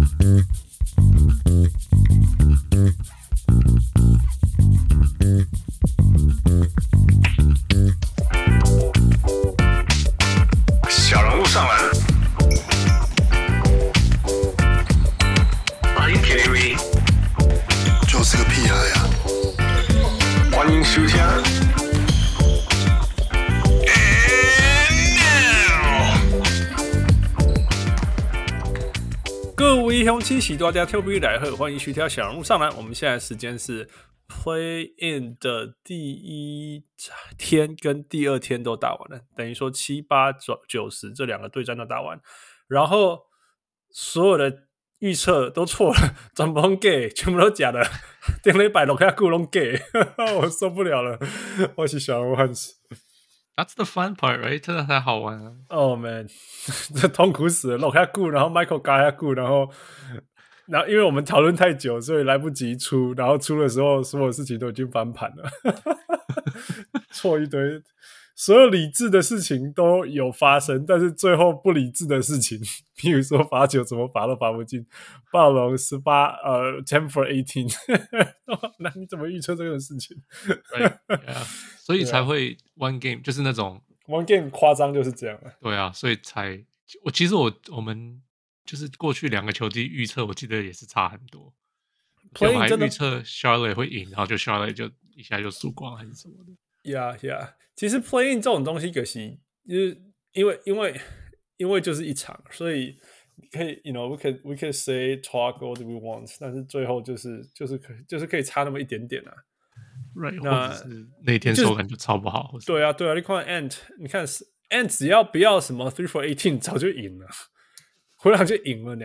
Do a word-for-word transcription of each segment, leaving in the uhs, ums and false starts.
小人物上篮。Are you kidding me？ 就是个屁孩呀！ 歡迎收聽。各位鄉親喜大家特別來賀，歡迎收聽小人物上籃。我們現在時間是 Play In 的第一天跟第二天都打完了，等於說七八九十這兩個對戰都打完，然後所有的預測都錯了，全部都假，全部都假的，頂禮拜六下久攏假，我受不了了，我是小人物漢斯。 That's the fun part, right? 真的才好玩啊！ Oh man， 這痛苦死了，落下顧，然後 Michael 嘎下顧，然後，然後因為我們討論太久，所以來不及出，然後出的時候，所有事情都已經翻盤了，錯一堆，所有理智的事情都有發生，但是最後不理智的事情，譬如說罰球怎麼罰都罰不進，暴龍十八呃 ten for eighteen， 那你怎麼預測這個事情？ Right, yeah. 所以才會 one game 就是那種 one game 誇張就是這樣。 對啊，所以才我其實我我們就是過去兩個球季預測，我記得也是差很多。我們還預測 Charlotte 會贏，然後就 Charlotte 就一下就輸光還是什麼的。 Yeah, yeah。其實 play in 這種東西可惜，就是因為因為因為就是一場，所以可以 you know we can we can say talk all we want， 但是最後就是就是可就是可以差那麼一點點啊。 Right， 那那天手感就超不好。 對啊，對啊，你看 Ant， 你看 Ant 只要不要什麼 three for eighteen， 早就贏了，回來就贏了呢。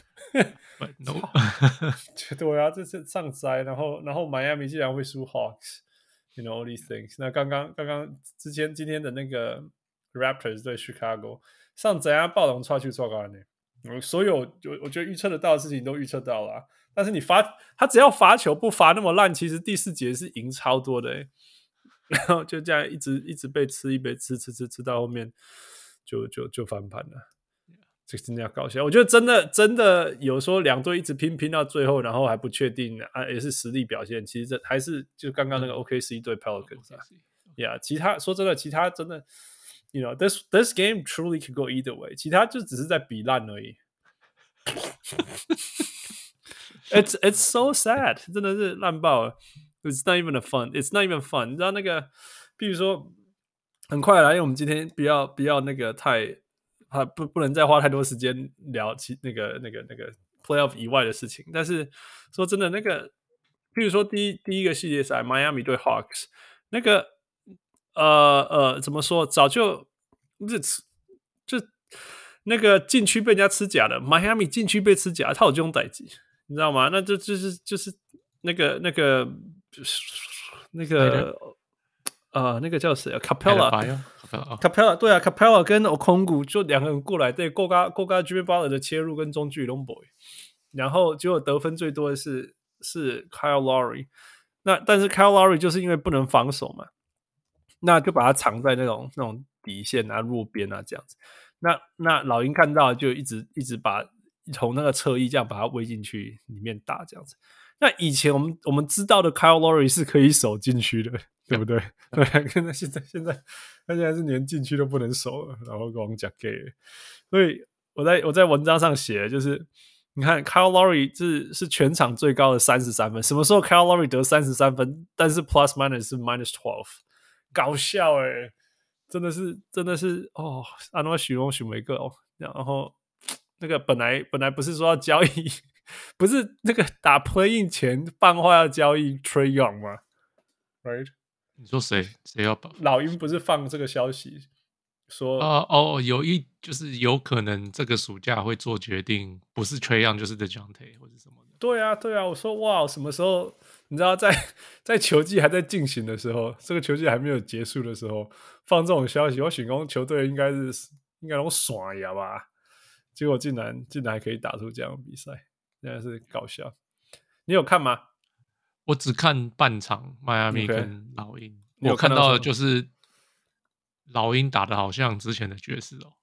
But no， 對啊，這是上災，然後然後 Miami 竟然會輸 Hawks，you know all these things。那剛剛剛剛之前今天的那個 Raptors 對 Chicago 上災啊，暴龍差去錯高呢。所有我我覺得預測得到的事情都預測到了、啊，但是你罰他只要罰球不罰那麼爛，其實第四節是贏超多的、欸，然後就這樣一直一直被吃一被吃吃吃吃到後面就就就翻盤了，這真的要搞笑。我覺得真的真的有說兩隊一直拼拼到最後，然後還不確定啊，也是實力表現。其實這還是就剛剛那個 O K C 對 Pelicans 啊，呀、yeah, 其他說真的，其他真的。You know, this this game truly could go either way. 其他就只是在比爛而已。it's it's so sad， 真的是爛爆了。It's not even a fun. It's not even fun. 你知道那個，比如說，很快來，因為我們今天不要不要那個太，啊不不能再花太多時間聊其那個那個那個 playoff 以外的事情。但是說真的，那個，比如說第一第一個系列賽，Miami 對 Hawks， 那個。呃呃，怎麼說？早就就就那個禁區被人家吃假的，邁阿密禁區被吃假，他有這種代誌，你知道嗎？那就就是就是那個那個那個呃那個叫誰啊 ？Capella Capella 對啊 ，Capella 跟 Okongwu 就兩個人過來，對，夠嘎夠嘎 Jimmy Butler 的切入跟中距龍 boy， 然後結果得分最多的是是 Kyle Lowry， 那但是 Kyle Lowry 就是因為不能防守嘛。那就把它藏在那種那種底線啊、弱邊啊這樣子。那那老鷹看到就一直一直把從那個側翼這樣把它圍進去裡面打這樣子。那以前我們我們知道的 Kyle Lowry 是可以守禁區的，對不對？對，那現在現在他現在是連禁區都不能守了，然後跟我們講 gay。所以我在我在文章上寫，就是你看 Kyle Lowry 是是全場最高的三十三分，什麼時候 Kyle Lowry 得三十三分，但是 plus minus 是 minus twelve。搞笑哎、欸，真的是真的是哦，安諾許龍許梅個哦，然後那個本來本來不是說要交易，不是那個打 play in 前放話要交易 Trae Young 嗎 ？Right？ 你說誰誰要把老鷹不是放這個消息說啊哦，有一就是有可能這個暑假會做決定，不是 Trae Young 就是 DeJounte 或者什麼的。 對啊對啊，我說哇，什麼時候？你知道在在球季還在進行的時候，這個球季還沒有結束的時候，放這種消息，我想說球隊應該是應該都耍呀吧？結果竟然竟然還可以打出這樣的比賽，真的是搞笑。你有看嗎？ 我只看半場，邁阿密跟老鷹。 Okay. 我看到的就是老鷹打的好像之前的爵士哦，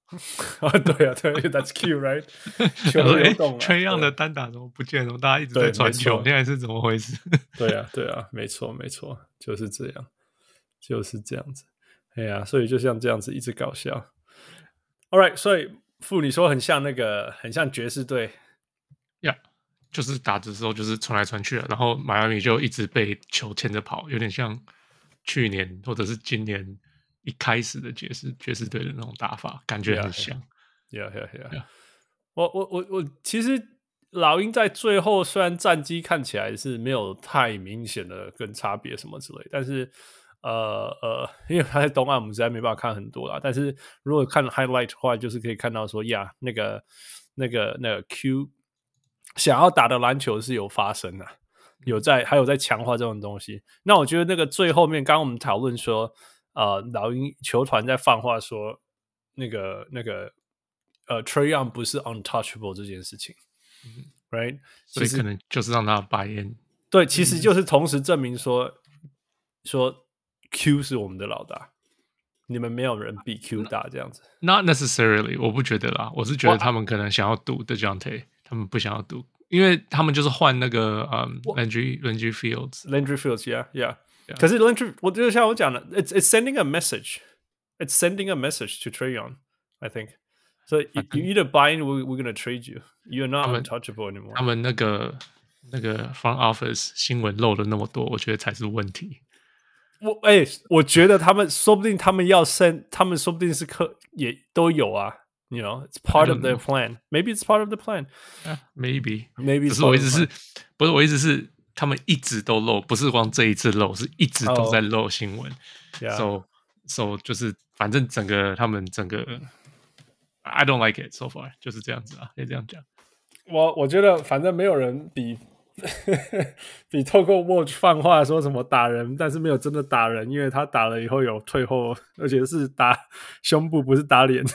啊，對啊，對 ，That's cute, right？ 球流動了，Trae Young 的單打怎麼不見了？大家一直在傳球，現在是怎麼回事？ 對啊，對啊，沒錯，沒錯，就是這樣，就是這樣子。哎呀，所以就像這樣子一直搞笑。All right， 所以傅你說很像那個，很像爵士隊。 Yeah， 就是打的時候就是傳來傳去的，然後邁阿密就一直被球牽着跑，有點像去年或者是今年一開始的爵士爵士隊的那種打法，感覺很像。 Yeah, yeah, yeah. yeah. 我我我我其實老鷹在最後雖然戰績看起來是沒有太明顯的跟差別什麼之類，但是呃呃，因為他在東岸，我們實在沒辦法看很多啦。但是如果看 highlight 的話，就是可以看到說呀，那個那個那個 Q 想要打的籃球是有發生的，有在還有在強化這種東西。那我覺得那個最後面，剛剛我們討論說，呃，老鷹球團在放話說，那個那個呃 Trae Young 不是 untouchable 這件事情、嗯、，right？ 所以可能就是讓他白眼。 對，其實就是同時證明說、嗯、說 Q 是我們的老大，你們沒有人比 Q 大這樣子。 Not necessarily， 我不覺得啦，我是覺得他們可能想要賭 DeJounte， 他們不想要賭，因為他們就是換那個嗯 Landry Landry Fields，Landry Fields，yeah yeah。可是 Landry， 我就像我講的 ，it's it's sending a message，it's sending a message to Trae Young，I think。So you either buy in, we're we're gonna trade you. You're not untouchable anymore. 他們那個那個 front office 新聞漏了那麼多，我覺得才是問題。 我哎、欸，我覺得他們說不定他們要 send， 他們說不定是客也都有啊。You know, it's part of their plan. Maybe it's part of the plan. Yeah, maybe, maybe. 只是我意思是，不是我意思是，他們一直都漏，不是光這一次漏，是一直都在漏新聞。Oh, yeah. So, so 就是反正整個他們整個。I don't like it so far， 就是這樣子啊，可以這樣講。 我我覺得反正沒有人比比透過 Watch 放話說什麼打人，但是沒有真的打人，因為他打了以後有退後，而且是打胸部，不是打臉。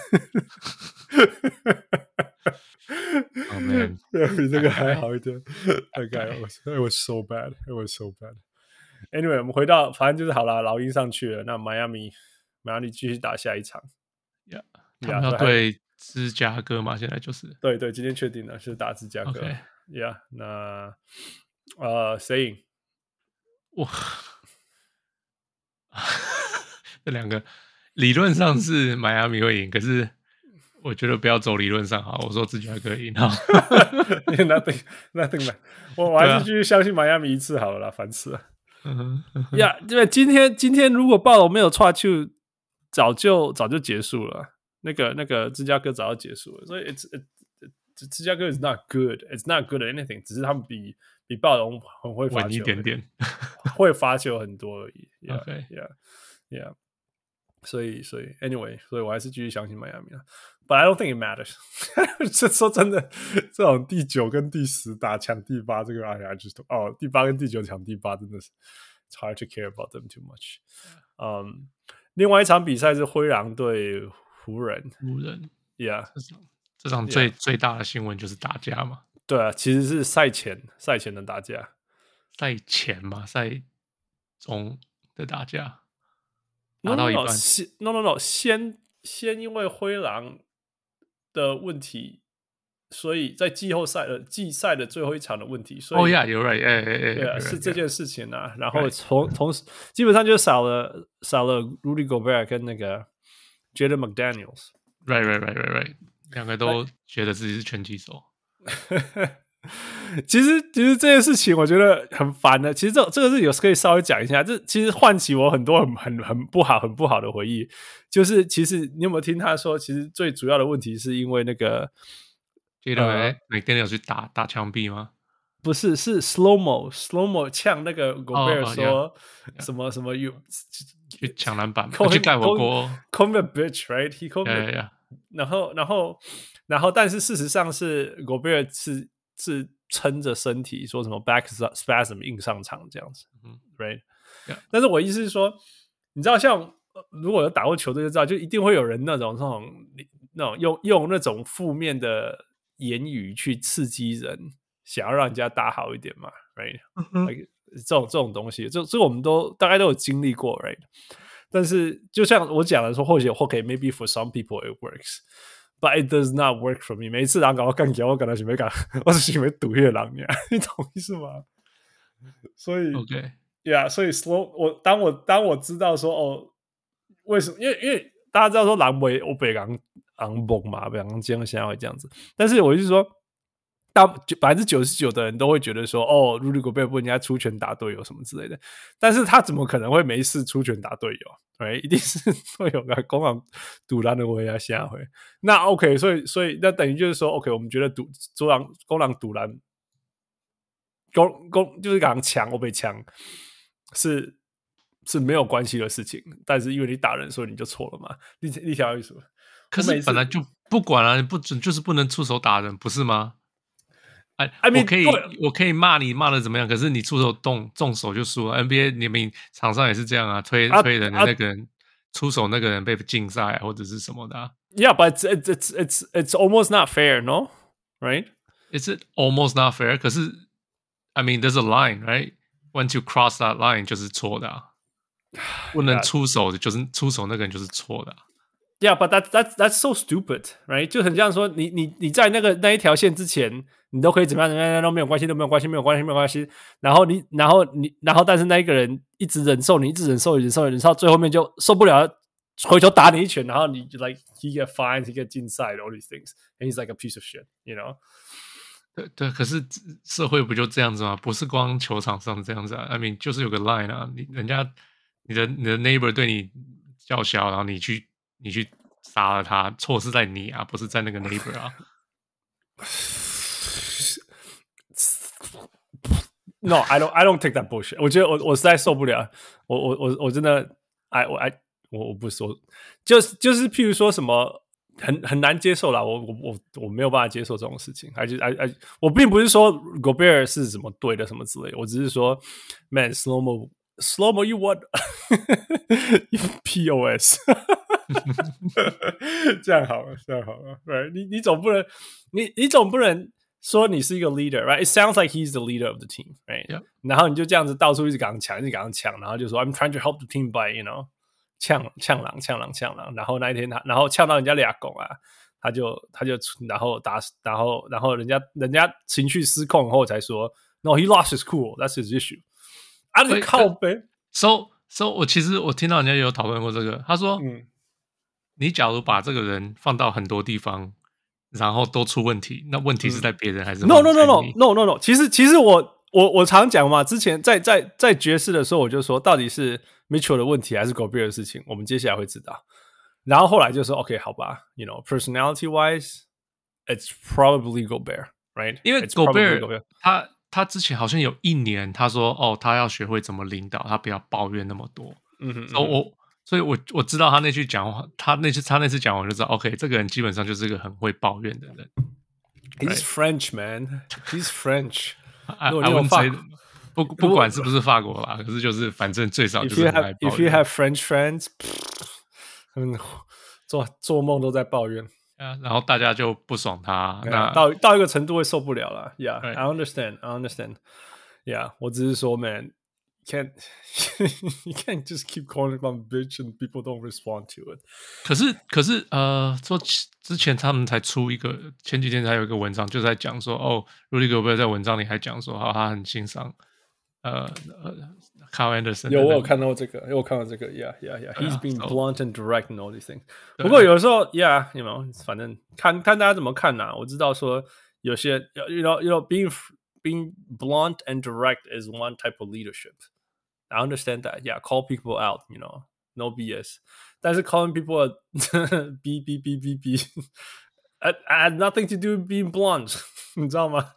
Oh man， 比這個還好一點。Okay, it was, it was so bad, it was so bad. Anyway， 我們回到反正就是好了，老鷹上去了，那邁阿密邁阿密繼續打下一場。 Yeah。他們要對芝加哥嘛？現在就是對對，今天確定了是打芝加哥。 Okay. Yeah， 那呃，誰贏？ 哇，這兩個理論上是邁阿密會贏，可是我覺得不要走理論上好。我說芝加哥贏好。 Nothing, nothing man。我我還是繼續相信邁阿密一次好了啦，煩死了。呀，因為今天今天如果暴龍沒有踹球，早就早就結束了。那個那個芝加哥早就結束了，所以 it's it, it, 芝加哥 is not good, it's not good at anything， 只是他們比比暴龍很會罰球一點點，會罰球很多而已。Yeah, OK, yeah, yeah。所以所以 anyway， 所以我還是繼續相信邁阿密了。But I don't think it matters 。這說真的，這種第九跟第十打搶第八，這個哎呀，就是哦，第八跟第九搶第八，真的是 it's hard to care about them too much。嗯，另外一場比賽是灰狼對湖人， 湖人 ，Yeah， 這場這場最 yeah. 最大的新聞就是打架嘛。 對啊，其實是賽前賽前的打架， 賽前嘛，賽中的打架，打到一半 ，No No No， 先先因為灰狼的問題，所以在季後賽的季賽的最後一場的問題，所以哦呀，有 right， 哎哎哎， 對啊，是這件事情啊，然後從同時基本上就少了少了 Rudy Gobert 跟那個。Jaden McDaniels，right right right right right， 兩個都覺得自己是拳擊手。 其實其實這件事情我覺得很煩的。其實這這個是有可以稍微講一下，這其實喚起我很多很很很不好很不好的回憶。就是其實你有沒有聽他說，其實最主要的問題是因為那個 Jaden McDaniels 去打打牆壁嗎？ 不是，是 slow mo slow mo 嗆那個 Gobert 說、 oh, yeah, 什麼什麼 you 去搶籃板，去蓋火鍋 ，call me a bitch right he called me， yeah, yeah, yeah. 然後然後然後但是事實上是 Gobert 是是撐着身體說什麼 back spasm 硬上場這樣子、mm hmm. right yeah. 但是我意思是說，你知道像如果有打過球隊就知道，就一定會有人那種那種那種用用那種負面的言語去刺激人。想要讓人家打好一點嘛 ，right？、Mm hmm. like, 這種這種東西，這這個我們都大概都有經歷過 ，right？ 但是就像我講的說，或許 OK maybe for some people it works but it does not work for me。每一次人搞我幹掉，我感到想要幹，我是想要賭迄個人呀，你懂意思嗎？所以 OK， yeah， 所以 slow 我當我當我知道說哦，為什麼？因為因為大家知道說人袂我袂人人懵嘛，袂人這樣現在會這樣子。但是我就是說，大百分之九十九的人都會覺得說，哦，Rudy Gobert不應該出拳打隊友什麼之類的。但是他怎麼可能會沒事出拳打隊友？對，一定是會有個公狼賭籃的威啊下回。那 OK， 所以所以那等於就是說 ，OK， 我們覺得賭公狼公狼賭籃。公公就是講強，我被強是是沒有關係的事情，但是因為你打人，所以你就錯了嘛？你你想要意思？ 可是本來就不管了、啊，不准就是不能出手打人，不是嗎？哎 I mean, 我可以我可以罵你罵的怎麼樣？可是你出手動動手就輸了。N B A 你們場上也是這樣啊，推、啊、推人的那個人、啊、出手那個人被禁賽、啊、或者是什麼的、啊。 Yeah, but it's it's it's it's almost not fair, no? Right? It's almost not fair. 可是。I mean, there's a line, right? Once you cross that line, 就是錯的、啊。不能出手的，就是出手那個人就是錯的、啊。 Yeah, but that that that's so stupid, right? 就很像說你，你你你在那個那一條線之前，你都可以怎麼樣怎麼樣都沒有關係，都沒有關係，沒有關係，沒有關係。然後你，然後你，然後但是那一個人一直忍受你，一直忍受，忍受，忍受，到最後面就受不了，回頭打你一拳，然後你就 like he get fined, he get 禁賽 all these things, and he's like a piece of shit, you know? 對對，可是社會不就這樣子嗎？不是光球場上這樣子啊。I mean， 就是有個 line 啊，你人家你的你的 neighbor 對你叫囂，然後你去你去殺了他，錯是在你啊，不是在那個 neighbor 啊。 No, I don't. I don't take that bullshit. 我覺得我我實在受不了，我我我我真的，哎我哎我我不說，就是就是譬如說什麼。很很難接受啦，我我我我沒有辦法接受這種事情。還是哎哎，我並不是說 Gobert 是什麼對的什麼之類的，我只是說 ，Man slow mo slow mo you what P O S 這樣好了，這樣好了 ，Right？ 你你總不能你你總不能說你是一個 leader，Right？It sounds like he's the leader of the team，Right？、Yeah. 然後你就這樣子到處一直跟他搶，一直跟他搶，然後就說 I'm trying to help the team by you know。嗆嗆狼嗆狼嗆狼，然後那一天他，然後嗆到人家倆拱啊，他就他就然後打，然後然後人家人家情緒失控後才說 ，No, he lost his cool, that's his issue。啊，你靠北。 So so， 我其實我聽到人家有討論過這個，他說，嗯，你假如把這個人放到很多地方，然後都出問題，那問題是在別人還是 ？No no no no no no no。其實其實我我我常講嘛，之前在在在爵士的時候，我就說到底是。Mitchell 的問題還是 Gobert 的事情，我們接下來會知道。然後後來就說 ，OK， 好吧 ，You know, personality wise, it's probably Gobert, right? 因為 Gobert 他他之前好像有一年他說，哦，他要學會怎麼領導，他不要抱怨那麼多。嗯哼，所以我所以我我知道他那句講話，他那次他那次講完我就知道 ，OK， 這個人基本上就是一個很會抱怨的人。 He's French, man. He's French. I wouldn't say. 不不管是不是法國啦，可是就是反正最少就是很愛抱怨。 If you have French friends， 嗯，做做夢都在抱怨。 啊，然後大家就不爽他， yeah, 那到到一個程度會受不了了。Yeah, right. I understand, I understand. Yeah， 我只是說 ，man, can't you can't just keep calling them bitch and people don't respond to it。 可是可是呃，說之前他們才出一個，前幾天才有一個文章，就在講說，哦 ，Rudy Gobert 在文章裡還講說，哦，他很欣賞。呃呃 Kyle Anderson 有我有看到這個，有我看到這個 ，Yeah Yeah Yeah，He's、yeah, being so, blunt and direct and all these things。不過有的時候 ，Yeah，you know， 反正看看大家怎麼看吶、啊。我知道說有些，you know you know being being blunt and direct is one type of leadership. I understand that. Yeah，call people out. You know, no B S. 但是 calling people B B B B B I had nothing to do with being blunt. 你知道嗎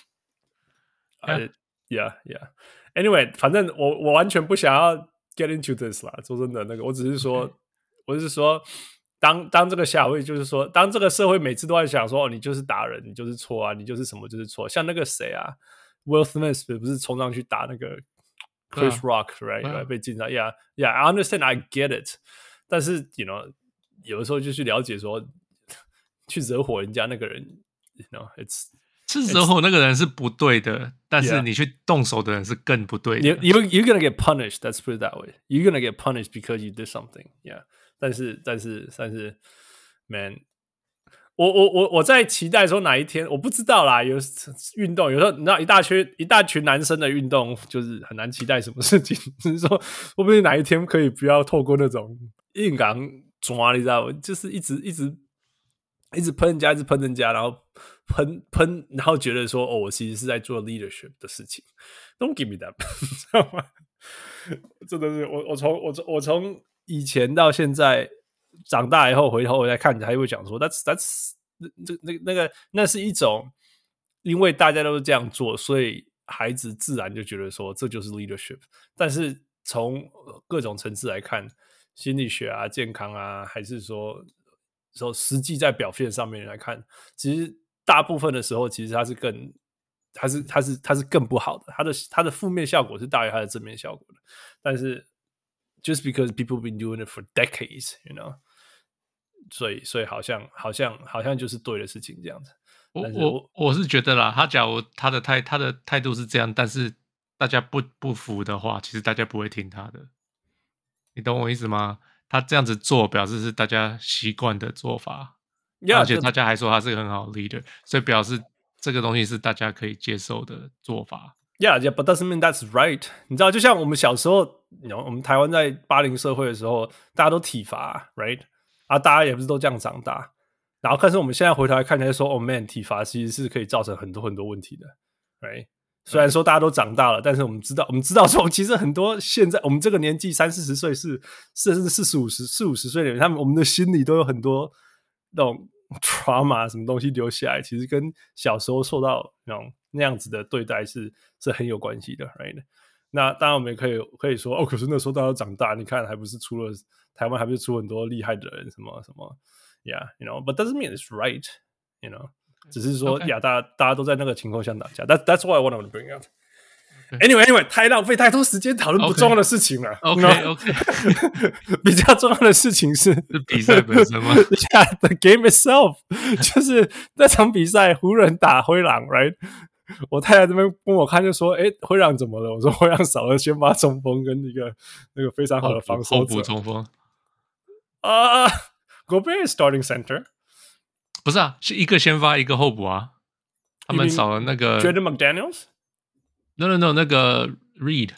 ？Yeah. Yeah, yeah. Anyway， 反正我我完全不想要 get into this 啦。說真的，那個我只是說， okay. 我只是說，當當這個社會就是說，當這個社會每次都在想說，哦，你就是打人，你就是錯啊，你就是什麼就是錯。像那個誰啊 ，Will Smith 不是衝上去打那個 Chris Rock，right？、Uh, 被禁賽。Yeah, yeah. I understand, I get it. 但是 ，you know， 有的時候就去了解說，去惹火人家那個人 ，you know，it's 是時候那個人是不對的，但是你去動手的人是更不對的。 You you're gonna get punished. Let's put it that way. You're gonna get punished because you did something. Yeah. 但是但是但是 ，man， 我我我我在期待說哪一天，我不知道啦。有運動，有時候你知道一大群一大群男生的運動，就是很難期待什麼事情。只是說，會不會哪一天可以不要透過那種硬剛抓，你知道嗎？就是一直一直一直噴人家，一直噴人家，然後噴噴，然後覺得說，哦，我其實是在做 leadership 的事情。Don't give me that， 知道嗎？真的是我我從我從我從。以前到現在長大以後回頭我再看，還會講說 that's that's 那那那個那是一種，因為大家都是這樣做，所以孩子自然就覺得說這就是 leadership。但是從各種層次來看，心理學啊、健康啊，還是說說實際在表現上面來看，其實大部分的時候，其實它是更它是它是它是更不好的，它的它的負面效果是大於它的正面效果的，但是。Just because people been doing it for decades, you know， 所以所以好像好像好像就是對的事情這樣子。 我我我是覺得啦，他假如他的態他的態度是這樣，但是大家不不服的話，其實大家不會聽他的。你懂我意思嗎？他這樣子做，表示是大家習慣的做法， yeah, 而且大家還說他是個很好的 leader， 所以表示這個東西是大家可以接受的做法。 Yeah, yeah, but doesn't mean that's right. 你知道，就像我們小時候，你知道我們台灣在八零社會的時候，大家都體罰 ，right？ 啊，大家也不是都這樣長大。然後，但是我們現在回頭來看起來說，哦 man， 體罰其實是可以造成很多很多問題的 ，right？ 雖然說大家都長大了，但是我們知道，我們知道說，其實很多現在我們這個年紀三四十歲是甚至四十五十四五十歲的人，他們我們的心裡都有很多那種 trauma 什麼東西留下來，其實跟小時候受到那種那樣子的對待是是很有關係的 ，right？ 那當然我們也可以可以說，哦，可是那時候大家都長大，你看還不是出了台灣，還不是出很多厲害的人，什麼什麼 ，yeah，you know，but doesn't mean it's right，you know， 只是說呀， Okay. 大家大家都在那個情況下打架。That that's what I want to bring up。Anyway, anyway， 太浪費太多時間討論不重要的事情了。 OK OK，, okay. 比較重要的事情是是比賽本身嗎 ？Yeah, the game itself， 就是那場比賽，湖人打灰狼 ，right？ 我太太這邊跟我看就說：“哎，灰狼怎麼了？”我說：“灰狼少了先發中鋒跟一個那個非常好的防守者。” 後補中鋒啊 ，Gobert is starting center， 不是啊，是一個先發一個後補啊。他們少了那個 Jaden McDaniels。No no no， 那個 Reed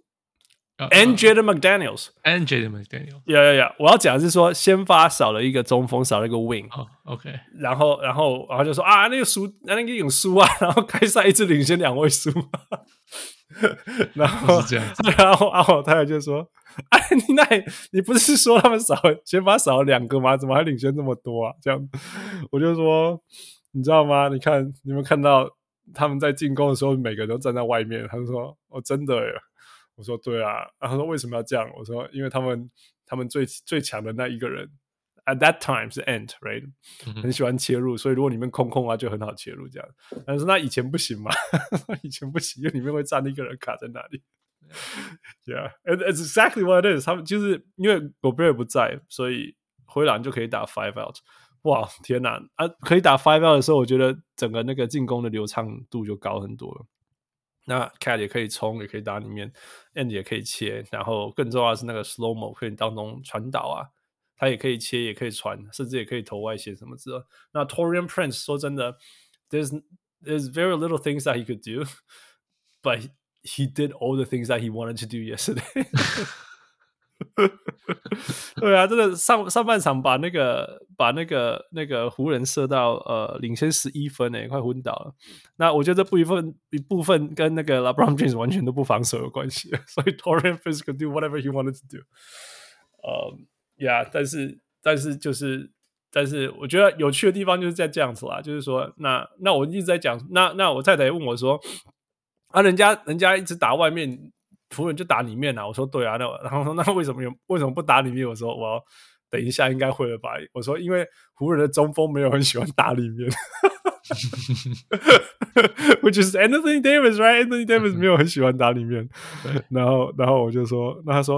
and Jaden McDaniels and Jaden McDaniels。 Yeah yeah yeah， 我要講的是說，先發少了一個中鋒，少了一個 wing。 哦 OK， 然後然後然後就說啊，那個輸，那個有輸啊，然後開賽一直領先兩位數。然後是這樣子， 然後然後我太太就說：“哎，你那你不是說他們少先發少了兩個嗎？怎麼還領先這麼多啊？”這樣，我就說，你知道嗎？你看，你有沒有看到？他們在進攻的時候，每個人都站在外面。他就說：“哦，真的耶。”我說：“對啊。”然後他說：“為什麼要這樣？”我說：“因為他們他們最最強的那一個人 ，at that time 是 Ant right，、嗯、很喜歡切入，所以如果裡面空空啊，就很好切入這樣。”他說：“那以前不行嘛？以前不行，因為裡面會站一個人卡在那裡。” Yeah, it's exactly what it is。他們就是因為 Gobert 不在，所以灰狼就可以打 five out。哇，天哪！啊，可以打 five out 的時候，我覺得整個那個進攻的流暢度就高很多了。那 Cat 也可以衝，也可以打裡面 ，End 也可以切，然後更重要的是那個 Slow Mo 可以當中傳導啊，他也可以切，也可以傳，甚至也可以投外線什麼之類的。那 Taurean Prince 說真的 ，there's there's very little things that he could do, but he did all the things that he wanted to do yesterday 。對啊，真的上上半場把那個把那個那個湖人射到呃領先十一分誒，快昏倒了。那我覺得這部一分一部分跟那個 LeBron James 完全都不防守有關係，所以 Taurean Prince could do whatever he wanted to do。呃、um, ，Yeah， 但是但是就是但是我覺得有趣的地方就是在這樣子啦，就是說那那我一直在講，那那我太太問我說啊，人家人家一直打外面。湖人就打裡面啊，我說對啊，那然後說那為什麼有為什麼不打裡面？我說我要等一下應該會了吧。我說因為湖人的中鋒沒有很喜歡打裡面，which is Anthony Davis right？Anthony Davis 沒有很喜歡打裡面。然後然後我就說，那他說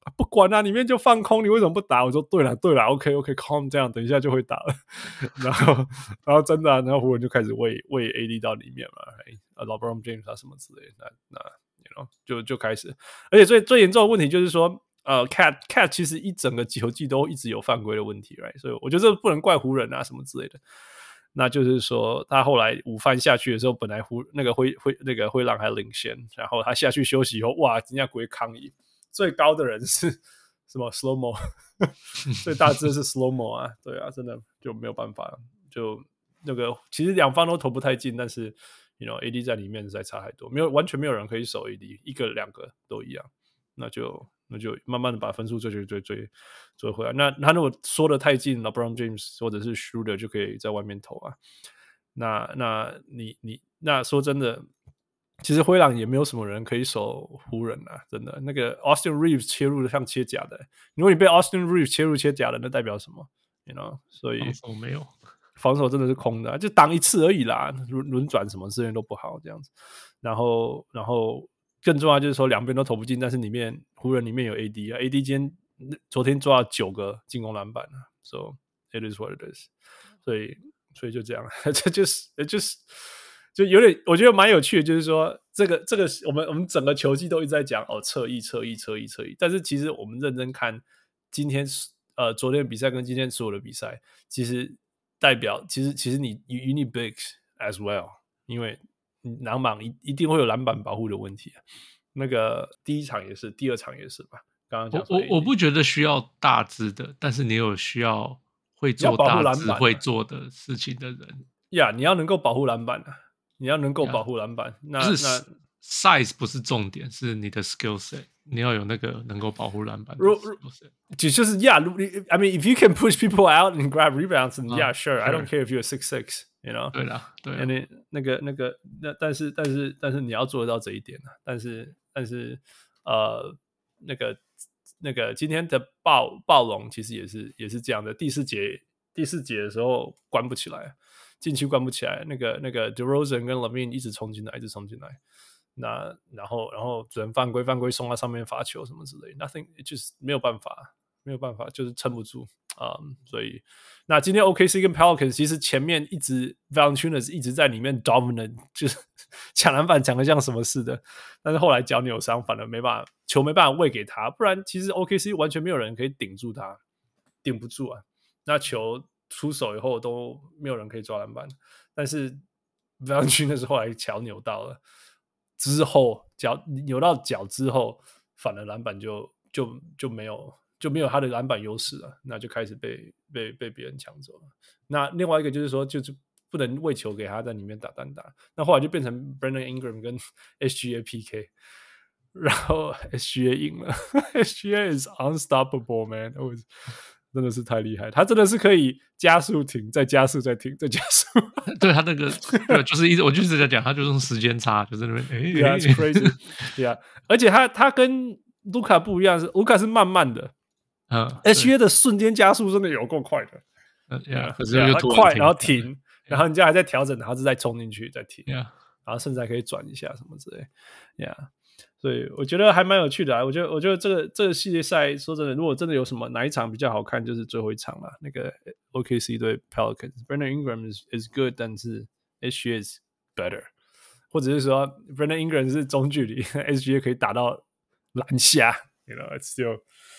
不管啊，裡面就放空，你為什麼不打？我說對了對了 ，OK OK，calm、okay, 這樣，等一下就會打了。然後然後真的、啊，然後湖人就開始餵餵 A D 到裡面嘛，啊 LeBron James 啊什麼之類的，那那 you know 就就開始，而且最最嚴重的問題就是說，呃 ，Cat Cat 其實一整個球季都一直有犯規的問題 ，right？ 所以我覺得這不能怪湖人啊什麼之類的。那就是說，他後來午飯下去的時候，本來湖那個灰灰那個灰狼還領先，然後他下去休息以後，哇，人家鬼抗議。最高的人是什麼 slow mo， 最大只是 slow mo 啊，對啊，真的就沒有辦法，就那個其實兩方都投不太進，但是 you know A D 在裡面實在差太多，沒有完全沒有人可以守 A D， 一個兩個都一樣，那就那就慢慢的把分數追追追追追回來。那他如果縮得太近 ，LeBron James 或者是 Schroeder 就可以在外面投啊。那那你你那說真的。其實灰狼也沒有什麼人可以守湖人啊，真的。那個 Austin Reeves 切入的像切假的，如果你被 Austin Reeves 切入切假的，那代表什麼 ？You know， 所以防守沒有， 防守真的是空的、啊，就擋一次而已啦，輪輪轉什麼資源都不好這樣子。然後，然後更重要就是說兩邊都投不進，但是裡面湖人裡面有 A D 啊 ，A D 今天昨天抓了九個進攻籃板啊 ，So it is what it is。所以，所以就這樣，這就是就是。就有點，我覺得蠻有趣的，就是說，這個這個，我們我們整個球季都一直在講哦，側翼側翼側翼側翼，但是其實我們認真看今天呃昨天的比賽跟今天所有的比賽，其實代表其實其實你 you need bigs as well， 因為籃板一一定會有籃板保護的問題啊。那個第一場也是，第二場也是吧？剛剛講說我我我不覺得需要大只的，但是你有需要會做大只會做的事情的人呀， yeah, 你要能夠保護籃板啊。你要能夠保護籃板， yeah, 那不是那 size 不是重點，是你的 skill set， 你要有那個能夠保護籃板的 skill set。 就就是 yeah， I mean if you can push people out and grab rebounds, and yeah, sure, I don't care if you're six six, you know。 對啦，對啦。 那那個那個那但是但是但是你要做得到這一點啊，但是但是呃那個那個今天的暴暴龍其實也是也是這樣的，第四節第四節的時候關不起來。禁區關不起來，那個那個 DeRozan 跟 LaVine 一直衝進來，一直衝進來，那然後然後只能犯規犯規送到上面罰球什麼之類 ，nothing 就是沒有辦法，沒有辦法，就是撐不住啊、um, 所以那今天 O K C 跟 Pelicans 其實前面一直 Valanciunas 一直在裡面 dominant， 就是搶籃板搶得像什麼似的，但是後來腳扭傷，反而沒辦法，球沒辦法餵給他，不然其實 O K C 完全沒有人可以頂住他，頂不住啊，那球。出手以後都沒有人可以抓籃板，但是 Valanciunas 是後來腳扭到了，之後腳扭到腳之後，反而籃板就就就沒有就沒有他的籃板優勢了，那就開始被被被別人搶走了。那另外一個就是說，就是不能餵球給他在裡面打單打，那後來就變成 Brandon Ingram 跟 S G A P K， 然後 S G A 贏了，S G A is unstoppable man， was, 真的是太厲害，他真的是可以加速停，再加速再停，再加速。对他那個，對，就是一直我就是在講，他就是用時間差，就是那邊，哎 ，Yeah, it's crazy, yeah。而且他他跟盧卡不一樣，是盧卡是慢慢的，嗯 ，S G A 的瞬間加速真的有夠快的， 嗯 ，Yeah， 可是又快，然後停，然後人家還在調整，然後再衝進去，再停， Yeah， 然後甚至還可以轉一下什麼之類 ，Yeah。所以我覺得還蠻有趣的啊！我覺得，我覺得這個這個系列賽，說真的，如果真的有什麼哪一場比較好看，就是最後一場了。那個 O K C 對 Pelicans，Brandon Ingram is is good， 但是 S G A is better， 或者是說 Brandon Ingram 是中距離 ，S G A 可以打到籃下 ，you know it's still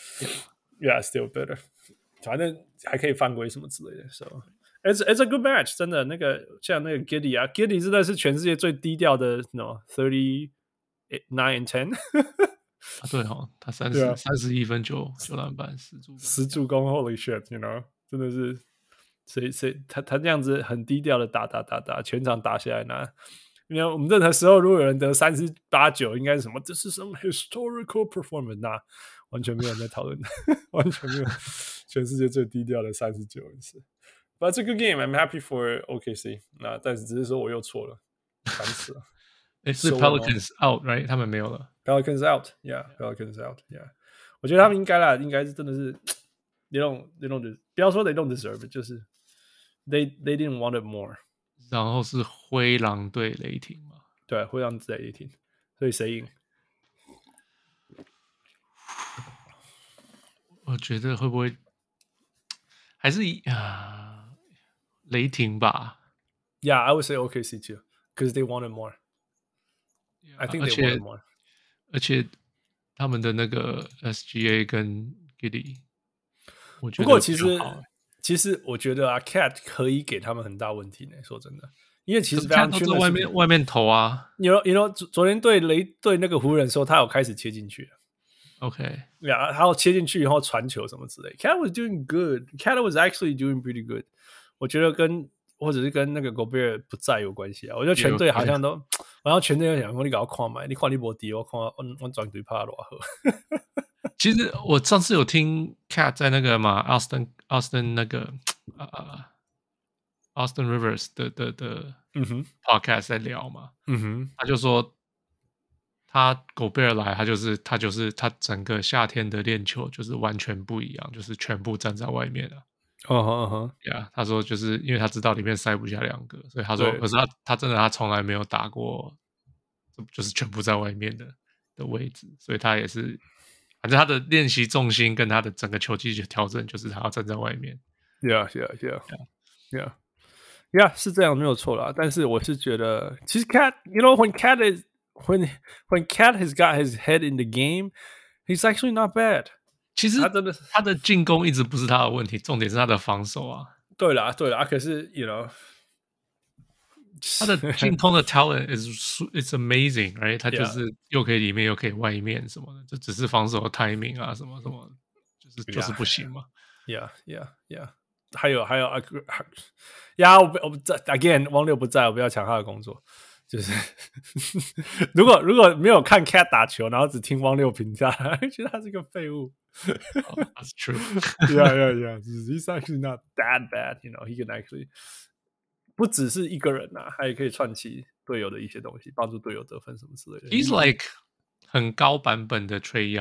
yeah still better， 反正還可以犯規什麼之類的。So it's it's a good match， 真的那個像那個 Giddey 啊 ，Giddey 真的是全世界最低調的 ，no thirty。nine and ten 啊，對哦，他三十三十一分九九籃板十助十助攻 ，Holy shit，you know， 真的是誰誰他他這樣子很低調的打打打打，全場打下來拿。因為我們任何時候如果有人得三十八九，應該是什麼？這是什麼 historical performance？ 那完全沒有人在討論，完全沒有，全世界最低調的三十九人是。But it's a good game. I'm happy for O K C。那但是只是說我又錯了三次了。 誒是 Pelicans out right， 他們沒有了。 Pelicans out, yeah, Pelicans out, yeah。我覺得他們應該啦，應該是真的是 they don't they don't 不要說 they don't deserve it， 就是 they they didn't want it more。 然後是灰狼對雷霆嘛？ 對，灰狼對雷霆，所以誰贏？ 我覺得會不會還是啊雷霆吧 ？Yeah, I would say O K C too, because they wanted more. I think they wanted more. 而且他們的那個 S G A 跟 Giddey， 我覺得不過其實、 欸、 其實我覺得啊 ，Cat 可以給他們很大問題呢。說真的，因為其實 Cat 都在外面外面投啊。 You know, you know，昨天對雷對那個湖人的時候，他有開始切進去。 OK， yeah, 他要切進去以後傳球什麼之類。Cat was doing good. Cat was actually doing pretty good. 我覺得跟或者是跟那個 Gobert 不在有關係啊。我覺得全隊好像都，好像全隊都想說你搞看買，你看你沒底，我看我我轉隊怕多好。 其實我上次有聽 Cat 在那個嘛 Austin Austin 那個呃 Austin Rivers 的的的嗯哼 podcast 在聊嘛，嗯哼，他就說他 Gobert 來，他就是他就是他整個夏天的練球就是完全不一樣，就是全部站在外面了。 嗯哼嗯哼， 呀，他說就是因為他知道裡面塞不下兩個，所以他說，可是他他真的他從來沒有打過，就是全部在外面的的位置，所以他也是。反正他的練習重心跟他的整個球技的調整，就是他要站在外面。 Yeah, yeah, yeah, yeah, yeah， 是這樣沒有錯啦。但是我是覺得，其實 Cat, you know, when Cat is when when Cat has got his head in the game, he's actually not bad. 其實他真的他的進攻一直不是他的問題，重點是他的防守啊。 對啦，對啦，可是 you know。 他的進攻的 talent is it's amazing, right？ 他就是又可以裡面又可以外面什麼的，就只是防守的 timing 啊什麼什麼，就是就是不行嘛。 Yeah, yeah, yeah。還有還有啊，呀，我不我不在 again， 汪六不在，我不要搶他的工作。就是如果如果沒有看 Cat 打球，然後只聽汪六評價，覺得他是個廢物。 oh, that's true. Yeah, yeah, yeah. He's actually not that bad, you know. He can actually. 不只是一個人吶、啊，他也可以串起隊友的一些東西，幫助隊友得分什麼之類的。 He's like 很高版本的 Trae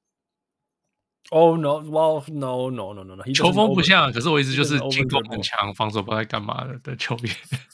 Young。Oh no, well no no no no no。 球風不像，可是我意思就是進攻很強，防守不知道在幹嘛的的球員。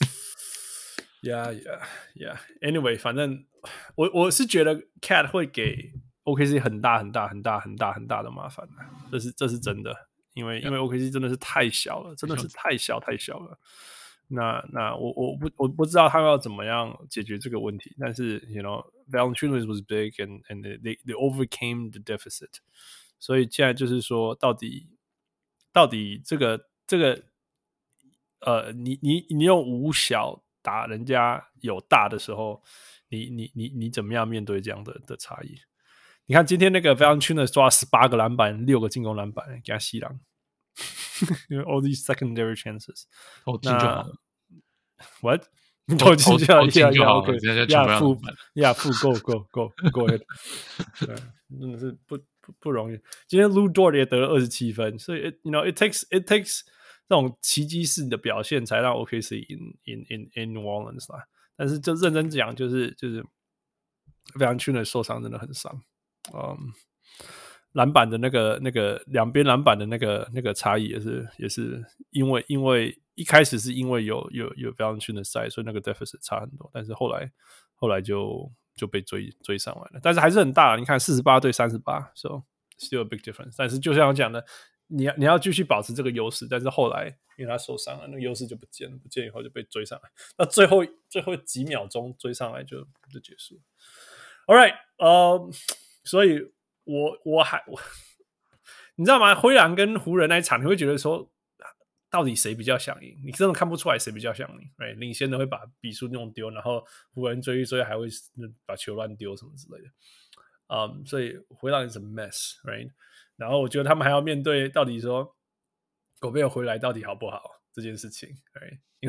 Yeah, yeah, yeah. Anyway， 反正我我是覺得 Cat 會給 O K C 很大很大很大很大很大的麻煩，這是這是真的，因為、yeah. 因為 O K C 真的是太小了，真的是太小太小了。那那我我不我不知道他們要怎麼樣解決這個問題，但是 you know Valanciunas was big and and they they overcame the deficit， 所以現在就是說到底到底這個這個呃你你你用五小打人家有大的時候，你你你你怎麼樣面對這樣的的差異？你看今天那個 Valanciunas 抓十八個籃板，六個進攻籃板，給他吸狼。All these secondary chances， 投進就好了。 What？ 投進就好， 投進就好。 OK， 呀， 負呀負 ，Go Go Go Go ahead。對，真的是不不不容易。今天 Lu Dort 也得了二十七分，所以 it, you know it takes it takes 這種奇蹟式的表現才讓 O K C in in in in New Orleans 啦。但是就認真講，就是就是Valanciunas受傷真的很傷。嗯。Um, 籃板的那個、那個兩邊籃板的那個、那個差異也是，也是因為因為一開始是因為有有有 Valanciunas 在，所以那個 deficit 差很多，但是後來後來就就被追追上來了，但是還是很大。你看四十八對三十八 ，so still a big difference。但是就像我講的，你要你要繼續保持這個優勢，但是後來因為他受傷了，那個優勢就不見了，不見以後就被追上來，那最後最後幾秒鐘追上來就就結束了。All right， 呃、uh, ，所以。我我還我，你知道嗎？灰狼跟湖人那一場，你會覺得說，到底誰比較想贏？你真的看不出來誰比較想贏。Right？ 領先的會把比數弄丟，然後湖人追一追還會把球亂丟什麼之類的。嗯、um, ，所以灰狼是 a mess，right？ 然後我覺得他們還要面對到底說狗貝爾回來到底好不好這件事情，right？ 因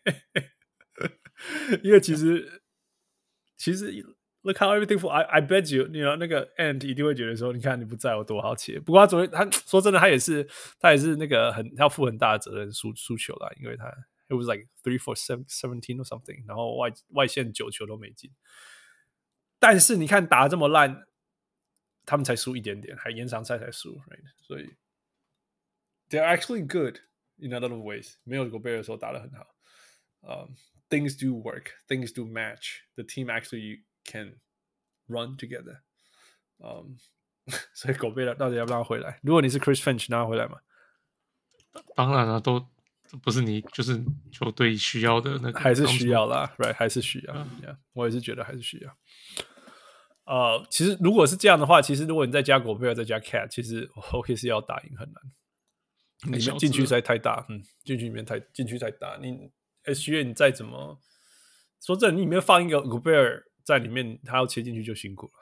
為因為其實其實。Look how everything for I I bet you， 你 you know, 那個 Ant 一定會覺得說，你看你不在我多好切。不過他昨天他說真的，他也是他也是那個很他要負很大的責任輸輸球啦，因為他 it was like three for seventeen or something， 然後外外線九球都沒進。但是你看打得這麼爛，他們才輸一點點，還延長賽才輸 ，right？ 所以 they're actually good in a lot of ways。沒有 Gobert 的時候打得很好。Um, things do work, things do match. The team actually can run together. Um, 所以狗貝爾到底要不要回來？如果你是 Chris Finch， 讓他回來嗎？ 當然了、啊，都不是你就是球隊需要的那個， 還是需要啦 ，right？ 還是需要、 嗯 yeah, 我也是覺得還是需要。呃，其實如果是這樣的話，其實如果你再加狗貝爾再加 Cat， 其實 O K C 要打贏很難。裡面禁區實在太大，嗯，禁區裡面太禁區太大。你 S G A 你再怎麼說真的，你裡面放一個狗貝爾在裡面，他要切進去就辛苦了。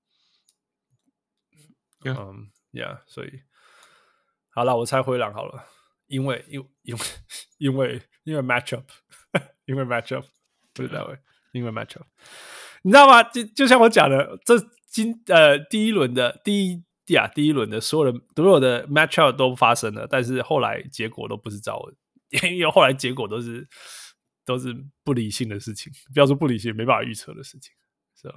嗯、 yeah. um, ，Yeah， 所以好了，我猜灰狼好了，因為因因為因為因為 matchup， 因為 matchup， 不是那位，因為 matchup， 你知道嗎？就就像我講的，這今呃第一輪的第一呀第一輪的所有的所有的 matchup 都發生了，但是後來結果都不是照，因為後來結果都是都是不理性的事情，不要說不理性，沒辦法預測的事情，是吧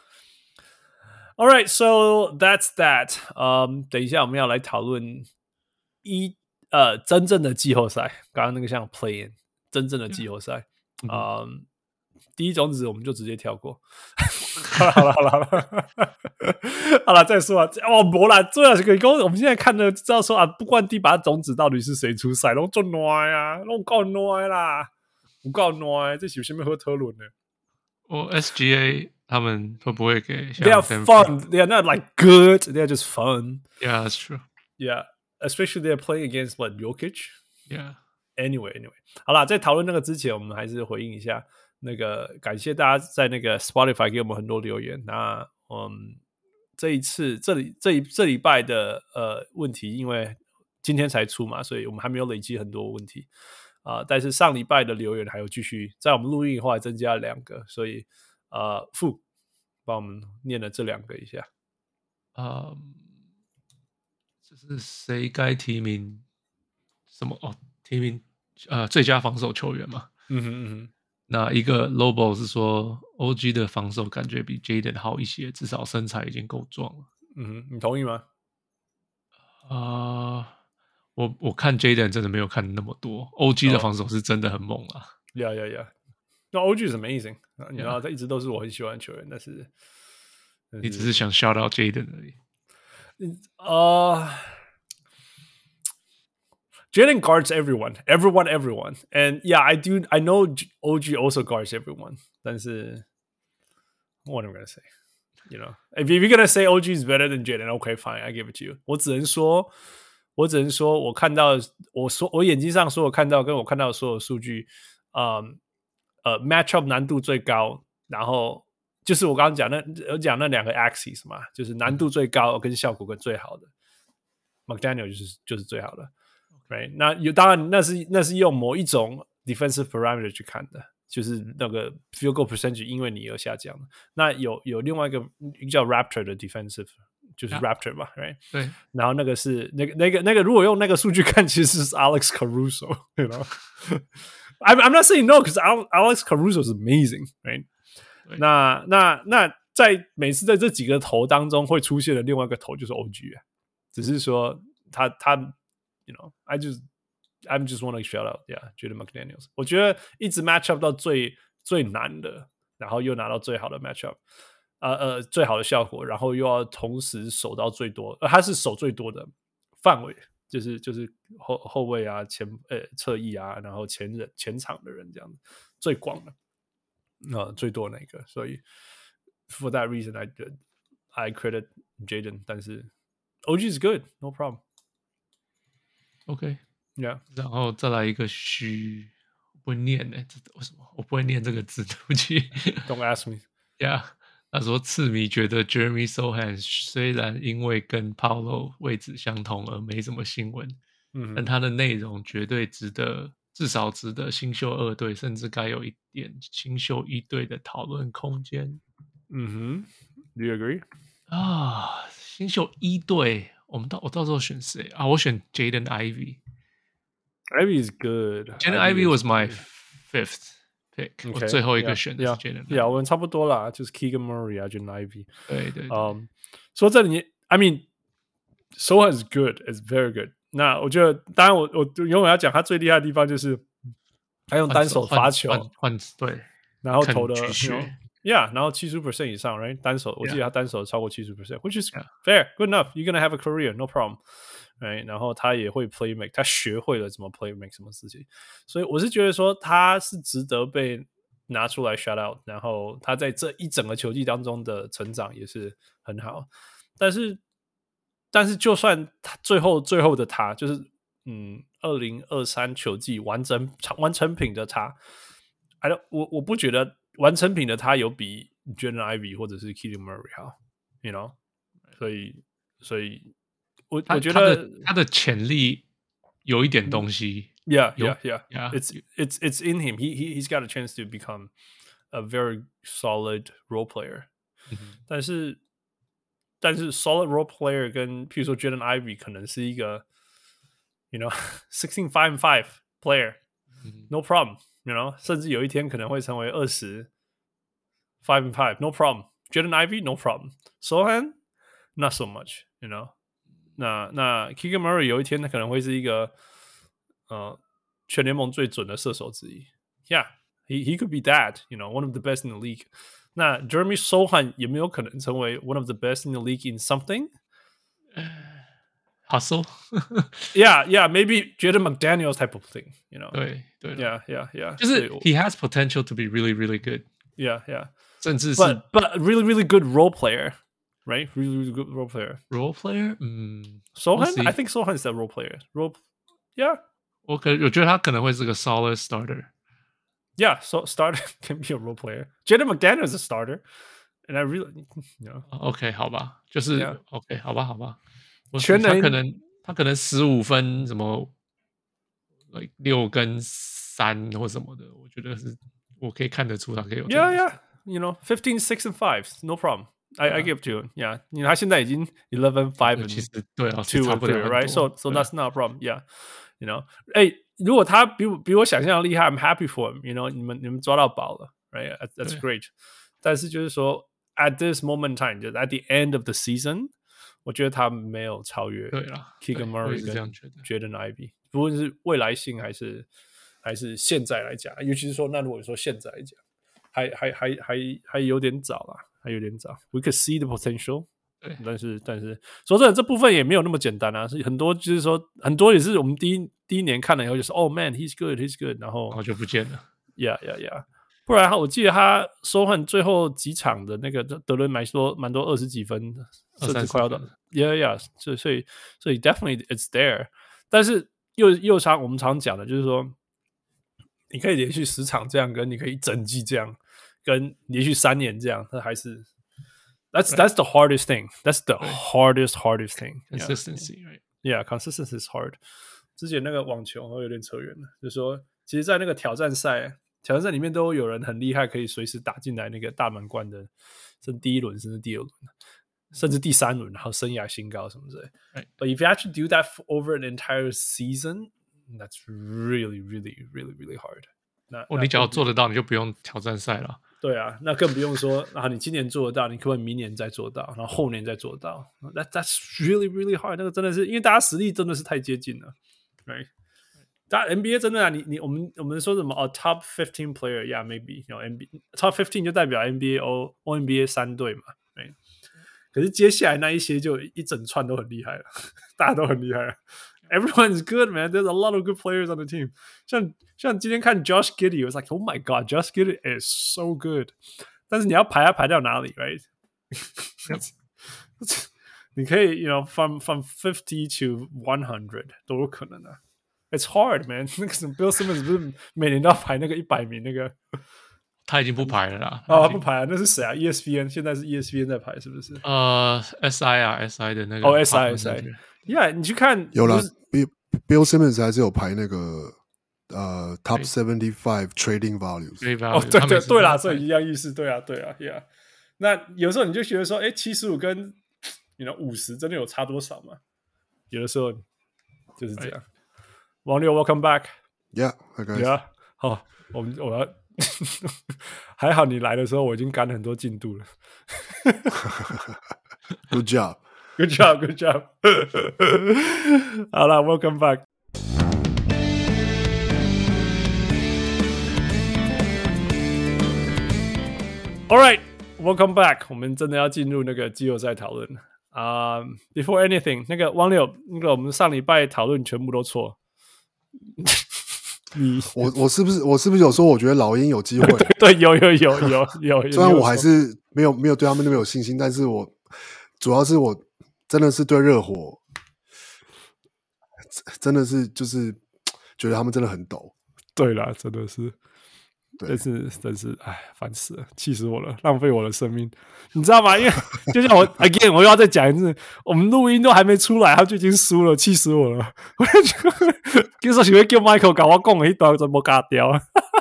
？All right, so that's that. Um, 等一下我們要來討論一呃真正的季後賽，剛剛那個像 play in 真正的季後賽。嗯、um, 第一種子我們就直接跳過。好了好了好了好了，好了再說啊。哦，沒啦，最後是個我們現在看的知道說啊，不管第八種子到底是誰出賽，都做暖啊，都夠暖啦，不夠暖，這是有什麼好討論的？ 我 S G A 他們會不會給 ？They are fun. They are not like good. They are just fun. Yeah, that's true. Yeah, especially they are playing against what Jokic. Yeah. Anyway, anyway. 好啦，在討論那個之前，我們還是回應一下那個，感謝大家在那個 Spotify 給我們很多留言。那嗯，這一次這裡這一這禮拜的呃問題，因為今天才出嘛，所以我們還沒有累積很多問題。啊、呃，但是上禮拜的留言還有繼續，在我們錄音以後還增加了兩個，所以呃，傅幫我們念了這兩個一下。 啊、um, 這是誰該提名？什麼哦？提名呃最佳防守球員嘛？ 嗯哼嗯哼。 那一個 Lobo 是說 O G 的防守感覺比 Jaden 好一些，至少身材已經夠壯了。 嗯哼，你同意嗎？ 啊、呃。我我看 Jaden 真的沒有看那麼多 ，O G 的防守是真的很猛啊！ 呀呀呀，那 O G 是 amazing， 你知道他一直都是我很喜歡的球員，但是，但是你只是想 shout out Jaden 而已。 呃、uh, Jaden guards everyone, everyone, everyone, and yeah, I do, I know O G also guards everyone. 但是 what am I gonna say? You know, if you're gonna say O G is better than Jaden, okay, fine, I give it to you. 我只能說。我只能說，我看到我說我眼睛上所有看到跟我看到的所有數據，嗯呃 ，matchup 難度最高，然後就是我剛剛講那我講那兩個 axis 嘛，就是難度最高跟效果跟最好的 ，McDaniel 就是就是最好的 ，right？ 那有當然那是那是用某一種 defensive parameter 去看的，就是那個 field goal percentage 因為你而下降的。那有有另外一個一個叫 Raptor 的 defensive。就是 Raptor 嘛、yeah. ，right？ 對，然後那個是那個那個那個，如果用那個數據看，其實是 Alex Caruso，you know？I'm I'm not saying no， 可是 Alex Caruso is amazing，right？ 那那那在每次在這幾個頭當中會出現的另外一個頭就是 O G 啊，只是說他他 ，you know，I just I'm just want to shout out，yeah，Jaden McDaniels， 我覺得一直 match up 到最最難的，然後又拿到最好的 match up。呃呃，最好的效果，然後又要同時守到最多，呃，他是守最多的範圍，就是就是後後衛啊、前呃側翼啊，然後前人前場的人這樣子最廣的，呃最多那個，所以 for that reason I I credit Jaden， 但是 O G is good, no problem. OK, yeah. 然後再來一個虛，不會念呢，這為什麼我不會念這個字？對不起。 Don't ask me. Yeah. 他說：“刺迷覺得 Jeremy Sohan 雖然因為跟 Paolo 位置相同而沒什麼新聞，嗯，但他的內容絕對值得，至少值得新秀二隊，甚至該有一點新秀一隊的討論空間。” 嗯哼 ，Do you agree？ 啊，新秀一隊，我們到我到時候選誰啊？我選 Jaden Ivey。Ivey is good. Jaden Ivey was my fifth.Okay. 我最後一個選的是 Jaden Ivey， yeah, 我們差不多啦，就是 Keegan Murray 啊 ，Jaden Ivey。 對對對。 Um, 說這裡 ，I mean, Sohan is good, is very good。那我覺得，當然我我永遠要講他最厲害的地方就是他用單手罰球， 換對， 然後投的，因 Yeah， 然後七十 percent 以上 ，right？ 單手，我記得他單手超過七十 percent，which is Yeah. fair, good enough. You're gonna have a career, no problem. Right？ 然後他也會 play make， 他學會了怎麼 play make 什麼事情，所以我是覺得說他是值得被拿出來 shout out。然後他在這一整個球季當中的成長也是很好，但是但是就算他最後最後的他就是嗯，二零二三球季完整完成品的他 ，I don't 我我不覺得。完成品的他有比 Jaden Ivey 或者是 Keegan Murray 好 ，you know， 所以所以我我覺得他的他的潛力有一點東西 ，yeah yeah yeah, yeah. It's it's it's in him. He he he's got a chance to become a very solid role player. 但是但是 solid role player 跟譬如說 Jaden Ivey 可能是一個 ，you know, sixteen five and five player, no problem.You know， 甚至有一天可能會成為二十 five and five, no problem. Jaden Ivey, no problem. Sohan, not so much. You know， 那那 Keegan Murray 有一天他可能會是一個呃全聯盟最準的射手之一。Yeah, he he could be that. You know, one of the best in the league. 那 Jeremy Sohan 有沒有可能成為 one of the best in the league in something? Hustle, yeah, yeah, maybe Jaden McDaniels type of thing, you know. 對對 ，yeah, yeah, yeah. 就是 he has potential to be really, really good. Yeah, yeah. 甚至是 but but really, really good role player, right? Really, really good role player. Role player, 嗯 Sohan, I think Sohan is a role player. Role, yeah. 我可我覺得他可能會是個 solid starter. Yeah, so starter can be a role player. Jaden McDaniels is a starter, and I really, you know. OK, 好吧，就是 Yeah. OK, 好吧，好吧。 全能他可能他可能十五分什麼，like 六跟三或什麼的，我覺得是我可以看得出他可以有。 Yeah, yeah, you know, fifteen, six and five, no problem. I, yeah. I give to him. Yeah, 因為他現在已經 eleven, five and 其實對啊 two and three, right? So, so 對 that's not a problem. Yeah, you know, 哎，如果他比我比我想象的厲害 ，I'm happy for him. You know, 你們你們抓到寶了 ，right? That's great. 但是就是說 ，at this moment in time, 就是 at the end of the season.我覺得他沒有超越 Keegan Murray 跟 Jaden Ivey， 不論是未來性還是還是現在來講，尤其是說，那如果說現在來講，還還還還還有點早啦，還有點早。We could see the potential， 但是但是說真的，這部分也沒有那麼簡單啊，是很多就是說很多也是我們第一第一年看了以後就是哦 man he's good he's good， 然後然後就不見了。 Yeah yeah yeah。不然我記得他收換最後幾場的那個得了蠻多蠻多二十幾分，甚至快要到 ，Yeah yeah， 所以所以所以 definitely it's there。但是又又常我們常講的就是說，你可以連續十場這樣，跟你可以一整季這樣，跟連續三年這樣，那還是 that's that's the hardest thing. That's the hardest hardest thing. Consistency, right? Yeah, consistency is hard. 之前那個網球我有點扯遠了，就是說，其實，在那個挑戰賽。挑戰賽裡面都有人很厲害，可以隨時打進來那個大滿貫的，甚至第一輪，甚至第二輪，甚至第三輪，然後生涯新高什麼之類。Right. But if you actually do that over an entire season, that's really, really, really, really hard. 那哦，你只要做得到，你就不用挑戰賽了。 對啊，那更不用說啊，你今年做得到，你可不可以明年再做到，然後後年再做到。That that's really, really hard. 那個真的是因為大家實力真的是太接近了 ，right？但 N B A 真的啊，你你我們我們說什麼哦 ，Top fifteen player， yeah maybe， you know N B A Top fifteen 就代表 N B A O O N B A 三隊嘛，對。可是接下來那一些就一整串都很厲害了，大家都很厲害了。Everyone's good, man. There's a lot of good players on the team. 像像今天看 Josh Giddey， 我 was like, oh my god, Josh Giddey is so good. 但是你要排要排到哪裡 ，right？ 你可以 ，you know from from fifty to one hundred 都有可能的。It's hard, man. 那個什麼 Bill Simmons 不是每年都要排那個一百名那個？ 他已經不排了啦。 哦，他不排了，那是誰啊 ？E S P N 現在是 E S P N 在排，是不是？ 呃 ，S I 啊 ，S I 的那個。 哦 ，S I S I。Yeah， 你去看有啦 ，Bill Bill Simmons 還是有排那個呃 Top seventy five Trading Values。 哦，對對對啦，所以一樣意思，對啊對啊 ，Yeah。那有時候你就覺得說，哎，七十五跟你的五十真的有差多少嗎？有的時候就是這樣。王六 ，Welcome back。Yeah, okay. Yeah， 好，我們我要還好你來的時候我已經趕很多進度了。 Good job, good job, good job 。好了 ，Welcome back。 All right, welcome back. 我們真的要進入那個季後賽討論啊、uh,！Before anything， 那個汪六，那個我們上禮拜討論全部都錯。你我我是不是我是不是有說我覺得老鷹有機會？ 對，有有有有有有。 雖然我還是沒有沒有對他們那麼有信心，但是我主要是我真的是對熱火，真的是就是覺得他們真的很抖。 對啦，真的是。 對， 但是真是哎，煩死了，氣死我了，浪費我的生命，你知道嗎？因為就像我 again， 我又要再講一次，我們錄音都還沒出來，他就已經輸了，氣死我了。我就覺得，其實是要叫 Michael 跟我講的一段全部卡掉。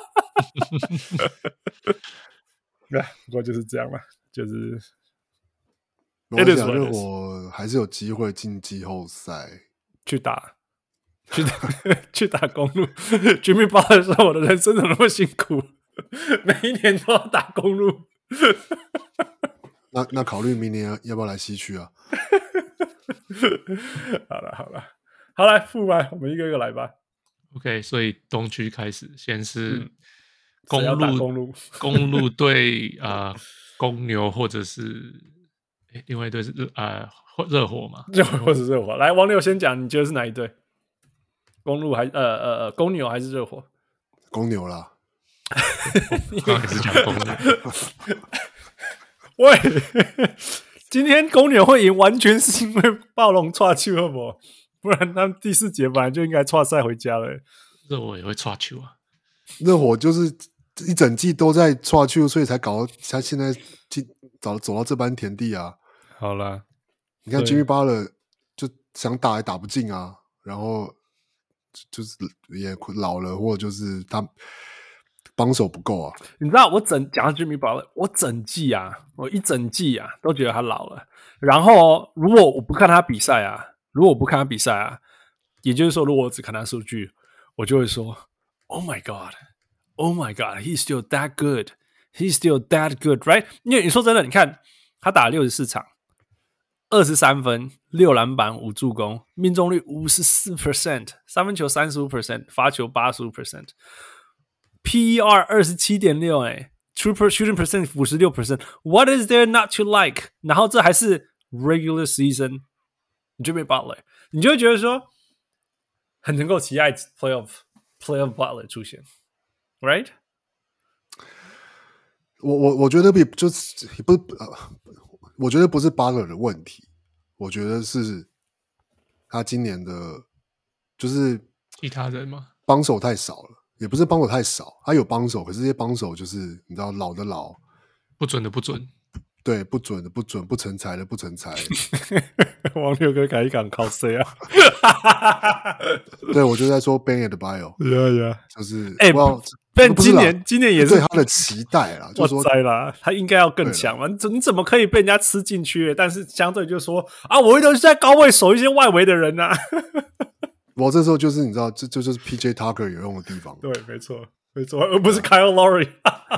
不過就是這樣嘛，就是。 沒關係啊，熱火還是有機會進季後賽去打。去打去打公路，Jimmy Butler說：“我的人生怎麼那麼辛苦？每一年都要打公路。 那”那那考慮明年要不要來西區啊？ 好了好了，好來復吧，我們一個一個來吧。 OK， 所以東區開始，先是公路、 嗯、公路公路對呃公牛，或者是誒另外一隊是呃熱火嘛？ 熱火或者熱火。來，王六先講，你覺得是哪一隊？公路還呃呃呃公牛還是熱火？ 公牛啦。 我剛剛也是講公牛。 喂，今天公牛會贏，完全是因為暴龍挫球，好不好？不然他們第四節本來就應該挫賽回家了。 熱火也會挫球啊。 熱火就是一整季都在挫球，所以才搞到他現在進走走到這般田地啊。 好啦， 你看 Jimmy Butler 就想打也打不進啊，然後。就是也老了，或者就是他幫手不夠啊。你知道我整講到 Jimmy Butler， 我整季啊，我一整季啊都覺得他老了。然後如果我不看他比賽啊，如果我不看他比賽啊，也就是說，如果我只看他數據，我就會說 ，Oh my God, Oh my God, he's still that good, he's still that good, right？ 因為你說真的，你看他打了六十四場。二十三分，六籃板，五助攻，命中率五十四 percent， 三分球三十五 percent， 罰球八十五 percent，P E R 二十七點六，哎 ，true shooting percent 五十六 percent，What is there not to like？ 然後這還是 regular season Jimmy Butler， 你就會覺得說很能夠期待 playoff playoff Butler 出現 ，right？ 我我我覺得也就是也不呃。我覺得不是巴勒的問題，我覺得是他今年的，就是其他人嗎？ 幫手太少了，也不是幫手太少，他有幫手，可是這些幫手就是你知道老的老， 不準的不準， 對，不準的不準，不成才的不成才。 王六哥改一講靠誰啊？ 對，我就在說 Bam Adebayo，yeah yeah， 就是哎。 欸但今年今年也是對他的期待啦，就是說栽啦，他應該要更強嘛？你怎你怎麼可以被人家吃進去？但是相對就說啊，我一直在高位守一些外圍的人啊。 我這時候就是你知道，這這就是 P J Tucker 有用的地方。 對，沒錯，沒錯，而不是 Kyle Lowry。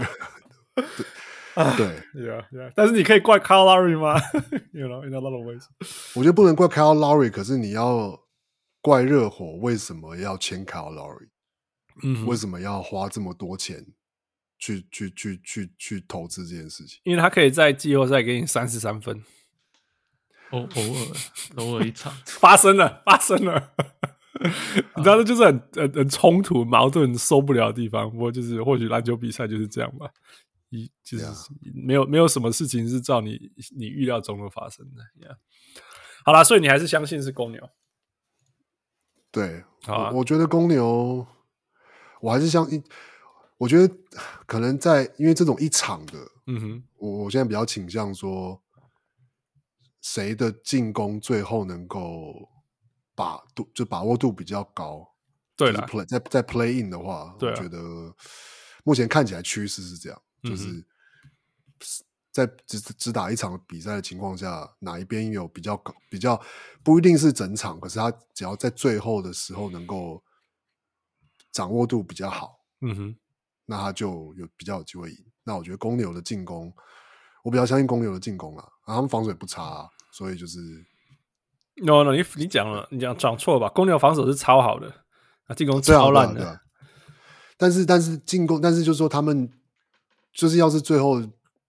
對 ，yeah, yeah，但是你可以怪 Kyle Lowry 嗎？You know, in a lot of ways。 我覺得不能怪 Kyle Lowry， 可是你要怪熱火為什麼要簽 Kyle Lowry。嗯，為什麼要花這麼多錢去去去去去投資這件事情？ 因為他可以在季後賽給你三十三分， 偶偶爾偶爾一場發生了，發生了。你知道，這就是很很很衝突、矛盾、受不了的地方。不過就是或許籃球比賽就是這樣吧，一就是沒有沒有什麼事情是照你你預料中的發生的。Yeah. 好啦，所以你還是相信是公牛？ 對， 好啊， 我，我覺得公牛。我還是相信，我覺得可能在因為這種一場的，嗯哼，我我現在比較傾向說，誰的進攻最後能夠把度就把握度比較高。對了，就是、在在 play in 的話，我覺得目前看起來趨勢是這樣，嗯、就是在只只打一場比賽的情況下，哪一邊有比較高，比較不一定是整場，可是他只要在最後的時候能夠。掌握度比較好，嗯哼，那他就有比較有機會贏。那我覺得公牛的進攻，我比較相信公牛的進攻啦，啊，他們防守也不差，啊，所以就是 no no，你你講了，你講講錯了吧？公牛防守是超好的，啊，進攻超爛的。啊啊啊， 但是但是進攻，但是就是說他們就是要是最後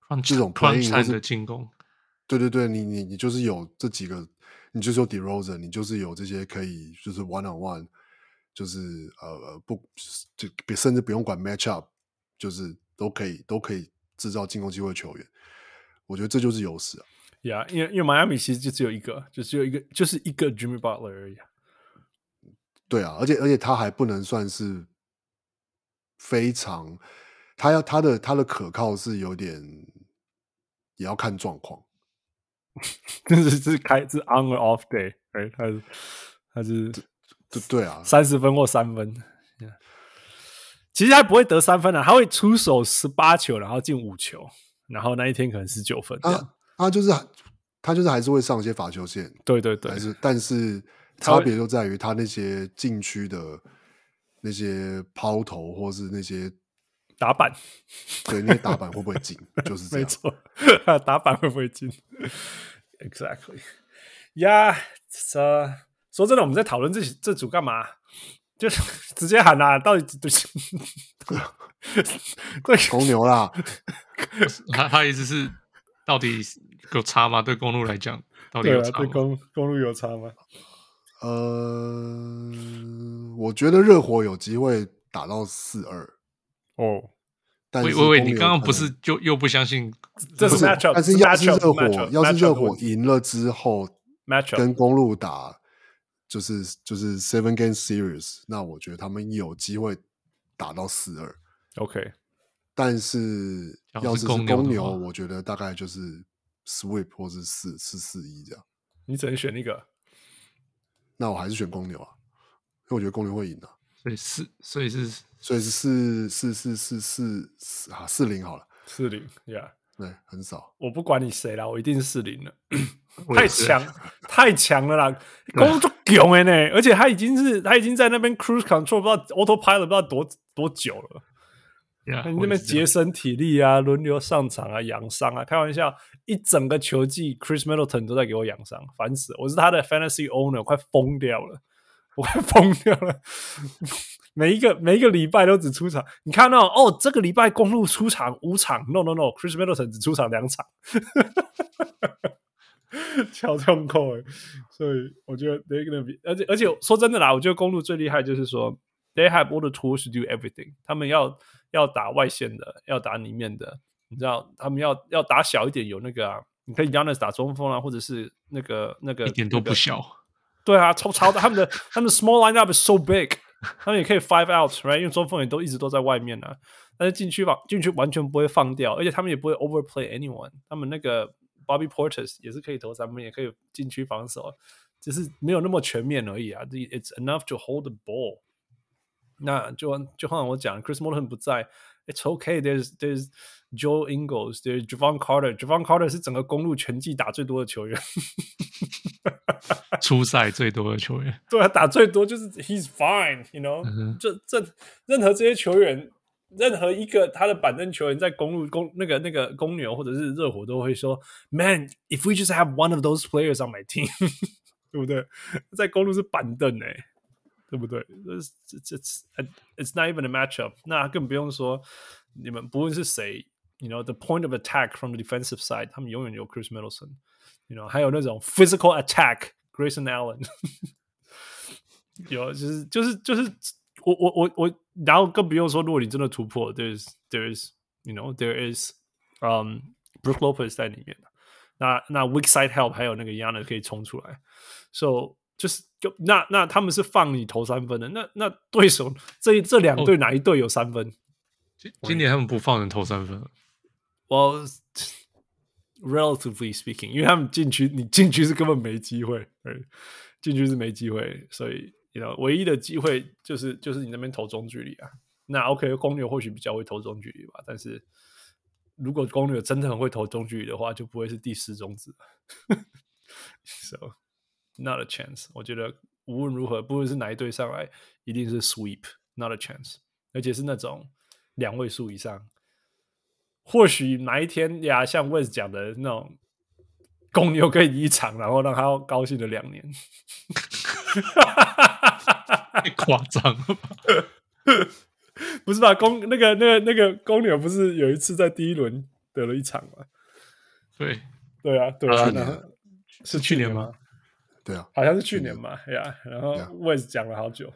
這種 playing 的進攻， 對對對，你你你就是有這幾個，你就是有 DeRozan， 你就是有這些可以就是 one on one， 就是呃不就甚至不用管 match up， 就是都可以都可以制造進攻機會的球員，我覺得這就是優勢啊。 呀、yeah, 因為因為邁阿密其實就只有一個，就只有一個，就是一個 Jimmy Butler 而已。 對啊，而且而且他還不能算是非常，他要他的他的可靠是有點，也要看狀況。 這是是開是 on or off day， right？ 他是他是對對啊， 三十分或三分。Yeah. 其實他不會得三分啊，他會出手十八球，然後進五球，然後那一天可能十九分。 他他就是他就是還是會上一些罰球線， 對對對， 還是但是差別就在於他那些禁區的那些拋投或是那些打板， 對，那些打板會不會進，就是這樣。 沒錯，打板會不會進 ？Exactly， 呀、yeah, ，uh, 說真的，我們在討論這這組幹嘛？就是直接喊啦、啊，到底對對公牛啦， 他他意思是到底有差嗎？對公鹿來講，到底有差嗎？ 對、啊、對公公鹿有差嗎？ 呃，我覺得熱火有機會打到四二哦。 但是喂喂喂，你剛剛不是就又不相信這是 matchup？ 但是要是熱火， matchup， 要是熱火贏了之後 matchup 跟公鹿打。就是就是 seven game series， 那我覺得他們有機會打到四二 OK， 但是要是是公牛，我覺得大概就是 sweep 或是四四四一這樣。 你只能選一個， 那我還是選公牛啊，因為我覺得公牛會贏啊。 所以四，所以是所以是四四四四四啊四零好了， 四零 ，Yeah， 對，很少。 我不管你誰啦，我一定是四零了。太強太強了啦！公鹿就強的呢，而且他已經是他已經在那邊 cruise control 不知道 autopilot 不知道多多久了。 Yeah, 你那邊節省體力啊，輪流上場啊，養傷啊，開玩笑，一整個球季 Chris Middleton 都在給我養傷，煩死了！我是他的 fantasy owner， 我快瘋掉了，我快瘋掉了。每一個每一個禮拜都只出場，你看到哦，這個禮拜公鹿出場五場 ，no no no，Chris Middleton 只出場兩場。超痛苦哎，所以我覺得 they're gonna be， 而且而且說真的啦，我覺得公鹿最厲害就是說 they have all the tools to do everything， 他們要要打外線的，要打裡面的，你知道，他們要要打小一點，有那個啊，你可以 Giannis 打中鋒啊，或者是那個那個一點都不小，那個、 對啊，超超的，他們的他們的 small lineup is so big， 他們也可以 five out，right？ 因為中鋒也都一直都在外面啊，但是禁區防禁區完全不會放掉，而且他們也不會 overplay anyone， 他們那個。Bobby Portis 也是可以投三分，也可以禁區防守，只是沒有那麼全面而已啊。It's enough to hold the ball。那就就好像我講 ，Chris Middleton 不在 ，It's okay. There's There's Joe Ingles, There's Javon Carter. Javon Carter 是整個公鹿全季打最多的球員， 出賽最多的球員。 對啊，打最多就是 He's fine，you know、嗯。這這任何這些球員。任何一個他的板凳球員在公鹿公那個那個公牛或者是熱火都會說 ，Man, if we just have one of those players on my team， 對不對？在公鹿是板凳哎、欸，對不對 it's, it's, it's not even a matchup。那更不用說你們不論是誰 ，you know the point of attack from the defensive side， 他們永遠有 Chris Middleton，you know 還有那種 physical attack，Grayson Allen， 有就是就是就是。我我我我，然後更不用說，如果你真的突破 ，there's there's you know there is um Brook Lopez 在裡面，那那 weak side help 還有那個 Giannis 可以衝出來 ，so 就是就那那他們是放你投三分的，那那對手這這兩隊哪一隊有三分？ 今、oh, 今年他們不放人投三分。 Well, relatively speaking， 因為他們禁區你禁區是根本沒機會，禁區是沒機會，所以。You know, 唯一的機會就是就是你那邊投中距離啊，那 OK 公牛或許比較會投中距離吧，但是如果公牛真的很會投中距離的話，就不會是第四種子。So not a chance。我覺得無論如何，不論是哪一隊上來，一定是 sweep，not a chance。而且是那種兩位數以上。或許哪一天呀，像 Wes 講的那種公牛可以一場，然後讓他高興了兩年。 太誇張了吧？ 不是吧？公那個那個那個公牛不是有一次在第一輪得了一場嘛。 對， 對啊，對啊，然後是去年嗎？ 對啊， 好像是去年嘛，呀、yeah, 然後 Wes 講了好久。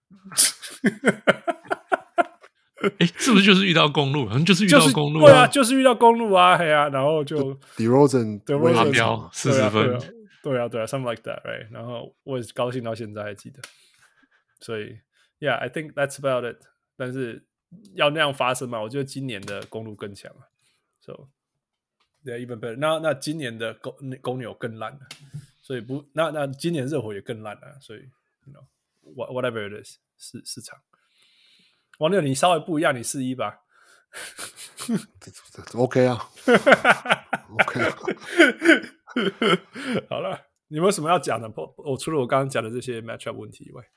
哎，是不是就是遇到公路？好像就是遇到公路、 啊就是，對啊，就是遇到公路啊，嘿啊，然後就 DeRozan 達標四十分， 對啊，對啊，對啊 ，something like that，right？ 然後我也是高興到現在還記得，所以 ，Yeah，I think that's about it。但是要那樣發生嘛，我覺得今年的公路更強啊 ，so yeah even better。那那今年的公公牛更爛了，所以不，那那今年熱火也更爛了，所以 ，you know whatever it is， 市市場。王六，你稍微不一樣，你四一吧。 OK 啊，OK 啊。 好了，你有沒有什麼要講的？我除了我剛剛講的這些 matchup 問題以外，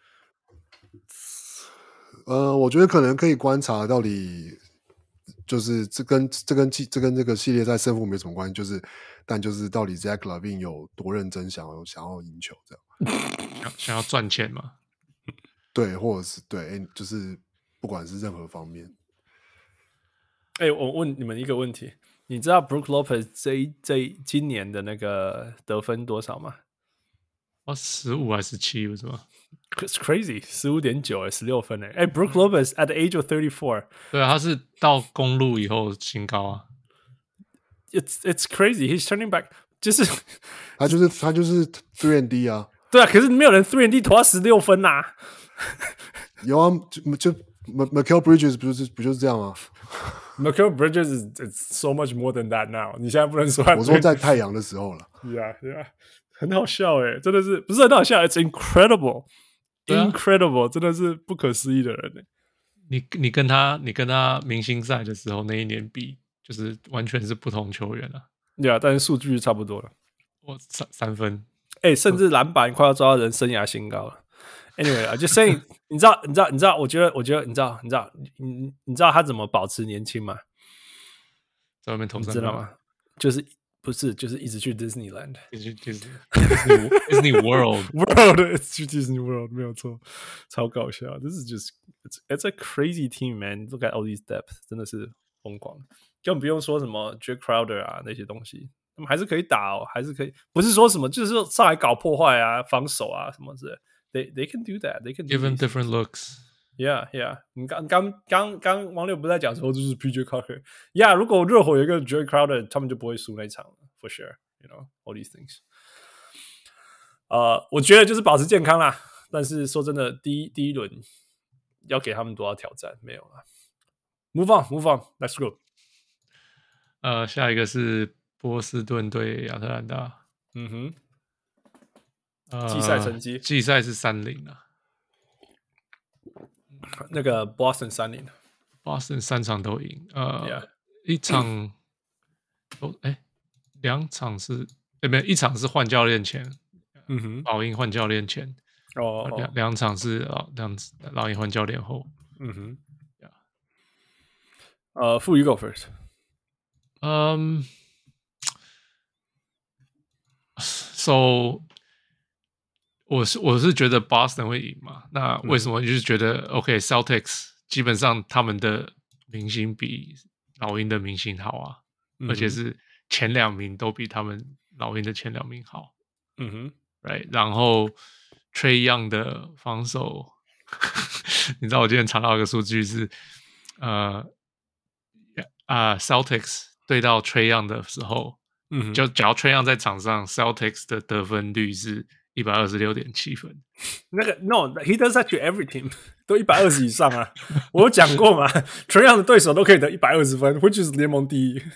呃，我覺得可能可以觀察到底，就是這跟這跟這跟這個系列賽勝負沒什麼關係，就是但就是到底 Zach LaVine 有多認真想要想要贏球這樣， 想想要賺錢嘛？ 對，或者是對，就是不管是任何方面。 哎、欸，我問你們一個問題，你知道 Brook Lopez 這一這一今年的那個得分多少嗎？ 哦，十五還是十七，不是嗎 ？It's crazy， 十五點九哎，十六分哎！哎、欸、，Brook Lopez at the age of thirty-four， 對啊，他是到公路以後新高啊。 It's it's crazy，he's turning back， 就是他就是他就是 three and D 啊。 對啊，可是沒有人 three and D 投到十六分吶、啊。 有啊，就就 Mikal Bridges 不就是不就是這樣嗎？ Mikal Bridges is it's so much more than that now。你現在不能說， 我說在太陽的時候了。 Yeah, yeah， 很好笑哎，真的是不是很好笑 ？It's incredible，incredible，、啊、incredible， 真的是不可思議的人哎。 你你跟他你跟他明星賽的時候那一年比，就是完全是不同球員啊。 對啊，但是數據差不多了。 我三三分， 哎、欸，甚至籃板快要抓到人生涯新高了。Anyway 啊，就 saying， 你知道，你知道，你知道，我覺得，我覺得，你知道，你知道，你你知道他怎麼保持年輕嗎？ 在外面投三分， 知道嗎？就是不是，就是一直去 Disneyland， 一直去 Disney Disney World World， 去 Disney World 沒有錯，超搞笑。This is just it's, it's a crazy team, man. Look at all these depth， 真的是瘋狂，根本不用說什麼 Jae Crowder 啊那些東西，他們還是可以打哦，還是可以，不是說什麼就是說上來搞破壞啊、防守啊什麼之類的。They they can do that. They can give them different looks. Yeah, yeah. 你剛剛剛剛王六不在講說就是 P J Tucker. Yeah, 如果熱火有一個 Jae Crowder， 他們就不會輸那一場了 for sure. You know all these things. 呃，我覺得就是保持健康啦。但是說真的，第一第一輪要給他們多少挑戰沒有了。Move on, move on. Let's go. 呃，下一個是波士頓對亞特蘭大。 嗯哼。 呃、 季賽成績， 季賽是三零啊。 那個 Boston 三零 ，Boston 三場都贏，呃， yeah. 一場都哎，兩場是哎沒有，一場是換教練前， 嗯哼， 老鷹換教練前， 哦， 兩兩場是老兩老鷹換教練後， 嗯哼， yeah. 呃，傅 you go first， 嗯、um, ，so。我是我是覺得 Boston 會贏嘛？那為什麼就是覺得、嗯、OK Celtics 基本上他們的明星比老鷹的明星好啊、嗯，而且是前兩名都比他們老鷹的前兩名好。 嗯哼 ，right， 然後 Trae Young 的防守，你知道我今天查到一個數據是，呃啊、uh, Celtics 對到 Trae Young 的時候，嗯，就假如 Trae Young 在場上 ，Celtics 的得分率是一百二十六點七分， 那個 No，he does that to every team， 都一百二十以上啊！我有講過嘛，Trae Young 的對手都可以得一百二十分 ，which is 聯盟第一。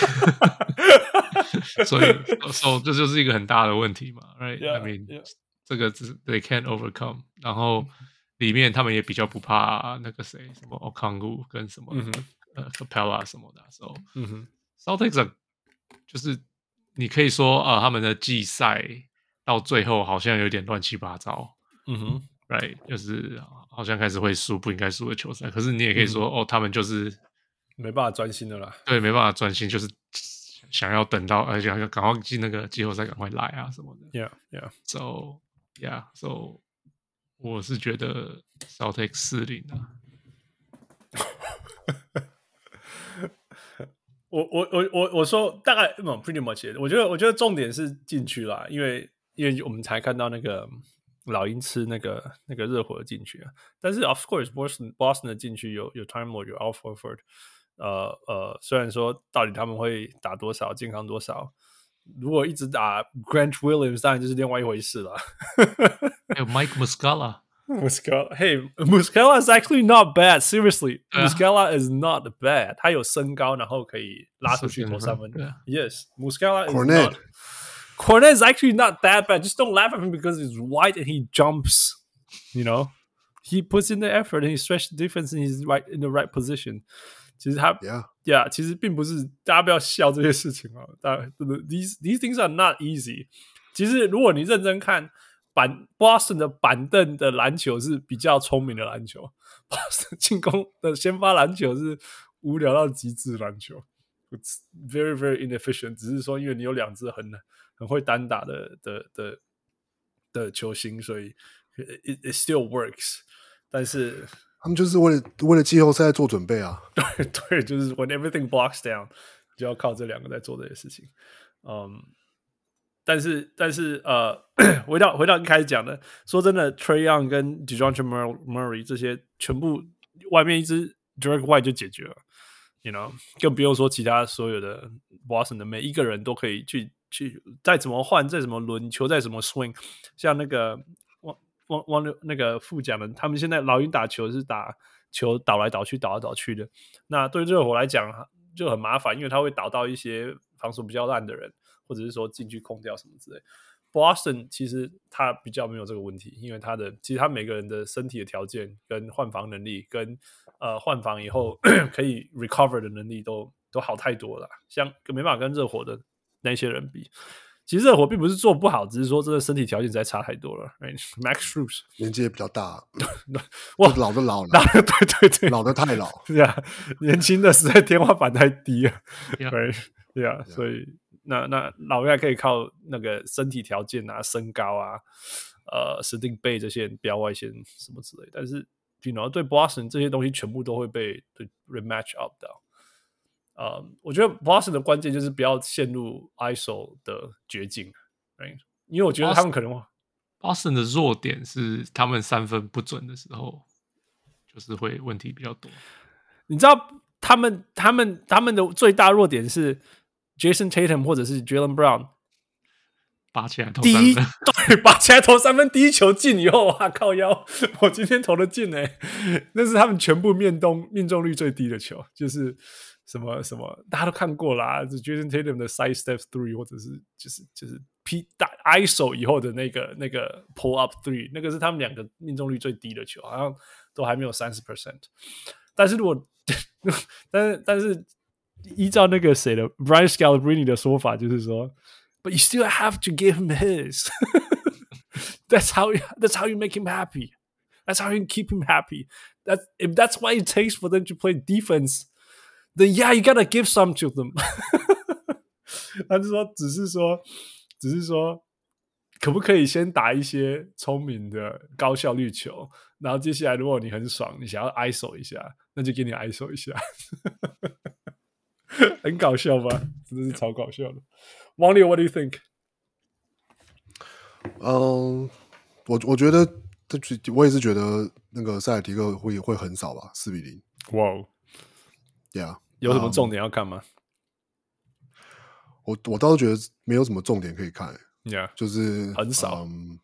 所以，所以這就是一個很大的問題嘛 ，right？I Yeah, mean， yeah. 這個是 they can't overcome。然後裡面他們也比較不怕那個誰，什麼 Okongwu 跟什麼、嗯、呃 Capella 什麼的時候，嗯哼 ，Celtics 就是你可以說啊、呃，他們的季賽。到最後好像有點亂七八糟，嗯哼 ，right， 就是好像開始會輸不應該輸的球賽。可是你也可以說，嗯、哦，他們就是沒辦法專心的啦。對，沒辦法專心，就是想要等到，而且要趕快進那個季後賽，趕快來啊什麼的。 Yeah, yeah. So, yeah, so 我是覺得 Celtics 四零啊。 我我我我我說大概嗯 pretty much， 我覺得我覺得重點是禁區啦，因為因為我們才看到那個老鷹吃那個那個熱火的禁區啊，但是 of course Boston Boston 的禁區有有 Time Lord 有 Al Horford， 呃呃，雖然說到底他們會打多少健康多少，如果一直打 Grant Williams 當然就是另外一回事了。 還有 Mike Muscala。Muscala, hey, Muscala is actually not bad. Seriously, Muscala is not bad. 他有身高，然後可以拉出去投三分。Yes, Muscala is Cornet. not. Cornet is actually not that bad. Just don't laugh at him because he's white and he jumps. You know, he puts in the effort and he stretches the defense and he's right in the right position. 其實他 yeah, yeah, 其實並不是大家不要笑這些事情啊。These these things are not easy. 其實如果你認真看。板 Boston 的板凳的籃球是比較聰明的籃球 ，Boston 進攻的先發籃球是無聊到極致的籃球 ，It's very very inefficient。只是說因為你有兩支很很會單打的的的的球星，所以 it, it still works。但是他們就是為了為了季後賽做準備啊。 對對，就是 when everything blocks down， 就要靠這兩個在做這些事情。嗯。但是，但是，呃，回到回到一開始講的，說真的 ，Trae Young 跟 DeJounte Murray 這些全部外面一支 Derek White 就解決了 ，you know， 更不用說其他所有的 Boston 的每一個人都可以去去再怎麼換，再怎麼輪球，再怎麼 swing， 像那個汪汪汪那個副講的，他們現在老鷹打球是打球倒來倒去，倒來倒去的。那對熱火來講就很麻煩，因為他會倒到一些防守比較爛的人。或者是說進去空掉什麼之類 ，Boston 其實他比較沒有這個問題，因為他的其實他每個人的身體的條件跟換防能力跟呃換防以後可以 recover 的能力都都好太多了，像沒辦法跟熱火的那些人比。其實熱火並不是做不好，只是說真的身體條件實在差太多了。Right? Max Strus 年紀也比較大， 哇， 老的老了， 老的對對對， 老的太老， 是啊，年輕的實在天花板太低了。 Yeah. Right? Yeah, yeah. 所以。那那老外可以靠那個身體條件啊、身高啊、呃、石定貝這些標外線什麼之類，但是 you know 對 Boston 這些東西全部都會被對 rematch up 到。呃，我覺得 Boston 的關鍵就是不要陷入 I S O 的絕境， right? 因為我覺得他們可能 Boston 的弱點是他們三分不準的時候，就是會問題比較多。 你知道他們他們他們的最大弱點是。Jason Tatum 或者是 Jaylen Brown 拔起來投三分，第一對，拔起來投三分，第一球進以後，哇靠腰，我今天投的進哎，那是他們全部命中命中率最低的球，就是什麼什麼大家都看過啦，就 Jason Tatum 的 side step three 或者是就是就是 P 打 I S O 以後的那個那個 pull up three， 那個是他們兩個命中率最低的球，好像都還沒有 百分之三十。但是如果但是但是依照那個誰的 Brian Scalabrine 的說法，就是說 ，But you still have to give him his. that's how that's how you make him happy. That's how you keep him happy. That if that's what it takes for them to play defense, then yeah, you gotta give some to them. 他就說，只是說，只是說，可不可以先打一些聰明的高效率球，然後接下來如果你很爽，你想要 I S O 一下，那就給你 I S O 一下。很搞笑吧？真的是超搞笑的。王力 ，What do you think？ 嗯，我我覺得，我也是覺得那個塞爾提克會會橫掃吧，四比零。 哇哦 ，Yeah， 有什麼重點要看嗎？ 嗯、我我倒是覺得沒有什麼重點可以看。 Yeah， 就是很少。 嗯，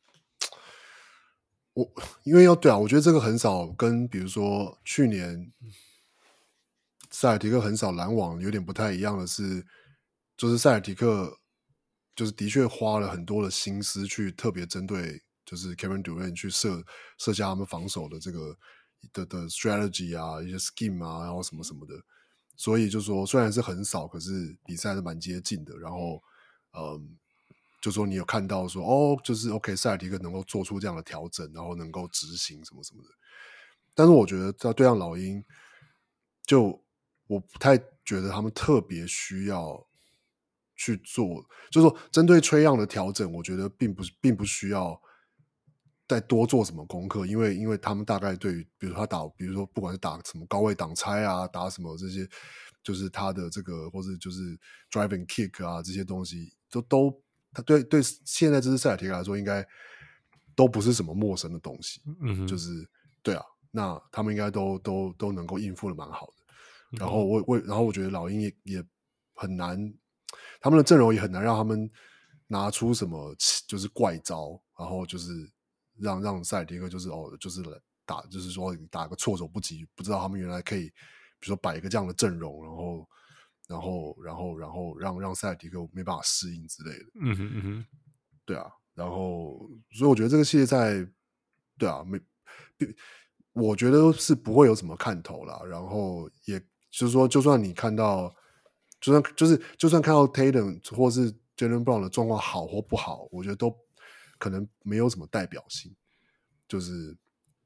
我因為要對啊，我覺得這個橫掃跟比如說去年。塞爾提克橫掃籃網有點不太一樣的是，就是塞爾提克就是的確花了很多的心思去特別針對就是 Kevin Durant 去設設下他們防守的這個的的 strategy 啊，一些 scheme 啊，然後什麼什麼的，所以就說雖然是橫掃，可是比賽是蠻接近的。然後嗯，就說你有看到說哦，就是 OK 塞爾提克能夠做出這樣的調整，然後能夠執行什麼什麼的。但是我覺得在對上老鷹就。我不太覺得他們特別需要去做，就是說針對Trae Young的調整，我覺得並不並不需要再多做什麼功課，因為因為他們大概對於，比如說他打，比如說不管是打什麼高位擋拆啊，打什麼這些， 就是他的這個或者就是 drive and kick 啊這些東西都都他對對現在這支塞爾提克來說應該都不是什麼陌生的東西，嗯，就是對啊，那他們應該都都都能夠應付的蠻好的。然後我我然後我覺得老鷹也也很難，他們的陣容也很難讓他們拿出什麼就是怪招，然後就是讓讓塞爾提克就是哦就是打就是說打個措手不及，不知道他們原來可以比如說擺一個這樣的陣容，然後然後然後然後讓讓塞爾提克沒辦法適應之類的。 嗯哼嗯哼， 對啊，然後所以我覺得這個系列賽，對啊，沒，我覺得是不會有什麼看頭啦。然後也就是說，就算你看到，就算就是就算看到 Tatum 或是 Jaylen Brown 的狀況好或不好，我覺得都可能沒有什麼代表性，就是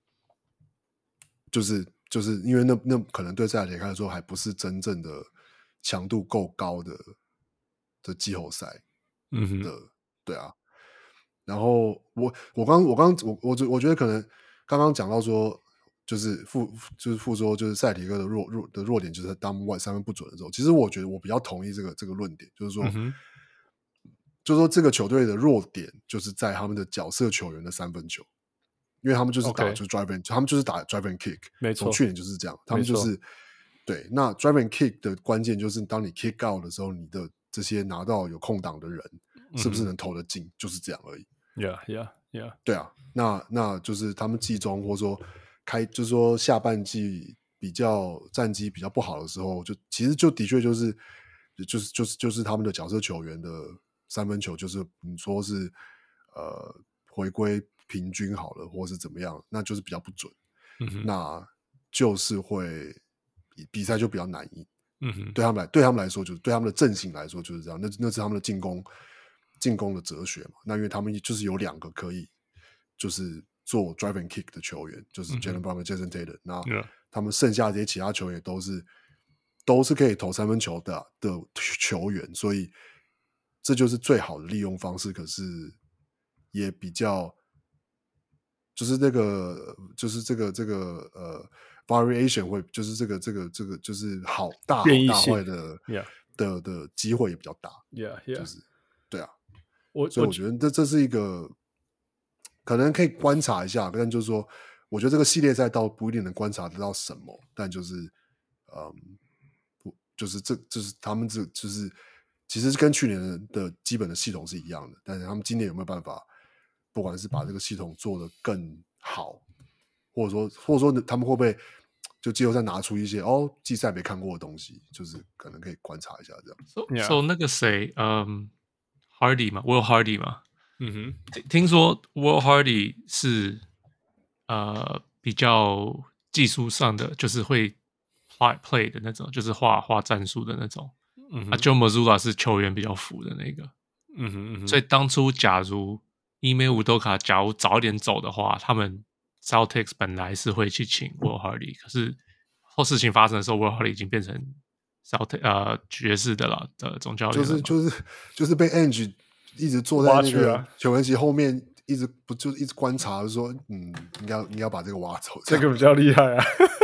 就是就是因為那那可能對塞爾提克來說還不是真正的強度夠高的的季後賽，嗯哼的，對啊。然後我我剛我剛我我我覺得可能剛剛講到說，就是副就是副說就是塞爾提克的弱弱的弱點就是當外三分不準的時候，其實我覺得我比較同意這個這個論點，就是說，嗯、就是說這個球隊的弱點就是在他們的角色球員的三分球，因為他們就是打就是 drive and、okay. 他們就是打 drive and kick， 沒錯，從去年就是這樣，他們就是對那 drive and kick 的關鍵就是當你 kick out 的時候，你的這些拿到有空檔的人是不是能投得進，嗯、就是這樣而已。 Yeah, yeah, yeah. 對啊，那那就是他們季中或者說開，就是說下半季比較戰績比較不好的時候，就其實就的確就是就是就是就是他們的角色球員的三分球，就是你說是呃回歸平均好了，或是怎麼樣，那就是比較不準，嗯哼，那就是會比賽就比較難贏，嗯哼，對他們來對他們來說，就是對他們的陣型來說就是這樣，那那是他們的進攻。進攻的哲學嘛，那因為他們就是有兩個可以就是做 drive and kick 的球員，就是 Jaylen Brown 和 Jason Tatum，那他們剩下這些其他球員都是都是可以投三分球的的球員，所以這就是最好的利用方式。可是也比較就是這個就是這個這個呃 variation 會就是這個這個這個就是好大好大壞的 yeah. 的的機會也比較大 ，yeah yeah， 就是對啊。 我所以我覺得這這是一個可能可以觀察一下，但就是說，我覺得這個系列賽倒不一定能觀察得到什麼，但就是，嗯，不，就是這就是他們這就是其實跟去年的基本的系統是一樣的，但是他們今年有沒有辦法，不管是把這個系統做得更好，或者說或者說他們會不會就季後賽拿出一些哦季賽沒看過的東西，就是可能可以觀察一下這樣。 So, yeah. so 那個誰，嗯。Hardy 嘛 ，Will Hardy 嘛，嗯哼，聽聽說 Will Hardy 是呃比較技術上的，就是會畫 play 的那種，就是畫畫戰術的那種。嗯哼，啊 Joe Mazzulla 是球員比較服的那個。嗯哼嗯哼，所以當初假如伊梅烏多卡假如早一點走的話，他們 Celtics 本來是會去請 Will Hardy，可是後事情發生的時候 Will Hardy 已經變成。呃，爵士的啦的總教練就是就是就是被 Ange 一直坐在那個球員席後面，一直不就一直觀察，就說嗯，應該應該要把這個挖走， 這個比較厲害啊。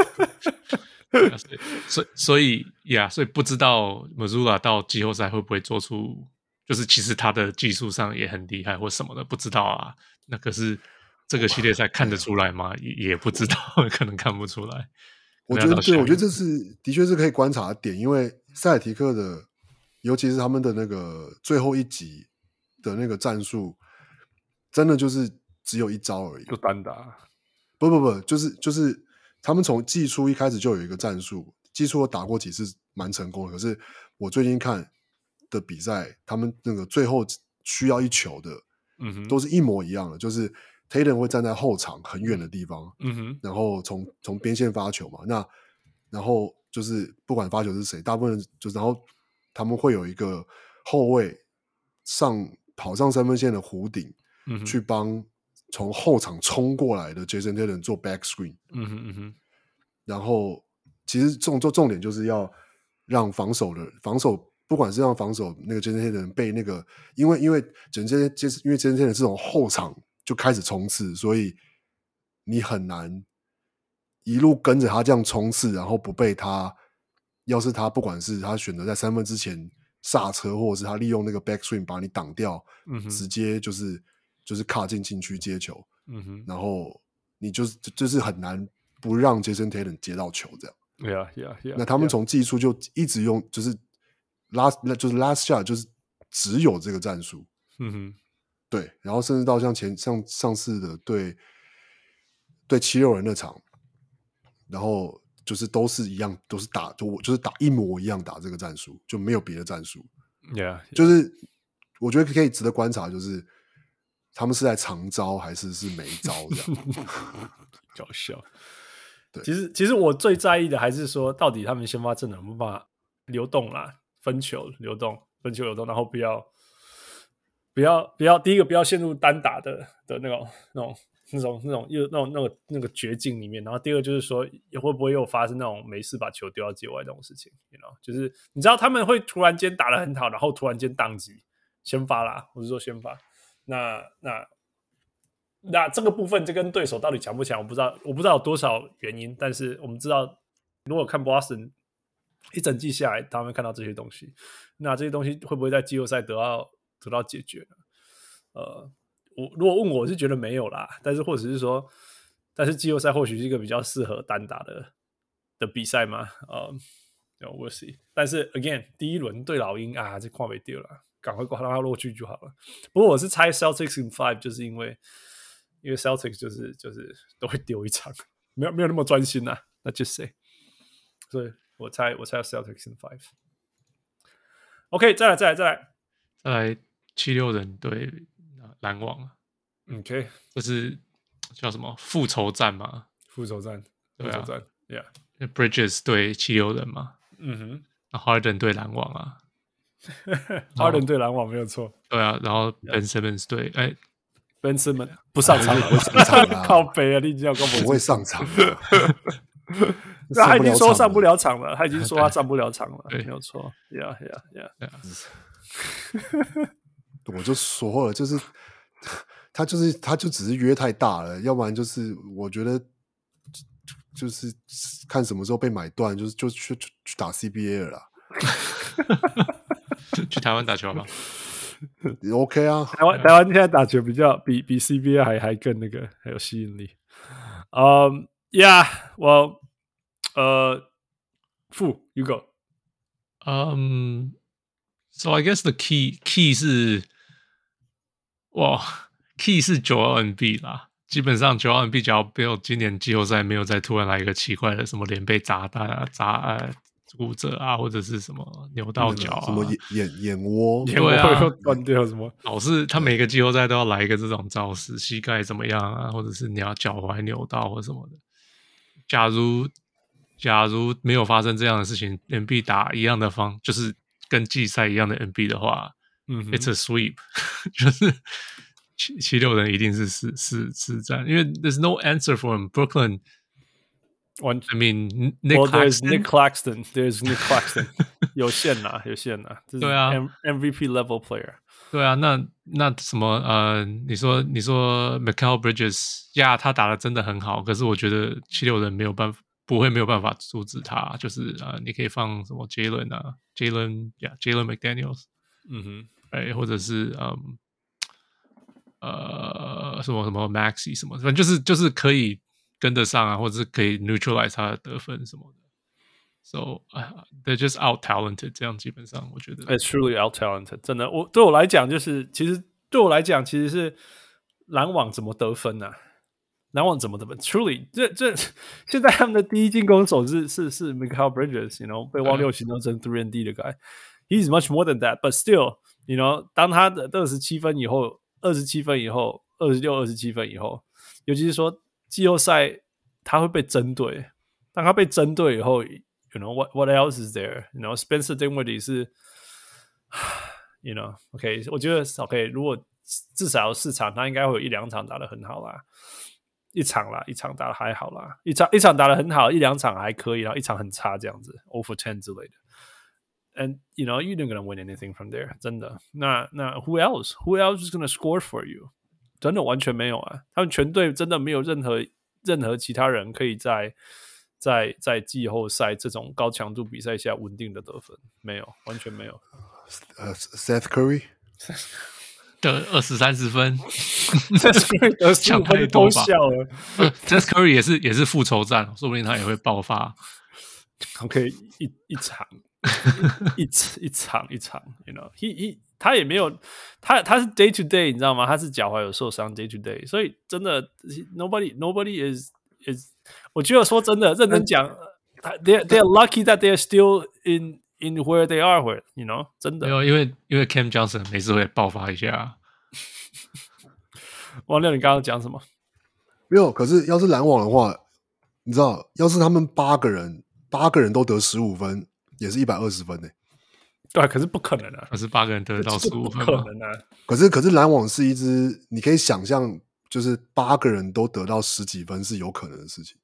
所以所以呀，所以不知道 Mazzulla 到季後賽會不會做出，就是其實他的技術上也很厲害或什麼的，不知道啊。那可是這個系列賽看得出來嗎？也也不知道，可能看不出來。 我覺得對，我覺得這是的確是可以觀察的點，因為塞爾提克的，尤其是他們的那個最後一集的那個戰術，真的就是只有一招而已， 就單打。 不不不，就是就是他們從季初一開始就有一個戰術，季初我打過幾次蠻成功的，可是我最近看的比賽，他們那個最後需要一球的，嗯哼，都是一模一樣的，就是Tatum 會站在後場很遠的地方，嗯哼，然後從從邊線發球嘛，那然後就是不管發球是誰，大部分就是然後他們會有一個後衛上跑上三分線的弧頂，嗯哼，去幫從後場衝過來的 Jason Tatum 做 back screen，嗯哼嗯哼，然後其實重重重點就是要讓防守的防守，不管是讓防守那個 Jason Tatum 被那個，因為因為整這些因為 Jason Tatum 是從後場就開始衝刺，所以你很難一路跟着他這樣衝刺，然後不被他要是他不管是他選擇在三分之前剎車，或者是他利用那個 backswing 把你擋掉，嗯、直接就是就是卡進禁區接球，嗯哼，然後你就是就是很難不讓 Jason Tatum 接到球這樣。 Yeah, yeah, yeah. 那他們從技術就一直用，就是 last 就是 last shot 就是只有這個戰術。嗯哼，對，然後甚至到像前像上次的對對七六人那場，然後就是都是一樣，都是打就就是打一模一樣打這個戰術，就沒有別的戰術。 Yeah, yeah. 就是我覺得可以值得觀察，就是他們是在長招還是是沒招這樣。 搞笑。其實，其實我最在意的還是說，到底他們先發陣容有沒有辦法流動啦，分球流動，分球流動，然後不要，不要，不要，第一個不要陷入單打的的那種、那種、那種、那種、那種、那個、那個絕境裡面。然後第二個就是說，會不會又發生那種沒事把球丟到界外這種事情 ？You know，就是你知道他們會突然間打得很好，然後突然間宕機，先發啦，我是說先發，那那。那這個部分，這跟對手到底強不強，我不知道，我不知道有多少原因。但是我們知道，如果看 Boston 一整季下來，他們看到這些東西，那這些東西會不會在季後賽得到得到解決呢？呃，我如果問我，我是覺得沒有啦。但是或者是說，但是季後賽或許是一個比較適合單打的的比賽嘛？呃、uh, ，we'll see。但是 again， 第一輪對老鷹啊，這看不掉了，趕快讓它落去就好了。不過我是猜 Celtics in five， 就是因為。因為 Celtics 就是就是都會丟一場，沒有沒有那麼專心啊。那 just say， 所以我猜我猜 Celtics in five。OK， 再來再來再來再來七六人對籃網。 OK， 這是叫什麼復仇戰嘛？ 復仇戰，復仇戰 ，Yeah。Bridges 對七六人嘛？ 嗯哼。 Harden 對籃網啊。 Harden 對籃網沒有錯。 對啊，然後 Ben Simmons 對哎。 Ben Simmons 不上場， 不會上場啊！ 靠北啊！你已經要跟我不會上場， 他已經說上不了場了，他已經說他上不了場了， 對， 沒有錯。Yeah, yeah, yeah. 我就說了，就是他就是他就只是約太大了，要不然就是我覺得就是看什麼時候被買斷，就是就去去打 C B A 了啦。 去台灣打球嗎 ？OK 啊， 台灣台灣現在打球比較比比 C B A 還還更那個還有吸引力。嗯、um, ，Yeah， 我呃，傅 ，You go。 Um, so I guess the key key 是，哇 ，key 是Joel Embiid啦。基本上Joel Embiid只要沒有今年季後賽沒有再突然來一個奇怪的什麼臉被砸彈啊砸呃。骨折啊，或者是什麼扭到腳啊， 什麼眼眼眼窩， 眼窩又斷掉什麼？ 老是他每個季後賽都要來一個這種招式，膝蓋怎麼樣啊，或者是你要腳踝扭到或什麼的。假如假如沒有發生這樣的事情 ，N B 打一樣的方，就是跟季賽一樣的 N B 的話，嗯 ，It's a sweep， 就是七七六人一定是四四四戰，因為 There's no answer for him. Brooklyn。 One, I mean, Nick well, there's Claxton? Nick Claxton. There's Nick Claxton. 有限啦，有限啦。 對啊 ，M V P level player。 對啊，那那什麼呃，你說你說 Mikal Bridges，呀，他打得真的很好，可是我覺得七六人沒有辦法，不會沒有辦法阻止他。就是呃，你可以放什麼 Jalen 啊 ，Jalen 呀 ，Jalen McDaniels， 嗯哼，哎，或者是嗯呃什麼什麼 Maxey 什麼，反正就是就是可以。跟得上啊，或者是可以 neutralize 他的得分什麼的 ，so、uh, they're just out talented。這樣基本上我覺得 ，it's truly out talented。真的，我對我來講，就是其實對我來講，其實是籃網怎麼得分啊？籃網怎麼得分 ？Truly， 這這現在他們的第一進攻手是是是 Mikal Bridges，you know， 被汪六行當成 three and D 的 guy。He's much more than that，but still，you know， 當他的二十七分以後，二十七分以後，二十六、二十七分以後，尤其是說。季後賽他會被針對，當他被針對以後 ，you know what what else is there？You know Spencer Dinwiddie 是 ，you know，OK，、okay, 我覺得 OK， 如果至少有四場，他應該會有一兩場打得很好啦，一場啦，一場打得還好啦，一場一場打得很好，一兩場還可以，然後一場很差這樣子 ，zero for ten 之類的。And you know you didn't gonna win anything from there， 真的。那那 Who else？Who else is gonna score for you？真的完全沒有啊！他們全隊真的沒有任何任何其他人可以在在在季後賽這種高強度比賽下穩定的得分，沒有，完全沒有。 呃、uh, ，Seth Curry 得二十三十分 ，Seth Curry 得十五分都笑了。 Seth Curry 也是也是復仇戰，說不定他也會爆發。 OK， 一一場一一場一場 ，you know，he he 他也沒有他他是 day to day， 你知道嗎？他是腳踝有受傷 day to day， 所以真的 nobody nobody is is， 我覺得說真的認真講 ，they they are lucky that they are still in in where they are where you know， 真的沒有，因為因為 Cam Johnson 每次會爆發一下。 王六，你剛剛講什麼？ 沒有，可是要是籃網的話，你知道，要是他們八個人。八個人都得十五分，也是一百二十分呢、欸。 對、啊，可是不可能啊！ 可是八個人得到十五分， 不可能啊！ 可是，可是籃網是一支，你可以想象，就是八個人都得到十幾分是有可能的事情。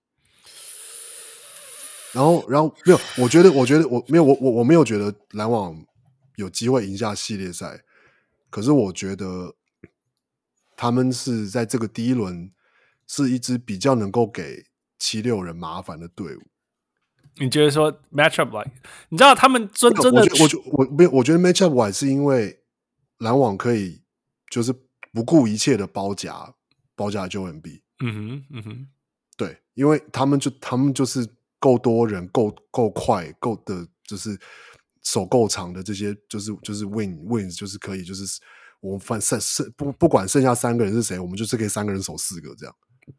然後，然後沒有，我覺得，我覺得我沒有，我我我沒有覺得籃網有機會贏下系列賽。可是，我覺得他們是在這個第一輪是一支比較能夠給七六人麻煩的隊伍。 你覺得說 matchup like， 你知道他們真真的， 我覺我沒有，我覺得 matchup wise 是因為籃網可以就是不顧一切的包夾包夾 Joel Embiid。 嗯哼嗯哼， 對，因為他們就他們就是夠多人，夠夠快，夠的就是手夠長的這些，就是就是 win wins 就是可以，就是我們反剩剩不不管剩下三個人是誰，我們就是可以三個人守四個這樣。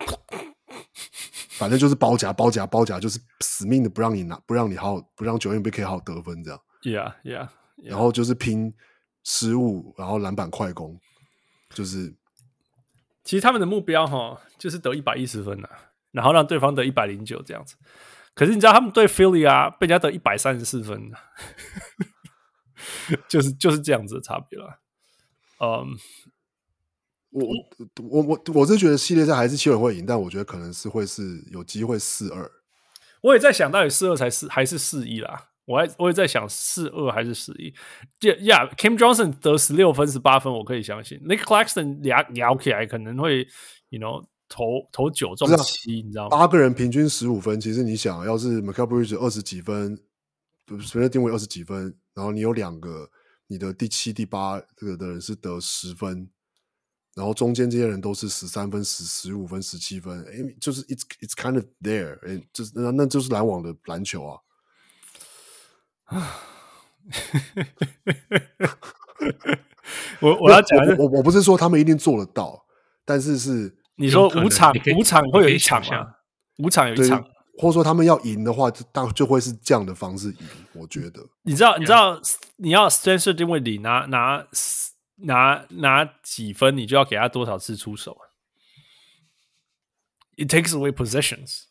反正就是包夾包夾包夾，就是死命的不讓你拿，不讓你好，不讓Joel Embiid可以好好得分這樣。 Yeah, yeah, yeah. 然後就是拼失誤，然後籃板快攻，就是其實他們的目標哈，就是得一百一十分啊，然後讓對方得一百零九這樣子。可是你知道他們對 Philly 啊，被人家得一百三十四分，就是就是這樣子的差別了。嗯、um,。 我我我我是覺得系列賽還是七六人會贏，但我覺得可能是會是有機會四二。 我也在想到底四二才是還是四一啦，我還我也在想四二還是四一。呀、yeah, ，Cam Johnson 得十六分十八分，我可以相信。Nick Claxton 聊聊起來可能會 ，you know 投投九中七，你知道嗎？ 八個人平均十五分，其實你想要是 Mikal Bridges 二十幾分，隨便定位二十幾分，然後你有兩個你的第七第八這個的人是得十分。然後中間這些人都是十三分、十十五分、十七分，哎，就是 it's it's kind of there， 哎，就是那那就是籃網的籃球啊。 我我要講的是， 我我我不是說他們一定做得到，但是是你說五場五場會有一場嗎？五場有一場， 或者說他們要贏的話，就大就會是這樣的方式贏。我覺得， 你知道你知道你要 Spencer Dinwiddie 拿拿。拿拿幾分，你就要給他多少次出手。It takes away possessions。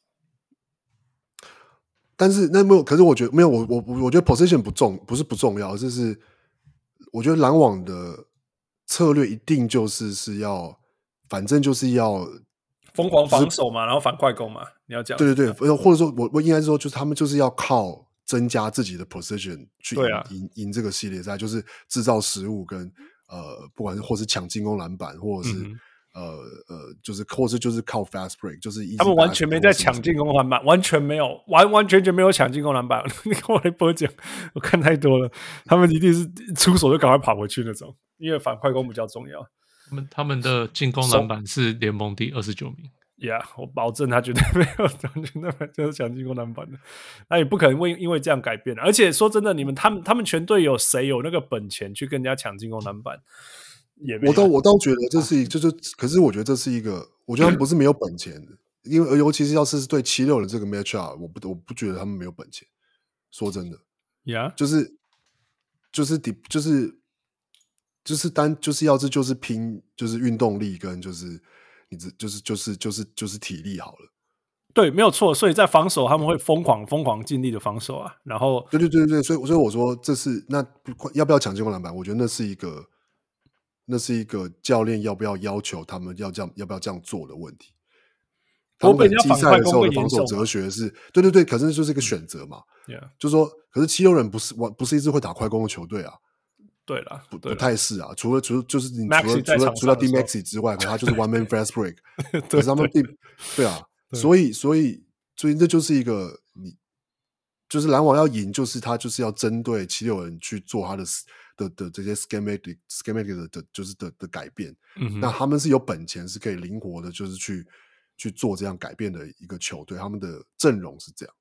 但是那沒有，可是我覺得沒有，我我我覺得 possession 不重，不是不重要，就是我覺得籃網的策略一定就是是要，反正就是要瘋狂防守嘛，然後反快攻嘛，你要講。 對對對，或者說我我應該是說，就是他們就是要靠增加自己的 possession 去贏、啊、贏贏這個系列賽，就是制造失誤跟。呃，不管是或是搶進攻籃板，或者是、嗯、呃呃，就是或是就是靠 fast break， 就是他們完全沒在搶進攻籃板，完全沒有，完完全全沒有搶進攻籃板。你跟我來播講，我看太多了，他們一定是出手就趕快跑回去那種，因為反快攻比較重要。 他們他們的進攻籃板是聯盟第二十九名。 Yeah， 我保證他絕對沒有，完全那就是搶進攻籃板的，那也不可能會因為這樣改變。而且說真的，你們他們他們全隊有誰有那個本錢去跟人家搶進攻籃板？也沒有。 我倒我倒覺得這是一，就是可是我覺得這是一個，我覺得他們不是沒有本錢的，因為尤其是要是對七六人這個 matchup， 我不我不覺得他們沒有本錢。說真的 ，Yeah， 就是就是就是就是單就是要是就是拼就是運動力跟就是。你就是就是就是就是體力好了， 對，沒有錯。所以在防守，他們會瘋狂瘋狂盡力的防守啊。然後， 對對對對，所以所以我說這是那要不要搶進攻籃板？我覺得那是一個那是一個教練要不要要求他們要這樣要不要這樣做的問題。他們季賽的時候的防守哲學是，對對對，可是就是一個選擇嘛。 Yeah. 就是說，可是七六人不是不是一支會打快攻的球隊啊。 對了， 不不太是啊，除了除了就是你除了除了除了 D Maxey 之外，可他就是 one man fast break 。可是他們並對啊，所以所以所以這就是一個你就是籃網要贏，就是他就是要針對七六人去做他的的的這些 schematic schematic 的的就是的的改變。嗯，那他們是有本錢是可以靈活的，就是去去做這樣改變的一個球隊，他們的陣容是這樣。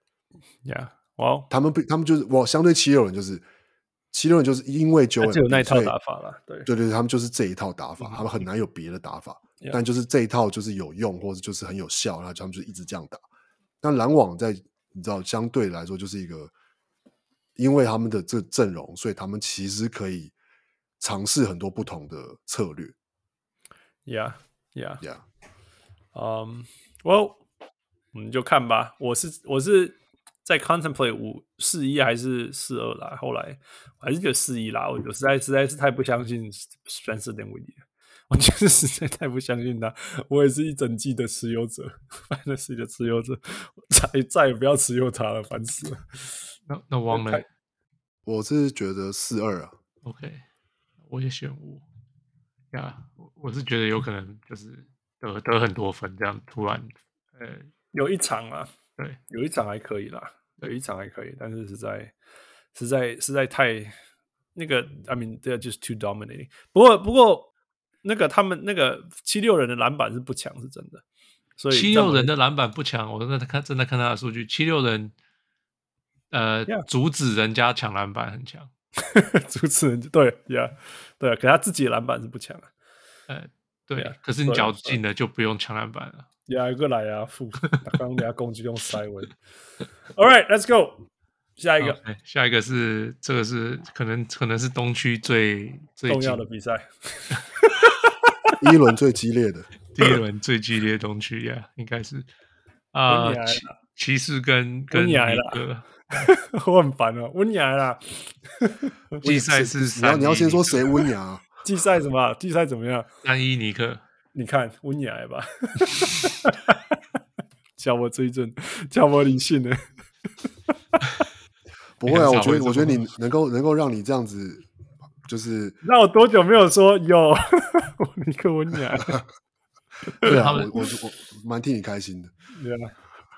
Yeah， 哇、wow ，他們他們就是我相對七六人就是七六人就是因為九， 只有那一套打法了，對對對，他們就是這一套打法，嗯、他們很難有別的打法，嗯、但就是這一套就是有用，或者就是很有效，然後他們就一直這樣打。但籃網在你知道相對來說就是一個，因為他們的這陣容，所以他們其實可以嘗試很多不同的策略。 Yeah, yeah, yeah. Um, well, 我們就看吧。我是我是在 contemplate 五四一還是四二啦。後來我還是覺得四一啦。我實在實在是太不相信 Spencer Dinwiddie 了。我就是實在太不相信他。我也是一整季的持有者 ，Fantasy 的持有者，再再也不要持有他了，煩死了。 那那王呢？ 我是覺得四二啊。 OK， 我也選五。呀、yeah, 我是覺得有可能就是得得很多分，這樣突然呃有一場啊， 對， 有一場還可以啦，有一場還可以，但是實在實在實在太那個 ，I mean they're just too dominating。不過不過那個他們那個七六人的籃板是不強，是真的。所以七六人的籃板不強，我真的看真的看他的數據，七六人呃、yeah. 阻止人家搶籃板很強。 主持人對呀，對啊，可是他自己的籃板是不強啊。 呃，對啊，可是你腳進了就不用搶籃板了。 呀，過來啊，副剛剛人家攻擊用塞文。All right, let's go。下一個， okay, 下一個是這個是可能可能是東區最最重要的比賽， 第一輪最激烈的， 第一輪最激烈的東區呀， yeah, 應該是啊，騎騎士跟跟尼克。 我很煩哦，溫雅啦。 季賽是你要你要先說誰溫雅？ 季賽什麼？季賽怎麼樣？ 三一尼克， 你看溫雅吧，叫我追正，叫我理性的。 不會啊，我覺得我覺得你能夠能夠讓你這樣子，就是那我多久沒有說有尼克溫雅？ 對啊，我我我蠻替你開心的。 對啊。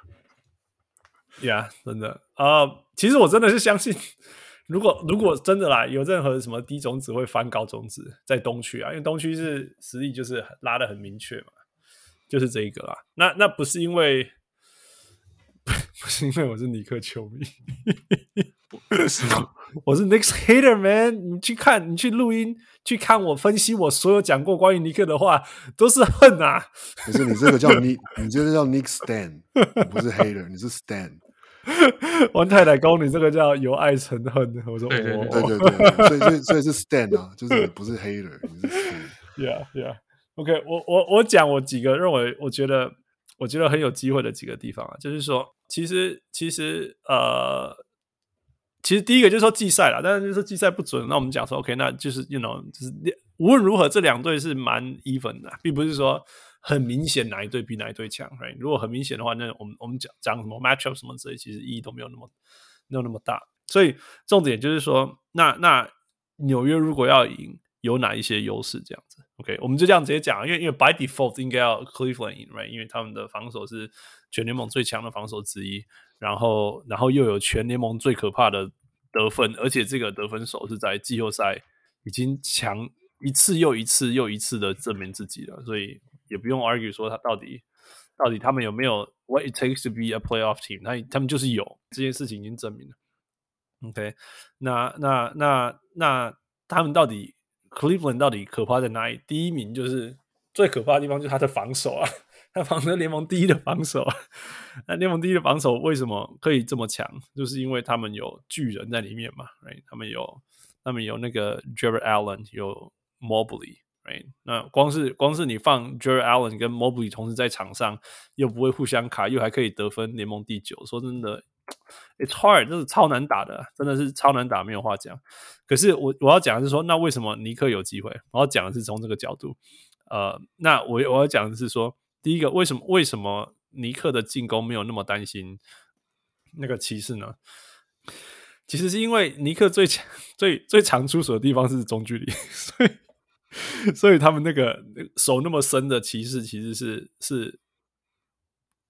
呀、yeah, 真的啊、uh, 其實我真的是相信，如果如果真的啦，有任何什麼低種子會翻高種子，在東區啊，因為東區是實力就是拉得很明確嘛，就是這一個啦。那那不是因為，不是因為我是尼克球迷， 是嗎？ 我是 Knicks hater man。你去看，你去錄音，去看我分析我所有講過關於尼克的話，都是恨啊。 可是你這個叫你，你這個叫 Knicks stan， 你不是 hater， 你是 stan。 王太太公，你這個叫由愛成恨。我說， 對對對對對對，所以所以所以是 stan 啊，就是你不是 hater， 你是 stan。 Yeah yeah，OK， 我我我講我幾個認為我覺得我覺得很有機會的幾個地方啊，就是說，其實其實呃，其實第一個就是說季賽啦，但是就是說季賽不準，那我們講說 OK， 那就是 you know， 就是無論如何這兩隊是蠻 even 的，並不是說。很明顯哪一隊比哪一隊強 ，right？ 如果很明顯的話，那我們我們講講什麼 matchup 什麼之類，其實意義都沒有那麼沒有那麼大。所以重點就是說，那那紐約如果要贏，有哪一些優勢？這樣子 ，OK？ 我們就這樣直接講，因為因為 by default 應該要 Cleveland 贏 ，right？ 因為他們的防守是全聯盟最強的防守之一，然後然後又有全聯盟最可怕的得分，而且這個得分手是在季後賽已經強一次又一次又一次的證明自己了，所以。也不用 argue 說他到底到底他們有沒有 what it takes to be a playoff team， 他他們就是有，這件事情已經證明了。OK， 那那那那他們到底 Cleveland 到底可怕在哪裡？第一名就是最可怕的地方就是他的防守啊，他防的聯盟第一的防守啊。那聯盟第一的防守為什麼可以這麼強？就是因為他們有巨人在裡面嘛 ，right？ 他們有他們有那個 Jarrett Allen， 有 Mobley。Right? 那光是光是你放 Jarrett Allen 跟 Mobley 同時在場上，又不會互相卡，又還可以得分，聯盟第九。說真的 ，It's hard， 這是超難打的，真的是超難打，沒有話講。可是我我要講的是說，那為什麼尼克有機會？我要講的是從這個角度。呃，那我我要講的是說，第一個，為什麼為什麼尼克的進攻沒有那麼擔心那個騎士呢？其實是因為尼克最強、最最常出手的地方是中距離，所以。所以他們那個手那麼深的騎士其實是是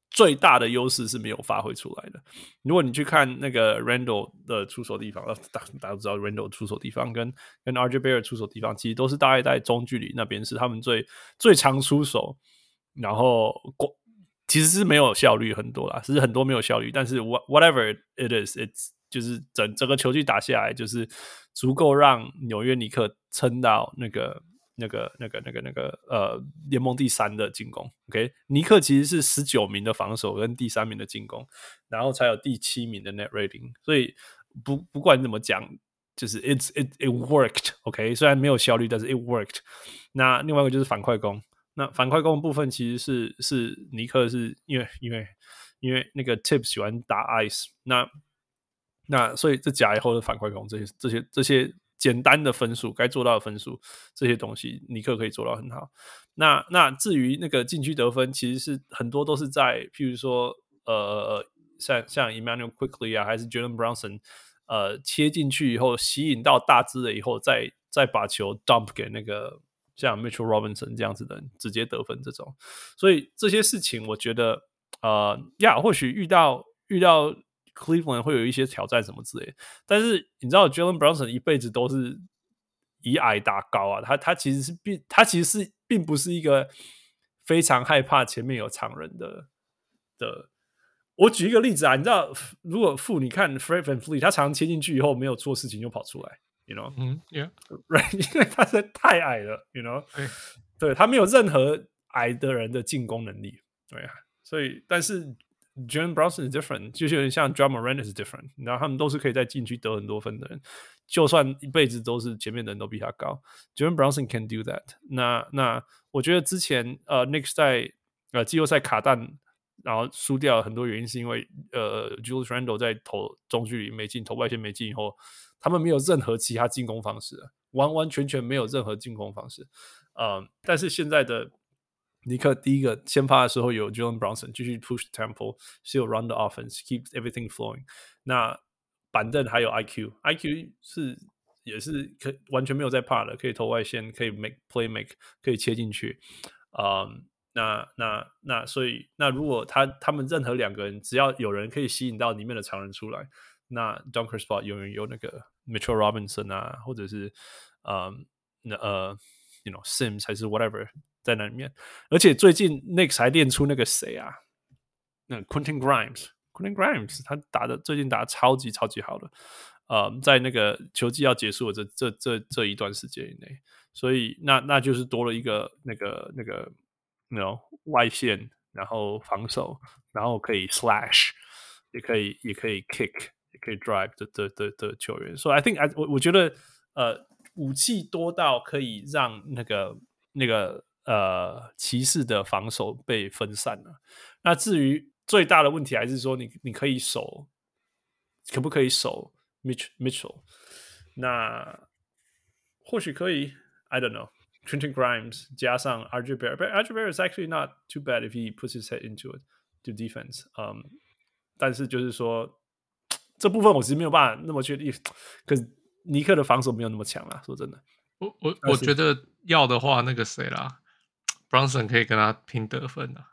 最大的優勢是沒有發揮出來的。如果你去看那個 Randle 的出手地方，大大家都知道 Randle 出手地方跟跟 R J Barrett 出手地方，其實都是大概在中距離那邊是他們最最常出手，然後其實是沒有效率很多啦，只是很多沒有效率，但是 whatever it is，it's 就是整整個球季打下來，就是足夠讓紐約尼克撐到那個。那個、那個、那個、那個呃，聯盟第三的進攻 ，OK， 尼克其實是十九名的防守跟第三名的進攻，然後才有第七名的 net rating， 所以不不管怎麼講，就是 it's it it worked，OK， 雖然沒有效率，但是 it worked。那另外一個就是反快攻，那反快攻的部分其實是是尼克是因為因為因為那個 Tibbs 喜歡打 ice， 那那所以這假以後的反快攻這些這些這些。簡單的分數該做到的分數，這些東西尼克可以做到很好。那那至於那個禁區得分，其實是很多都是在，譬如說，呃，像像 Immanuel Quickley 啊，還是 Jalen Brunson， 呃，切進去以後吸引到大支了以後，再再把球 dump 給那個像 Mitchell Robinson 這樣子的人直接得分這種。所以這些事情，我覺得，呃，呀，或許遇到遇到。Cleveland 會有一些挑戰什麼之類的，但是你知道 Jalen Brunson 一輩子都是以矮打高啊，他他其實是並他其實是並不是一個非常害怕前面有常人的的。我舉一個例子啊，你知道如果負你看 Fred VanVleet 他常常切進去以後沒有做事情就跑出來 ，you know， 嗯 ，yeah，right， 因為他實在太矮了 ，you know， 對他沒有任何矮的人的進攻能力，對啊，所以但是。Jalen Brunson is different， 就是有點像 Ja Morant is different， 然後他們都是可以在禁區得很多分的人，就算一輩子都是前面的人都比他高 ，Jalen Brunson can do that 那。那那我覺得之前呃 Knicks 在呃季後賽卡彈，然後輸掉很多原因是因為呃 Julius Randle 在投中距離沒進，投外線沒進以後，他們沒有任何其他進攻方式，完完全全沒有任何進攻方式。呃，但是現在的。尼克第一個先發的時候有 Jalen Brunson 繼續 push the tempo， still run the offense, keep everything flowing。那板凳還有 I Q，I Q 是也是可完全沒有在怕的，可以投外線，可以 make play make， 可以切進去。嗯，那那那所以那如果他他們任何兩個人只要有人可以吸引到裡面的常人出來，那 dunker spot 永遠有那個 Mitchell Robinson 啊，或者是嗯那呃 you know Sims 還是 whatever。在那裡面，而且最近 Knicks 還練出那個誰啊，那 Quentin Grimes，Quentin Grimes 他打的最近打的超級超級好的，呃，在那個球季要結束的這這這這一段時間以內，所以那那就是多了一個那個那個那種 you know, 外線，然後防守，然後可以 slash， 也可以也可以 kick， 也可以 drive 的的的的球員。所以 I think I 我我覺得呃武器多到可以讓那個那個。呃，騎士的防守被分散了。那至於最大的問題，還是說你你可以守，可不可以守 Mitch Mitchell？ 那或許可以 ，I don't know。Quentin Grimes 加上 R J Barrett，R J Barrett is actually not too bad if he puts his head into it to defense。嗯，但是就是說這部分我其實沒有辦法那麼確定，可是尼克的防守沒有那麼強啦。說真的， 我我我覺得要的話，那個誰啦。Brunson 可以跟他拼得分啊，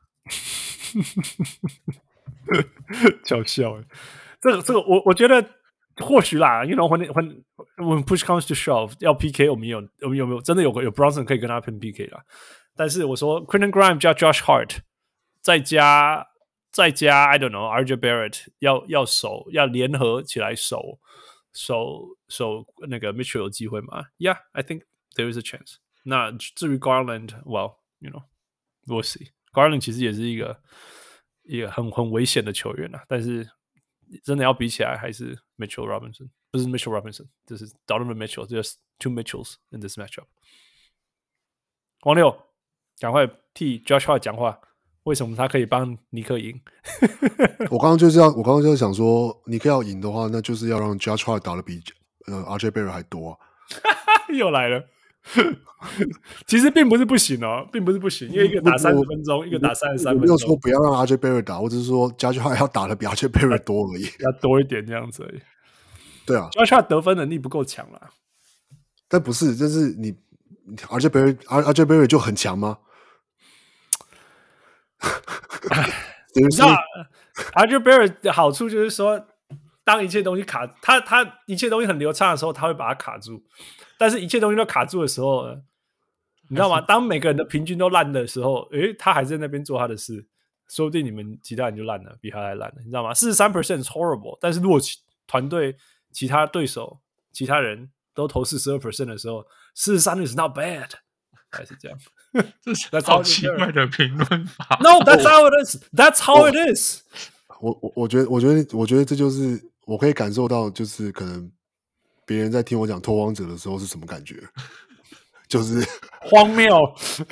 笑笑誒。這個這個我我覺得或許啦，you know when when when push comes to shove 要 P K 我們有我們有沒有真的有有 Brunson 可以跟他拼 P K 啦？但是我說 Quentin Grimes 加 Josh Hart 再加再加 I don't know R J Barrett 要要守要聯合起來守守守那個 Mitchell 有機會嗎 ？Yeah, I think there is a chance。那至於 Garland，well。You know, we'll see. Garland 其實也是一個一個很很危險的球員啊，但是真的要比起來，還是 Mitchell Robinson， 不是 Mitchell Robinson， 這是 Donovan Mitchell，just two Mitchells in this matchup。王六，趕快替 Josh Hart 講話，為什麼他可以幫尼克贏？ 我剛剛就是要，我剛剛就是想說，尼克要贏的話，那就是要讓 Josh Hart 打得比呃 R J Barrett 還多啊。 又來了。其實並不是不行哦，並不是不行，因為一個打三十分鐘，一個打三十三分鐘。我沒有說不要讓 R J Barrett 打，我只是說 Josh Hart 要打的比 R J Barrett 多而已，要多一點這樣子而已。對啊 ，Josh Hart 得分能力不夠強啦。 但不是，就是你 R J Barrett R J Barrett 就很強嗎？ 你知道 R J Barrett 的好處就是說，當一切東西卡他他一切東西很流暢的時候，他會把它卡住；但是一切東西都卡住的時候，你知道嗎？當每個人的平均都爛的時候，誒，他還在那邊做他的事，說不定你們其他人就爛了，比他還爛了，你知道嗎？四十三 percent is horrible， 但是如果團隊其他對手其他人都投四十二 percent 的時候，四十三 is not bad， 還是這樣。 這是好奇怪的評論法。 No, that's how it is. That's how it is. 我我我覺得，我覺得，我覺得這就是我可以感受到，就是可能別人在聽我講拓荒者的時候是什麼感覺，就是荒謬，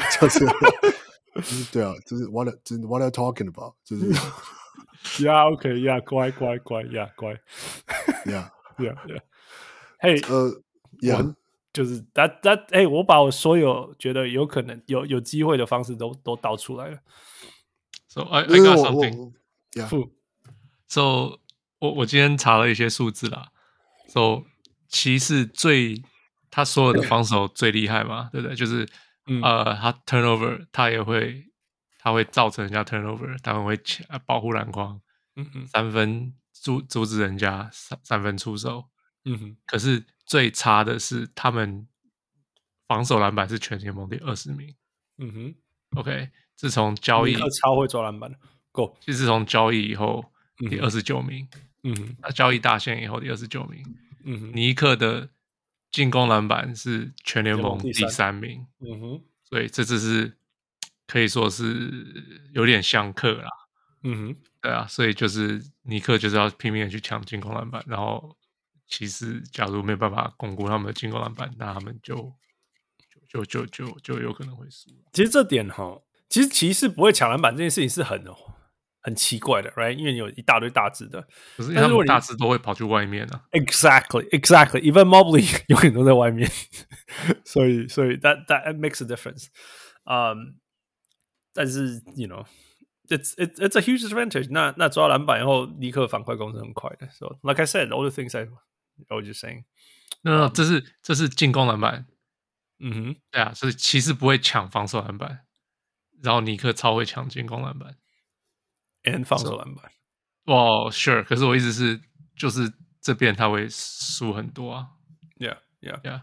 就是對啊，就是 what 就是 what are you talking about， 就是 yeah OK yeah 乖乖乖 yeah 乖 yeah yeah yeah hey 呃 yeah。 就是 that that 哎、欸，我把我所有覺得有可能有有機會的方式都都導出來了。 So I I got something. Yeah. So 我我今天查了一些數字啦。So 騎士最他所有的防守最厲害嘛，對不對？就是、嗯、呃，他 turnover 他也會他會造成人家 turnover， 他們會保護籃筐，嗯嗯，三分阻阻止人家三三分出手，嗯哼。可是最差的是他們防守籃板是全聯盟第二十名。嗯哼 ，OK， 自從交易尼克超會抓籃板的 ，Go， 其實自從交易以後、嗯、第二十九名。嗯哼，那交易大限以後第二十九名。嗯哼，尼克的進攻籃板是全聯盟第三名。嗯哼，所以這只是可以說是有點相克啦。嗯哼，對啊，所以就是尼克就是要拼命的去搶進攻籃板，然後。騎士假如沒有辦法鞏固他們的進攻籃板，那他們就就就就就就有可能會輸。 其實這點哈，其實騎士不會搶籃板這件事情是很很奇怪的 ，right？ 因為有一大堆大隻的， 可是他們大隻都會跑去外面啊。 Exactly, exactly. Even Mobley 永遠都在外面，所以所以 that that makes a difference. Um, 但是 you know. It's it's it's a huge advantage. 那那抓到籃板以後，立刻反快攻是很快的。So like I said, all the things I I was just saying. No, no, 這是這是進攻籃板。 嗯哼， 對啊，所以騎士不會搶防守籃板，然後尼克超會搶進攻籃板 ，and 防守籃板。 哇、so, ，Sure。可是我意思是，就是這邊他會輸很多啊。 Yeah, yeah, yeah.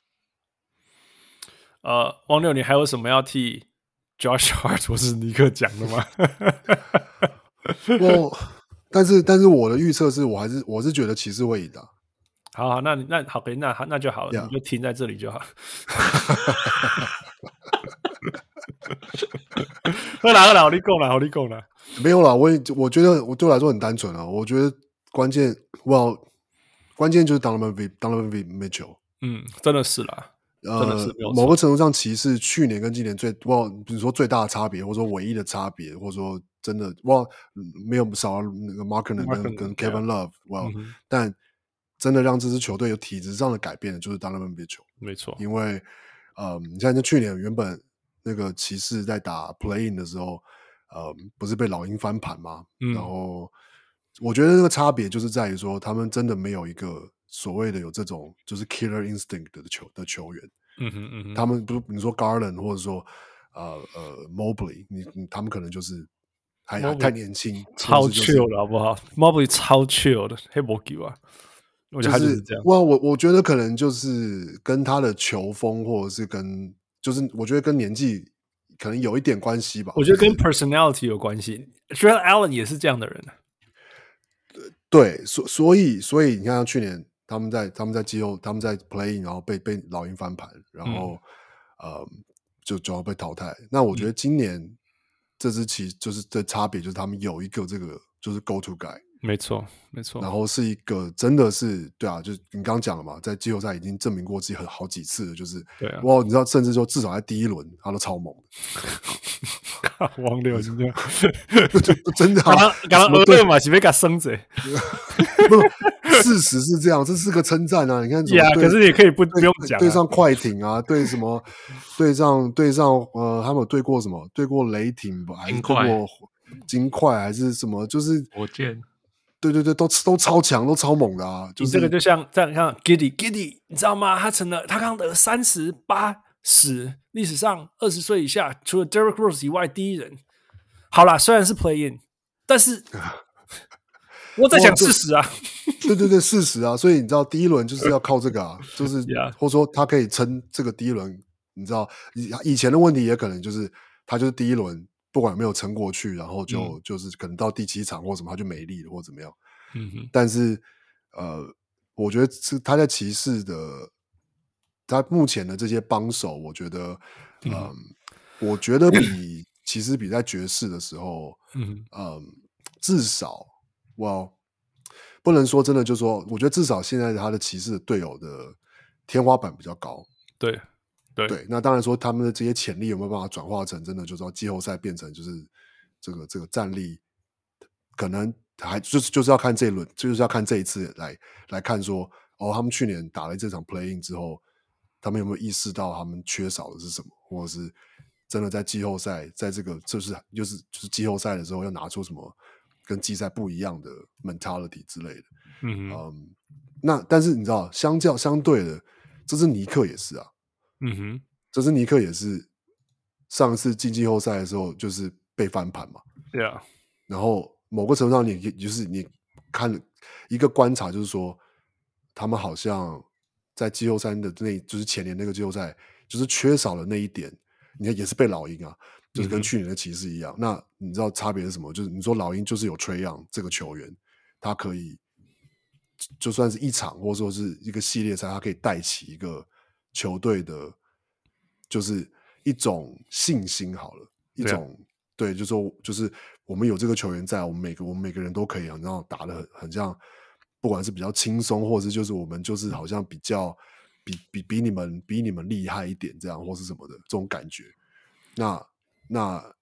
呃，王六，你還有什麼要替 Josh Hart 或是尼克講的嗎？ 我，但是但是我的預測是我還是我是覺得騎士會贏的。 好，好，那那好，那那就好了，yeah. 你就停在這裡就好。喝啦喝啦，你講啦，好你講啦。 沒有啦，我我覺得我對我來說很單純啊。我覺得關鍵，哇，關鍵就是 Donovan Donovan Mitchell。嗯， 真的是啦， 呃， 真的是某個程度上，騎士去年跟今年最哇，比如說最大的差別，或者說唯一的差別，或者說真的哇，沒有少了那個 Markkanen 跟跟 Kevin Love， 哇，嗯，但。真的讓這支球隊有體質上的改變的，就是 Donovan Mitchell。沒錯，因為，呃，你像去年原本那個騎士在打 Play-in 的時候，呃，不是被老鷹翻盤嗎？嗯，然後我覺得那個差別就是在於說，他們真的沒有一個所謂的有這種就是 Killer Instinct 的球的球員。嗯哼嗯哼，他們不是你說 Garland 或者說呃呃 Mobley， 你, 你他們可能就是還太年輕， 超 chill 的好不好 ？Mobley 超 chill 的，黑魔球啊。我覺得他就是這樣。 哇，我我覺得可能就是跟他的球風，或者是跟就是我覺得跟年紀可能有一點關係吧。 我覺得跟 personality 有關係。Jarrett Allen 也是這樣的人。 對，所所以所以你看，去年他們在他們在季後他們在 play， 然後被被老鷹翻盤，然後、嗯、呃就就要被淘汰。那我覺得今年、嗯、這支棋就是這差別，就是他們有一個這個就是 go to guy。 沒錯，沒錯。 然後是一個真的是對啊，就是你剛剛講了嘛，在季後賽已經證明過自己很好幾次了，就是對啊，哇，你知道，甚至說至少在第一輪他都超猛的。 王六是這樣， 真的、啊。 剛剛對嘛，是被他生子。 事實是這樣，這是個稱讚啊！你看， 呀，可是也可以不不用講、啊， 對上快艇啊，對什麼，對上對上呃，他們有對過什麼？對過雷霆吧，還是對過金塊，還是什麼？就是火箭。 對對對，都都超強，都超猛的啊！就是、 你這個就像這樣，像 Giddy Giddy， 你知道嗎？他成了他剛得三十八十，歷史上二十歲以下除了 Derrick Rose 以外第一人。好啦，雖然是 Play In， 但是我在講事實啊， 對對對，事實啊，所以你知道第一輪就是要靠這個啊，就是 yeah. 或者說他可以撐這個第一輪，你知道以以前的問題也可能就是他就是第一輪不管有沒有撐過去，然後就、嗯、就是可能到第七場或什麼他就沒力了或怎麼樣，嗯哼，但是呃，我覺得是他在騎士的他目前的這些幫手，我覺得嗯、呃，我覺得比其實比在爵士的時候，嗯、呃，至少我。不能說真的，就是說，我覺得至少現在他的騎士的隊友的天花板比較高。 對，對， 對。那當然說他們的這些潛力有沒有辦法轉化成真的，就是說季後賽變成就是這個這個戰力，可能還就是就是要看這一輪，就是要看這一次來來看說，哦，他們去年打了這場 play in 之後，他們有沒有意識到他們缺少的是什麼，或者是真的在季後賽，在這個就是就是就是季後賽的時候要拿出什麼。跟季賽不一樣的 mentality 之類的，嗯嗯，那但是你知道，相較相對的，這支尼克也是啊，嗯哼，這支尼克也是上一次進季後賽的時候就是被翻盤嘛，對啊，然後某個程度上你就是你看一個觀察，就是說他們好像在季後賽的那，就是前年那個季後賽，就是缺少了那一點，你看也是被老鷹啊。就是跟去年的騎士一樣，嗯、那你知道差別是什麼？就是你說老鷹就是有 Trae Young 這個球員，他可以就算是一場或者說是一個系列賽，他可以帶起一個球隊的，就是一種信心好了，一種對，對，就是說就是我們有這個球員在，我們每個我們每個人都可以，然後打得很很像，不管是比較輕鬆，或者是就是我們就是好像比較比比比你們比你們厲害一點這樣，或是什麼的這種感覺，那。那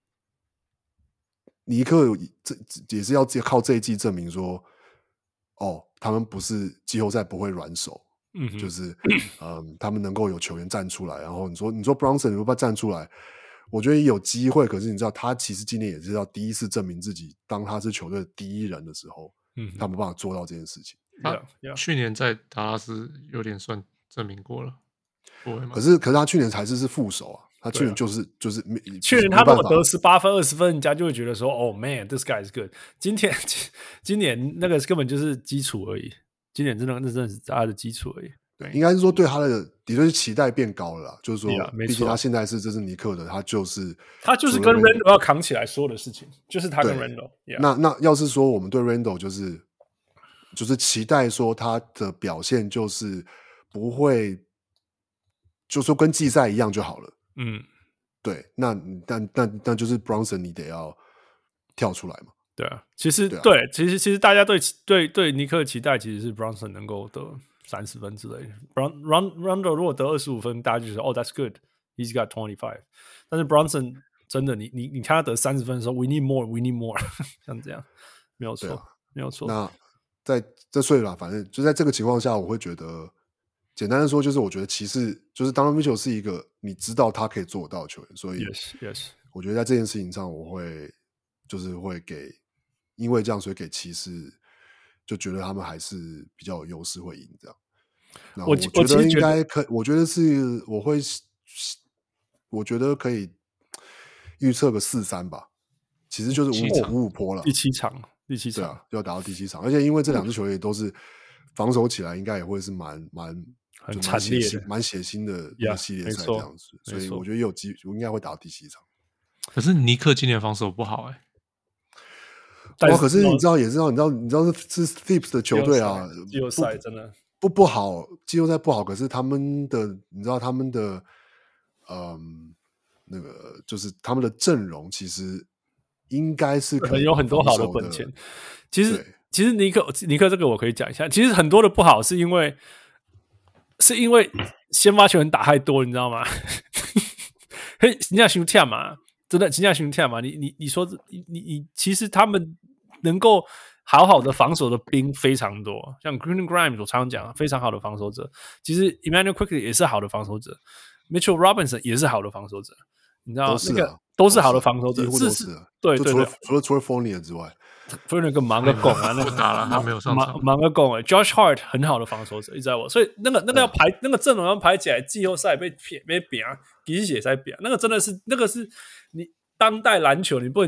尼克這也是要靠這一季證明說，哦，他們不是季後賽不會軟手，嗯哼，就是嗯，他們能夠有球員站出來。然後你說你說 Brunson 你會不會站出來？我覺得也有機會，可是你知道他其實今年也是要第一次證明自己，當他是球隊的第一人的時候，嗯，他沒辦法做到這件事情。 他 yeah, yeah. 去年在達拉斯有點算證明過了， 可是可是他去年才是是副手啊。他去年就是、啊、就是去年他如果得十八分二十分，人家就會覺得說哦 man，this guy is good。今天今年那個根本就是基礎而已，今年真的那真的是他的基礎而已。 對，應該是說對他的的確是期待變高了啦，就是說，畢竟他現在是這是尼克的，他就是他就是跟 Randle 要扛起來所有的事情，就是他跟 Randle。 那那要是說我們對 Randle 就是就是期待說他的表現就是不會，就說跟季賽一樣就好了。嗯，對，那但但但就是 Brunson 你得要跳出來嘛。 對啊，其實對、啊、對，其實其實大家對對對尼克的期待其實是 Brunson 能夠得三十分之類的。Run Run Rondo 如果得二十五分，大家就說哦 That's good, he's got twenty-five。但是 Brunson 真的，你你你看他得三十分的時候 ，We need more, we need more， 像這樣沒有錯，啊、沒有錯。 那在這歲了，反正就在這個情況下，我會覺得。簡單的說，就是我覺得騎士就是 Donovan Mitchell 是一個你知道他可以做到的球員，所以 yes yes，我覺得在這件事情上，我會就是會給，因為這樣，所以給騎士就覺得他們還是比較有優勢會贏這樣。那我覺得應該可，我覺得是我會，我覺得可以預測個四三吧。其實就是五五五波了， 第七場，第七場， 對啊，就要打到第七場，而且因為這兩支球隊都是防守起來，應該也會是蠻蠻。 很慘烈的， 蠻血腥的一個系列賽這樣子， yeah, 所以我覺得也有機，我應該會打到第七場。 可是尼克今年防守不好哎、 欸，哇！可是你知道，也知道，你知道，你知道是 Thibs 的球隊啊， 季後賽真的不不好，季後賽不好。可是他們的，你知道他們的，嗯，那個就是他們的陣容其實應該是可能有很多好的本錢。其實，其實尼克尼克這個我可以講一下，其實很多的不好是因為。是因為先發球員打太多，你知道嗎？嘿，人家胸跳嘛，真的，人家胸跳嘛。你你你說，你你你，其實他們能夠好好的防守的兵非常多，像 Quentin Grimes 我常常講，非常好的防守者。其實 Immanuel Quickley 也是好的防守者 ，Mitchell Robinson 也是好的防守者。你知道都是、啊、 那個都是好的防守者， 幾乎都是、啊。 對對對， 除了除了 Fournier 之外。 非常個忙個拱啊，那個打了他沒有上場， 忙忙個拱哎 ，Josh Hart 很好的防守者，你知道不？所以那個那個要排、嗯、那個陣容要排起來，季後賽被被扁，其實也在扁，那個真的是那個是你當代籃球，你不能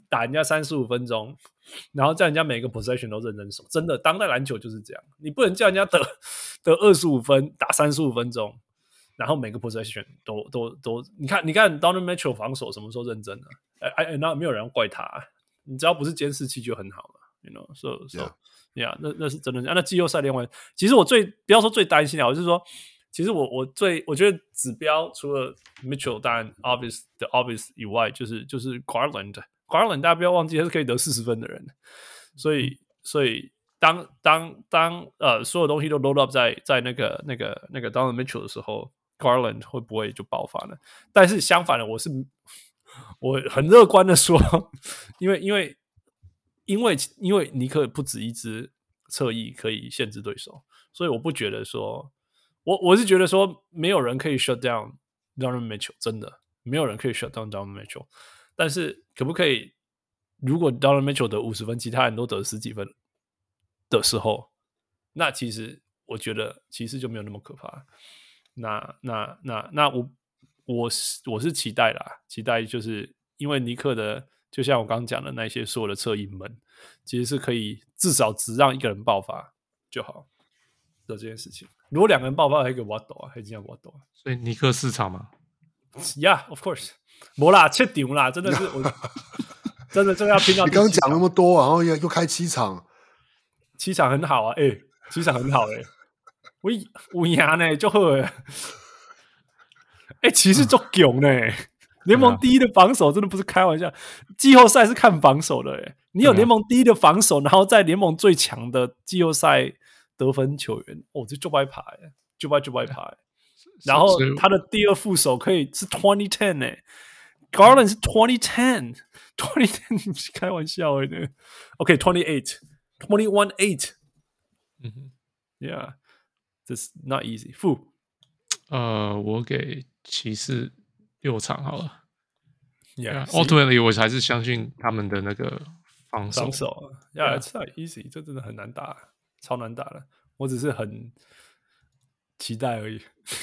打人家三十五分鐘，然後叫人家每個 possession 都認真守。真的，當代籃球就是這樣，你不能叫人家得得二十五分，打三十五分鐘，然後每個 possession 都都都，你看你看 Donovan Mitchell 防守什麼時候認真了？哎哎，那沒有人怪他、啊，你只要不是監視器就很好了 ，you know so so yeah, yeah 那那是真的。啊、那季後賽另外，其實我最不要說最擔心的，我就是說。其實我我最我覺得指標除了 Mitchell 當然 obvious 的 obvious 以外，就是就是 Garland Garland 大家不要忘記他是可以得四十分的人，所以所以當當當呃所有東西都 load up 在在那個那個那個 Donovan Mitchell 的時候 ，Garland 會不會就爆發呢？但是相反的，我是我很樂觀的說，因為因為因為因為尼克不止一支側翼可以限制對手，所以我不覺得說。我我是覺得說，沒有人可以 shut down Donovan Mitchell， 真的沒有人可以 shut down Donovan Mitchell。但是可不可以，如果 Donovan Mitchell 得五十分，其他人都得十幾分的時候，那其實我覺得其實就沒有那麼可怕。那那那那我我是我是期待啦，期待就是因為尼克的，就像我剛剛講的那些所有的側翼們，其實是可以至少只讓一個人爆發就好的這件事情。如果兩個人爆發，還可以挖斗啊，還這樣挖斗啊。 所以尼克市場嘛 ，Yeah, of course， 沒啦，切場啦，真的是我，真的真的要拼到。 你剛剛講那麼多，然後又又開七場， 七場很好啊，哎、欸，七場很好哎、欸，我我贏呢就好哎，哎，其實足強呢，聯盟第一的防守真的不是開玩笑，季後賽是看防守的哎，你有聯盟第一的防守，然後在聯盟最強的季後賽。得分球員哦，這就白牌，就白就白牌。然後他的第二副手可以是二零十呢 ，Garland 是二零十，二零十你是開玩笑的呢。OK， 二十八，二十八。嗯哼 ，Yeah，this not easy。負， 呃，我給騎士六場好了。 Yeah，Ultimately yeah, 我還是相信他們的那個防守。 防守 ，Yeah，it's not easy，這真的很難打。超難打的，我只是很期待而已。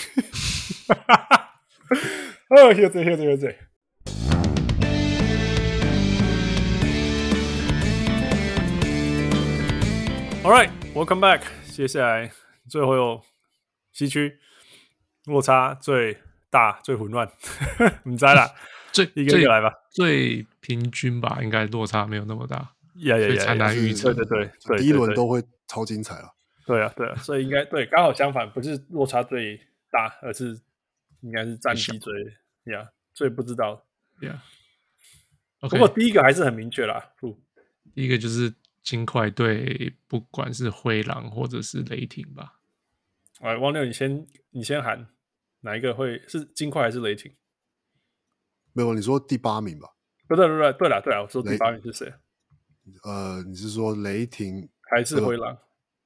哦，現在現在現在。All right, welcome back。接下來最後有西區落差最大、最混亂，你猜啦？ 最一個一個來吧。 最平均吧，應該落差沒有那麼大。 呀呀呀！ 才難預測。 對對對， 第一輪都會超精彩了。 對啊，對啊，所以應該對，剛好相反，不是落差最大，而是應該是戰績最呀、yeah, 最不知道。 Yeah. Okay. 不過第一個還是很明確啦。 第一個就是金塊對，不管是灰狼或者是雷霆吧。 哎，汪六，你先你先喊哪一個會是金塊還是雷霆？ 沒有，你說第八名吧？ 不對不對，對了對了，我說第八名是誰？ 呃，你是說雷霆還是灰狼？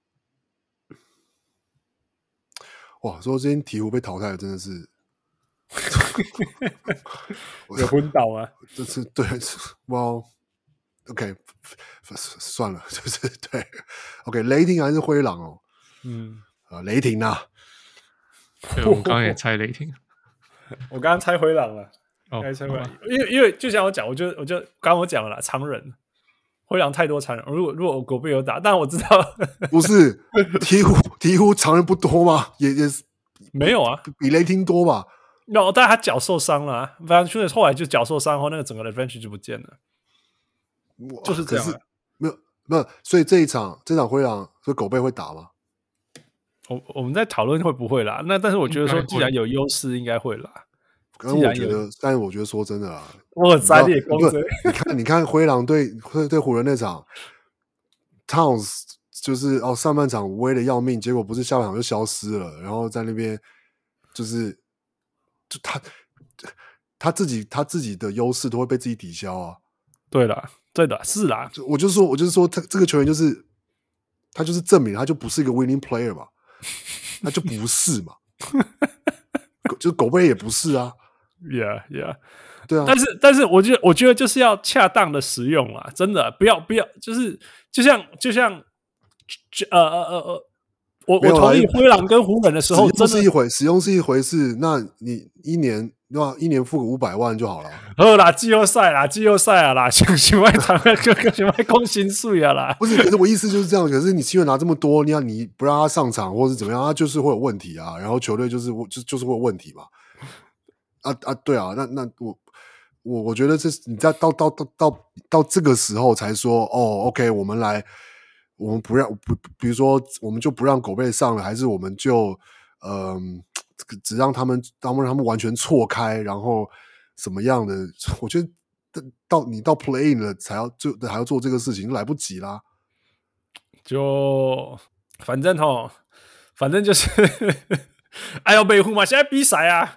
哇，說今天鹈鶘被淘汰了，真的是有昏倒啊！ 這是對，哇 ，OK， 算了，就是對 ，OK， 雷霆還是灰狼哦？嗯，呃，雷霆啊， 對，我剛剛也猜雷霆， 我剛剛猜灰狼了， 哦， 猜灰狼，因為因為就像我講，我就我就剛剛我講了啦，常人。灰狼太多常人，如果如果狗貝有打，但我知道不是鹈鶘鹈鶘常人不多嗎？也也是沒有啊， 比雷霆多吧？ 那、no, 但他腳受傷了、啊，反正後來就腳受傷後，那個整個的 advantage 就不見了，就是這樣、啊。 沒有沒有，所以這一場這場灰狼，所以狗貝會打嗎？ 我我們在討論會不會啦，那但是我覺得說，既然有優勢，應該會啦。 但我覺得，但是我覺得說真的啦， 我很在意公司。 你看，你看灰狼對對對湖人那場 ，Towns 就是哦上半場威的要命，結果不是下半場就消失了，然後在那邊就是就他他自己他自己的優勢都會被自己抵消啊。 對啦，對的，是啦。 我就說，我就是說，他這個球員就是他就是證明他就不是一個 winning player 嘛，他就不是嘛，就是狗貝也不是啊。 Yeah, yeah， 對啊， 但是但是我覺得我覺得就是要恰當的使用啊，真的不要不要，就是就像就像呃呃呃呃， 我我同意灰狼跟湖人的時候， 使用是一回，使用是一回事。那你一年对吧？一年付個五百萬就好了。 好啦，季後賽啦，季後賽啊啦，想想外談個個想外攻薪水啊啦。 不是，可是我意思就是這樣。可是你七月拿這麼多，你要你不讓他上場或是怎麼樣，他就是會有問題啊。然後球隊就是就就是會有問題嘛。啊啊，對啊，那那我我我覺得這你在到到到到到這個時候才說哦 ，OK， 我們來，我們不讓不，比如說我們就不讓狗貝上了，還是我們就嗯。呃只讓他們，讓他們完全錯開，然後什麼樣的？我覺得到你到 play in 了才要就還要做這個事情，就來不及啦。 就反正齁，反正就是哎呦，北湖嘛，現在比賽啊。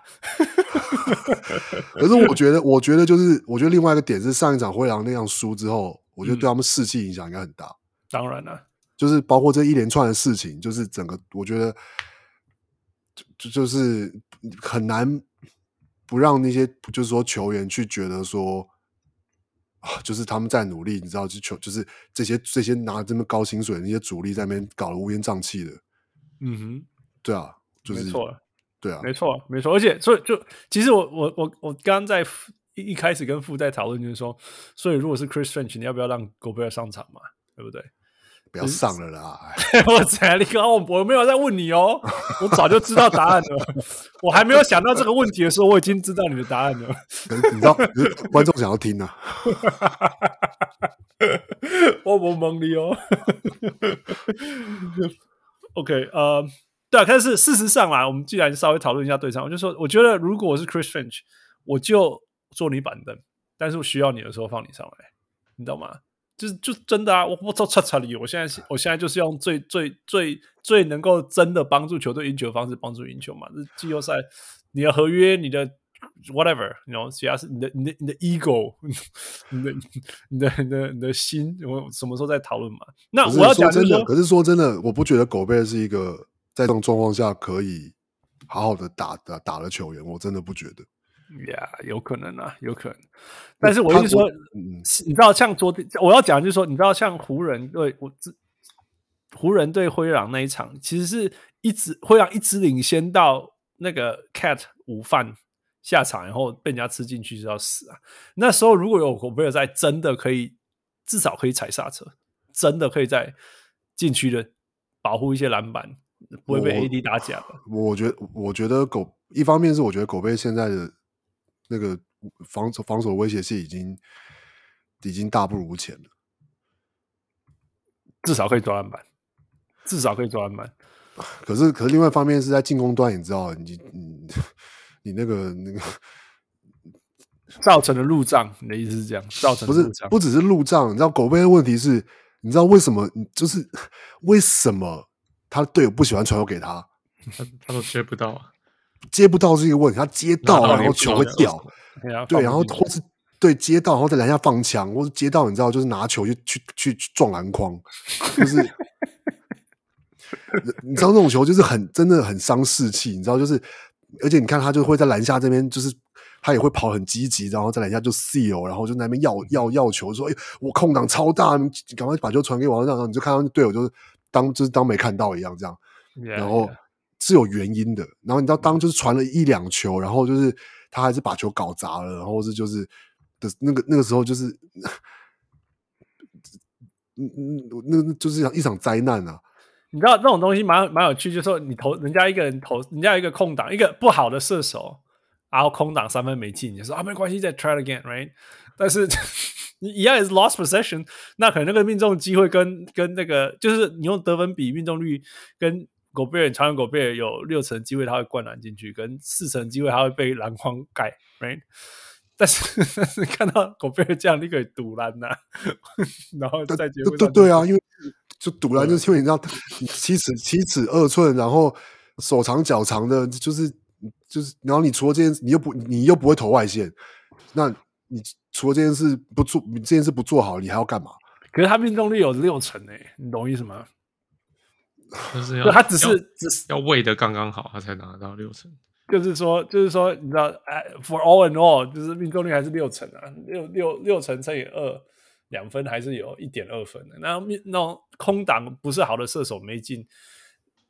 可是我覺得，我覺得就是，我覺得另外一個點是，上一場灰狼那樣輸之後，我覺得對他們士氣影響應該很大。嗯、 當然了， 就是包括這一連串的事情，就是整個，我覺得。就就是很難不讓那些就是說球員去覺得說，就是他們在努力，你知道，就球就是這些這些拿這麼高薪水的那些主力在那邊搞得烏煙瘴氣的。嗯哼，對啊，就是沒錯，對啊， 沒錯，沒錯。而且，所以就其實我我我我剛剛在一一開始跟傅在討論，就是說，所以如果是 Chris Finch，你要不要讓 Gobert 上場嘛？對不對？ 不要上了啦！ 我才你剛我我沒有在問你哦，我早就知道答案了。我還沒有想到這個問題的時候，我已經知道你的答案了。 你知道，觀眾想要聽啊。 我不蒙你哦。OK， 呃，對啊，但是事實上啦，我們既然稍微討論一下對上，我就說，我覺得如果我是 Chris Finch，我就坐你板凳，但是我需要你的時候放你上來，你知道嗎？就是就真的啊！我我操叉叉里，我現在我現在就是用最最最最能夠真的幫助球隊贏球的方式幫助贏球嘛。這季後賽，你的合約，你的 whatever， 你 you know, 其他是你的你的你的 ego， 你的你的你的你的心，我什麼時候在討論嘛？那我要講真的， 可是說真的，我不覺得狗貝是一個在這種狀況下可以好好的打打打的球員，我真的不覺得。 呀、yeah, 有可能啊，有可能。但是我一直說，嗯、你知道，像昨天我要講的就是說，你知道，像湖人對我湖人對灰狼那一場，其實是一直灰狼一直領先到那個 Cat 午飯下場，然後被人家吃進去就要死啊。那時候如果有Gobert在，真的可以至少可以踩剎車，真的可以在禁區的保護一些籃板，不會被 A D 打假的。 我，我覺得，我覺得狗一方面是我覺得Gobert現在的。那個防守防守威脅性已經已經大不如前了， 至少可以抓籃板，至少可以抓籃板。 可是，可是另外一方面是在進攻端，你知道，你你你那個那個造成的路障，你的意思是這樣？造成的路障不是不只是路障，你知道狗貝的問題是，你知道為什麼？就是為什麼他的隊友不喜歡傳球給他， 他他都接不到啊。 接不到是一個問題，他接到然後球會掉，對，然後或是對接到然後在籃下放槍，或是接到你知道就是拿球去去去撞籃筐，就是你知道那種球就是很真的很傷士氣，你知道就是，而且你看他就會在籃下這邊就是他也會跑很積極，然後在籃下就 seal， 然後就在那邊要要要球，說哎、欸、我空檔超大，你趕快把球傳給我，然後你就看到隊友就是當就是當沒看到一樣這樣， yeah, 然後。 Yeah. 是有原因的，然後你知道，當就是傳了一兩球，然後就是他還是把球搞砸了，然後是就是的那個那個時候就是，嗯嗯，那就是一場災難啊！ 你知道這種東西蠻蠻有趣，就是說你投人家一個人投，人家有一個空檔，一個不好的射手，然後空檔三分沒進，你就說啊沒關係，再 try again，right？ 但是你一樣也是 lost possession， 那可能那個命中機會跟跟那個就是你用得分比命中率跟。Gobert 傳給 Gobert 有六成機會他會灌籃進去，跟四成機會他會被籃筐蓋 ，right？ 但是但是看到 Gobert 這樣，你可以賭籃吶，然後在節目上對對啊，因為就賭籃就是因為你知道七尺七尺二寸，然後手長腳長的，就是就是，然後你除了這件事，你又不你又不會投外線，那你除了這件事不做，你這件事不做好，你還要幹嘛？ 可是他命中率有六成誒、欸，你懂我意思嗎？ 就是要他只是只是要餵的剛剛好，他才拿到六成。 就是說，就是說，你知道，for all and all，就是命中率還是六成啊，六六六成乘以二，兩分還是有一點二分的。那那種空檔不是好的射手沒進，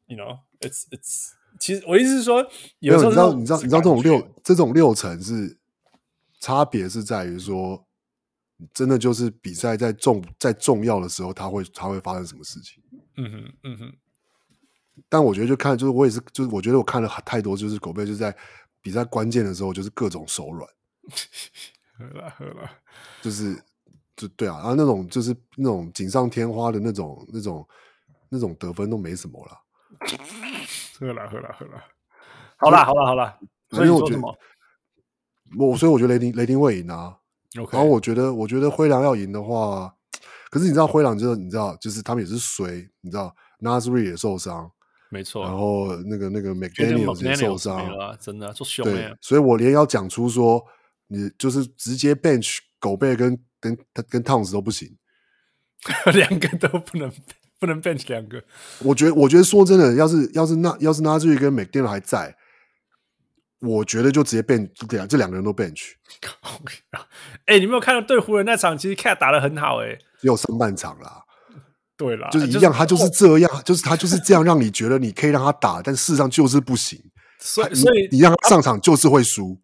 you know it's it's 其實我意思是說，有時候你知道你知道你知道這種六這種六成是差別是在於說，真的就是比賽在重在重要的時候，它會它會發生什麼事情。 嗯哼嗯哼。 但我覺得就看就是我也是就是我覺得我看了太多，就是狗貝就是在比賽關鍵的時候就是各種手軟。 喝了喝了， 就是就對啊，然後那種就是那種錦上添花的那種那種那種得分都沒什麼啦。 喝了喝了喝了，好啦好啦好啦，所以你說什麼？ 我所以我覺得雷霆雷霆會贏啊。Okay. 然後我覺得我覺得灰狼要贏的話，可是你知道灰狼就是你知道就是他們也是衰，你知道 Nasri 也受傷， 沒錯， 然後那個那個 McDaniels 也受傷了，真的做凶對，所以我連要講出說你就是直接 bench 狗貝跟跟跟 Towns 都不行， 兩個都不能不能 bench 兩個。 我覺得我覺得說真的，要是要是那要是 Nasri 跟 McDaniels 還在，我覺得就直接 bench 這兩個人都 bench。 哎、欸，你沒有看到對湖人那場？其實 Cat 打得很好、欸，哎， 只有上半場啦。 對啦， 就是一樣，他就是這樣，就是他就是這樣，讓你覺得你可以讓他打，但事實上就是不行。 所以，所以你讓他上場就是會輸。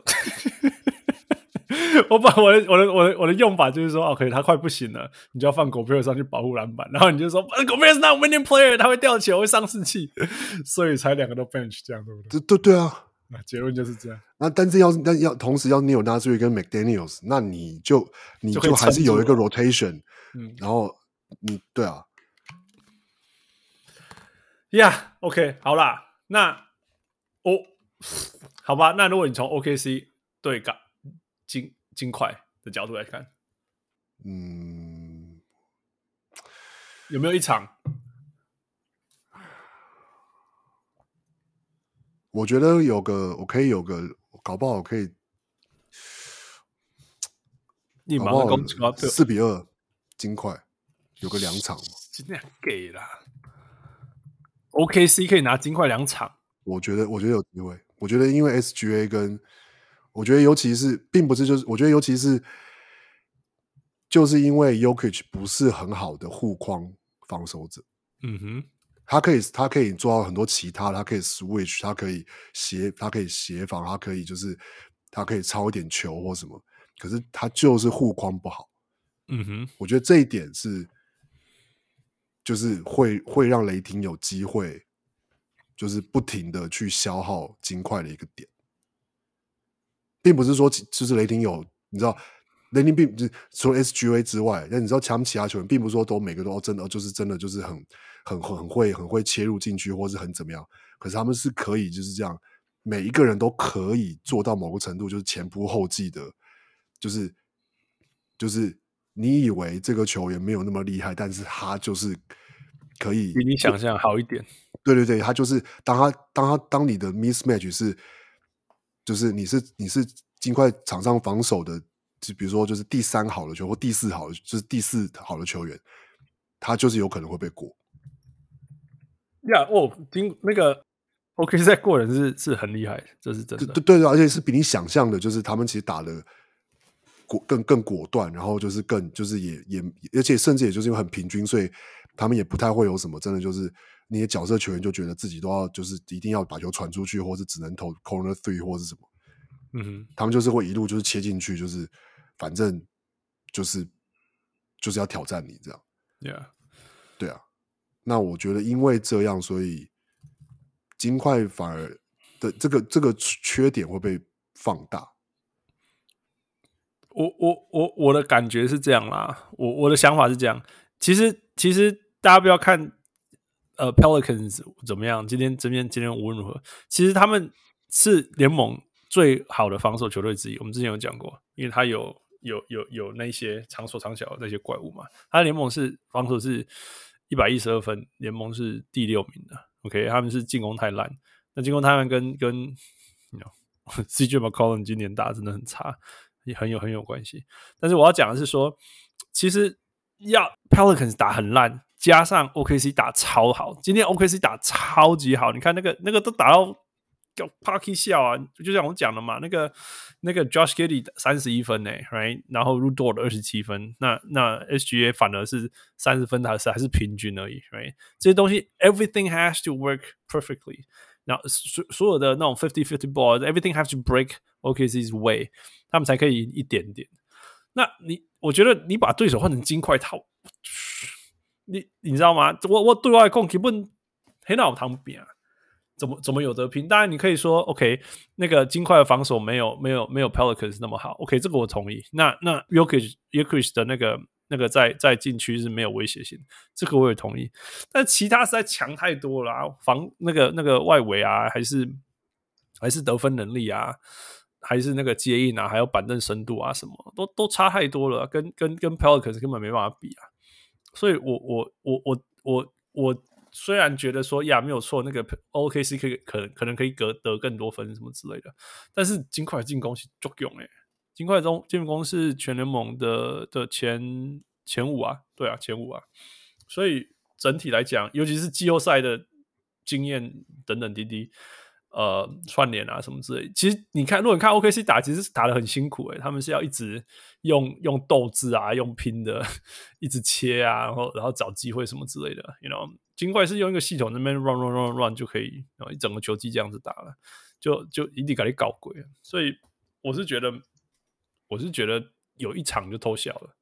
我把我的我的我的我的用法就是說 ，OK， 他快不行了，你就要放狗貝爾上去保護籃板，然後你就說，狗貝爾是 not winning player， 他會掉球，會喪士氣，所以才兩個都 bench 這樣，對不對？ 對對對啊， 那結論就是這樣。 那但是要是但要同時要你有 Nasri 跟 McDaniels， 那你就你就還是有一個 rotation， 嗯，然後你對啊。 呀、yeah, ，OK， 好啦，那我、哦、好吧，那如果你從 O K C 對港金金塊的角度來看， 嗯， 有沒有一場？ 我覺得有個，我可以有個，搞不好我可以， 你馬上攻四比二金塊，有個兩場嘛， 盡量給啦。O K C 可以拿金塊兩場， 我覺得，我覺得有機會。我覺得，因為 S G A 跟我覺得，尤其是並不是就是，我覺得尤其是就是因為 Jokic 不是很好的護框防守者， 嗯哼， 他可以他可以做到很多其他的，他可以 switch， 他可以協他可以協防，他可以就是他可以抄一點球或什麼，可是他就是護框不好， 嗯哼， 我覺得這一點是。就是會會讓雷霆有機會，就是不停的去消耗金塊的一個點，並不是說就是雷霆有，你知道，雷霆並除了 S G A 之外，但你知道他們其他球員，並不是說都每個都真的就是真的就是很很很會很會切入進去，或是很怎麼樣，可是他們是可以就是這樣，每一個人都可以做到某個程度，就是前仆後繼的，就是就是。你以為這個球員沒有那麼厲害，但是他就是可以比你想象好一點。 對對對，他就是當他當他當你的 mismatch 是，就是你是你是金塊場上防守的，就比如說就是第三好的球或第四好的，就是第四好的球員，他就是有可能會被過。 呀、yeah, 哦，金那個 O K C 在過人是是很厲害，這是真的。 對對對，而且是比你想象的，就是他們其實打的。更更果斷，然後就是更就是也也，而且甚至也就是因為很平均，所以他們也不太會有什麼真的就是那些角色球員就覺得自己都要就是一定要把球傳出去，或是只能投 corner three 或是什麼，嗯哼，他們就是會一路就是切進去，就是反正就是就是要挑戰你這樣 ，Yeah， 對啊，那我覺得因為這樣，所以金塊反而的這個這個缺點會被放大。 我我我我的感覺是這樣啦，我我的想法是這樣。其實其實大家不要看呃 Pelicans 怎麼樣，今天今天今天無論如何，其實他們是聯盟最好的防守球隊之一。我們之前有講過，因為他有有有有那些長手長腳的那些怪物嘛。他的聯盟是防守是一百一十二分，聯盟是第六名的。OK， 他們是進攻太爛，那進攻太爛跟跟 you know, C J McCollum 今年打真的很差。也很有很有關係，但是我要講的是說，其實要 Pelicans 打很爛，加上 O K C 打超好，今天 O K C 打超級好，你看那個那個都打到叫 Parky 笑啊，就像我講的嘛，那個那個 Josh Giddey 三十一分呢 ，right？ 然後 Lu Dort 二十七分，那那 S G A 反而是三十分，還是還是平均而已 ，right？ 這些東西 everything has to work perfectly。然後所所有的那種 fifty fifty balls，everything have to break O K C's way， 他們才可以贏一點點。那你我覺得你把對手換成金塊套，你你知道嗎？我我對外控根本很腦湯餅啊。怎麼怎麼有得拼？當然，你可以說 ，OK， 那個金塊的防守沒有沒有沒有 Pelicans 那麼好 ，OK， 這個我同意。那那 Jokic Jokic 的那個那個在在禁區是沒有威脅性，這個我也同意。但其他實在強太多了啊，防那個那個外圍啊，還是還是得分能力啊，還是那個接應啊，還有板凳深度啊，什麼都都差太多了，跟跟跟 Pelicans 根本沒辦法比啊。所以我我我我我我。雖然覺得說呀沒有錯，那個 O K C 可以可能可能可以得得更多分什麼之類的，但是金塊進攻是足夠誒，金塊中進攻是全聯盟的的前前五啊，對啊前五啊，所以整體來講，尤其是季後賽的經驗等等滴滴，呃串聯啊什麼之類的，其實你看，如果你看 O K C 打，其實是打得很辛苦誒，他們是要一直用用鬥志啊，用拼的，一直切啊，然後然後找機會什麼之類的 ，you know。金塊是用一個系統那邊 run run run run 就可以，然後一整個球季這樣子打了，就就一定給你搞鬼了。所以我是覺得，我是覺得有一場就偷笑了。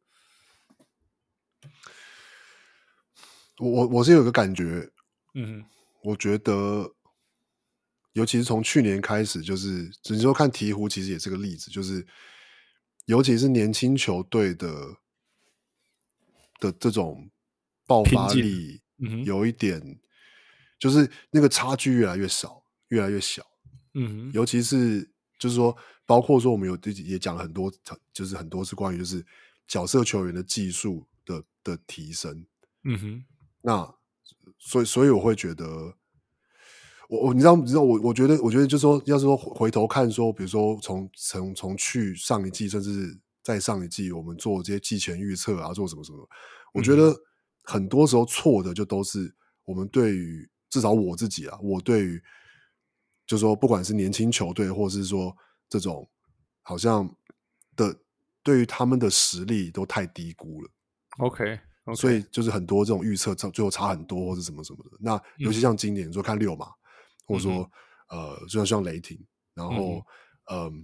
我我我是有個感覺， 嗯哼， 我覺得，尤其是從去年開始，就是只是說看鹈鶘，其實也是個例子，就是尤其是年輕球隊的的這種爆發力。嗯、有一點，就是那個差距越來越少，越來越小。嗯，尤其是就是說，包括說我們有也講了很多，就是很多是關於就是角色球員的技術的的提升。嗯哼，那所以所以我會覺得，我我你知道你知道我我覺得我覺得就是說，要是說回頭看說，比如說從從從去上一季，甚至再上一季，我們做這些季前預測啊，做什麼什麼，我覺得。嗯，很多時候錯的就都是我們對於至少我自己啊，我對於就是說不管是年輕球隊，或是說這種好像的對於他們的實力都太低估了。OK，, okay. 所以就是很多這種預測最後差很多，或是什麼什麼的。那尤其像今年，嗯、你說看溜馬，或者說、嗯、呃，就像像雷霆，然後嗯、呃，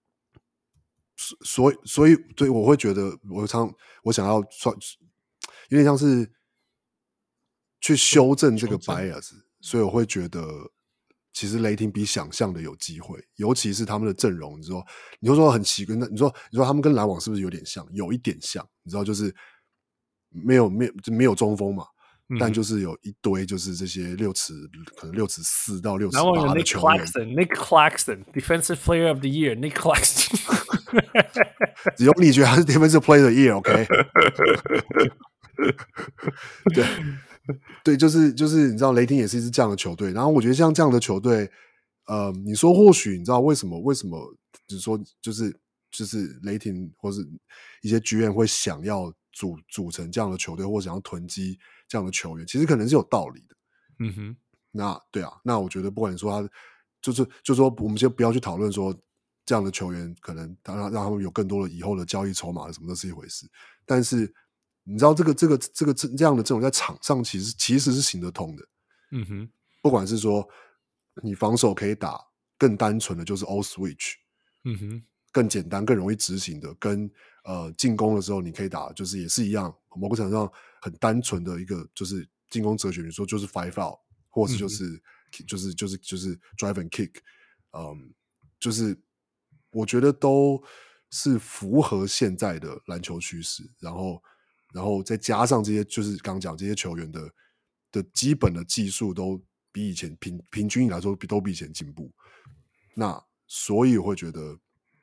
所以所以對我會覺得我常我想要算。有點像是去修正這個 bias，所以我會覺得其實雷霆比想象的有機會，尤其是他們的陣容。你說，你說說很奇怪，那你說你說他們跟籃網是不是有點像？有一點像，你知道，就是沒有沒有沒有中鋒嘛、嗯，但就是有一堆就是這些六尺可能六尺四到六尺八的球員。 Nick Claxton, Defensive Player of the Year, Nick Claxton。 只有你覺得他是 Defensive Player of the Year，OK？、Okay? 对對，就是就是你知道雷霆也是一支這樣的球隊，然後我覺得像這樣的球隊，呃，你說或許你知道為什麼為什麼，就是說就是就是雷霆或是一些 G M 會想要組組成這樣的球隊，或想要囤積這樣的球員，其實可能是有道理的。嗯哼，那對啊，那我覺得不管你說他就是就是說我們先不要去討論說這樣的球員可能讓讓他們有更多的以後的交易籌碼什麼的是一回事，但是。你知道這個這個這個這樣的陣容在場上其實其實是行得通的，嗯哼，不管是說你防守可以打更單純的就是 all switch，嗯哼，更簡單更容易執行的，跟呃進攻的時候你可以打就是也是一樣，某個程度上很單純的一個就是進攻哲學，你說就是 five out， 或是就是、嗯、就是就是就是 drive and kick， 嗯，就是我覺得都是符合現在的籃球趨勢，然後。然後再加上這些，就是剛剛講這些球員的的基本的技術都比以前平平均來說比都比以前進步。那所以我會覺得，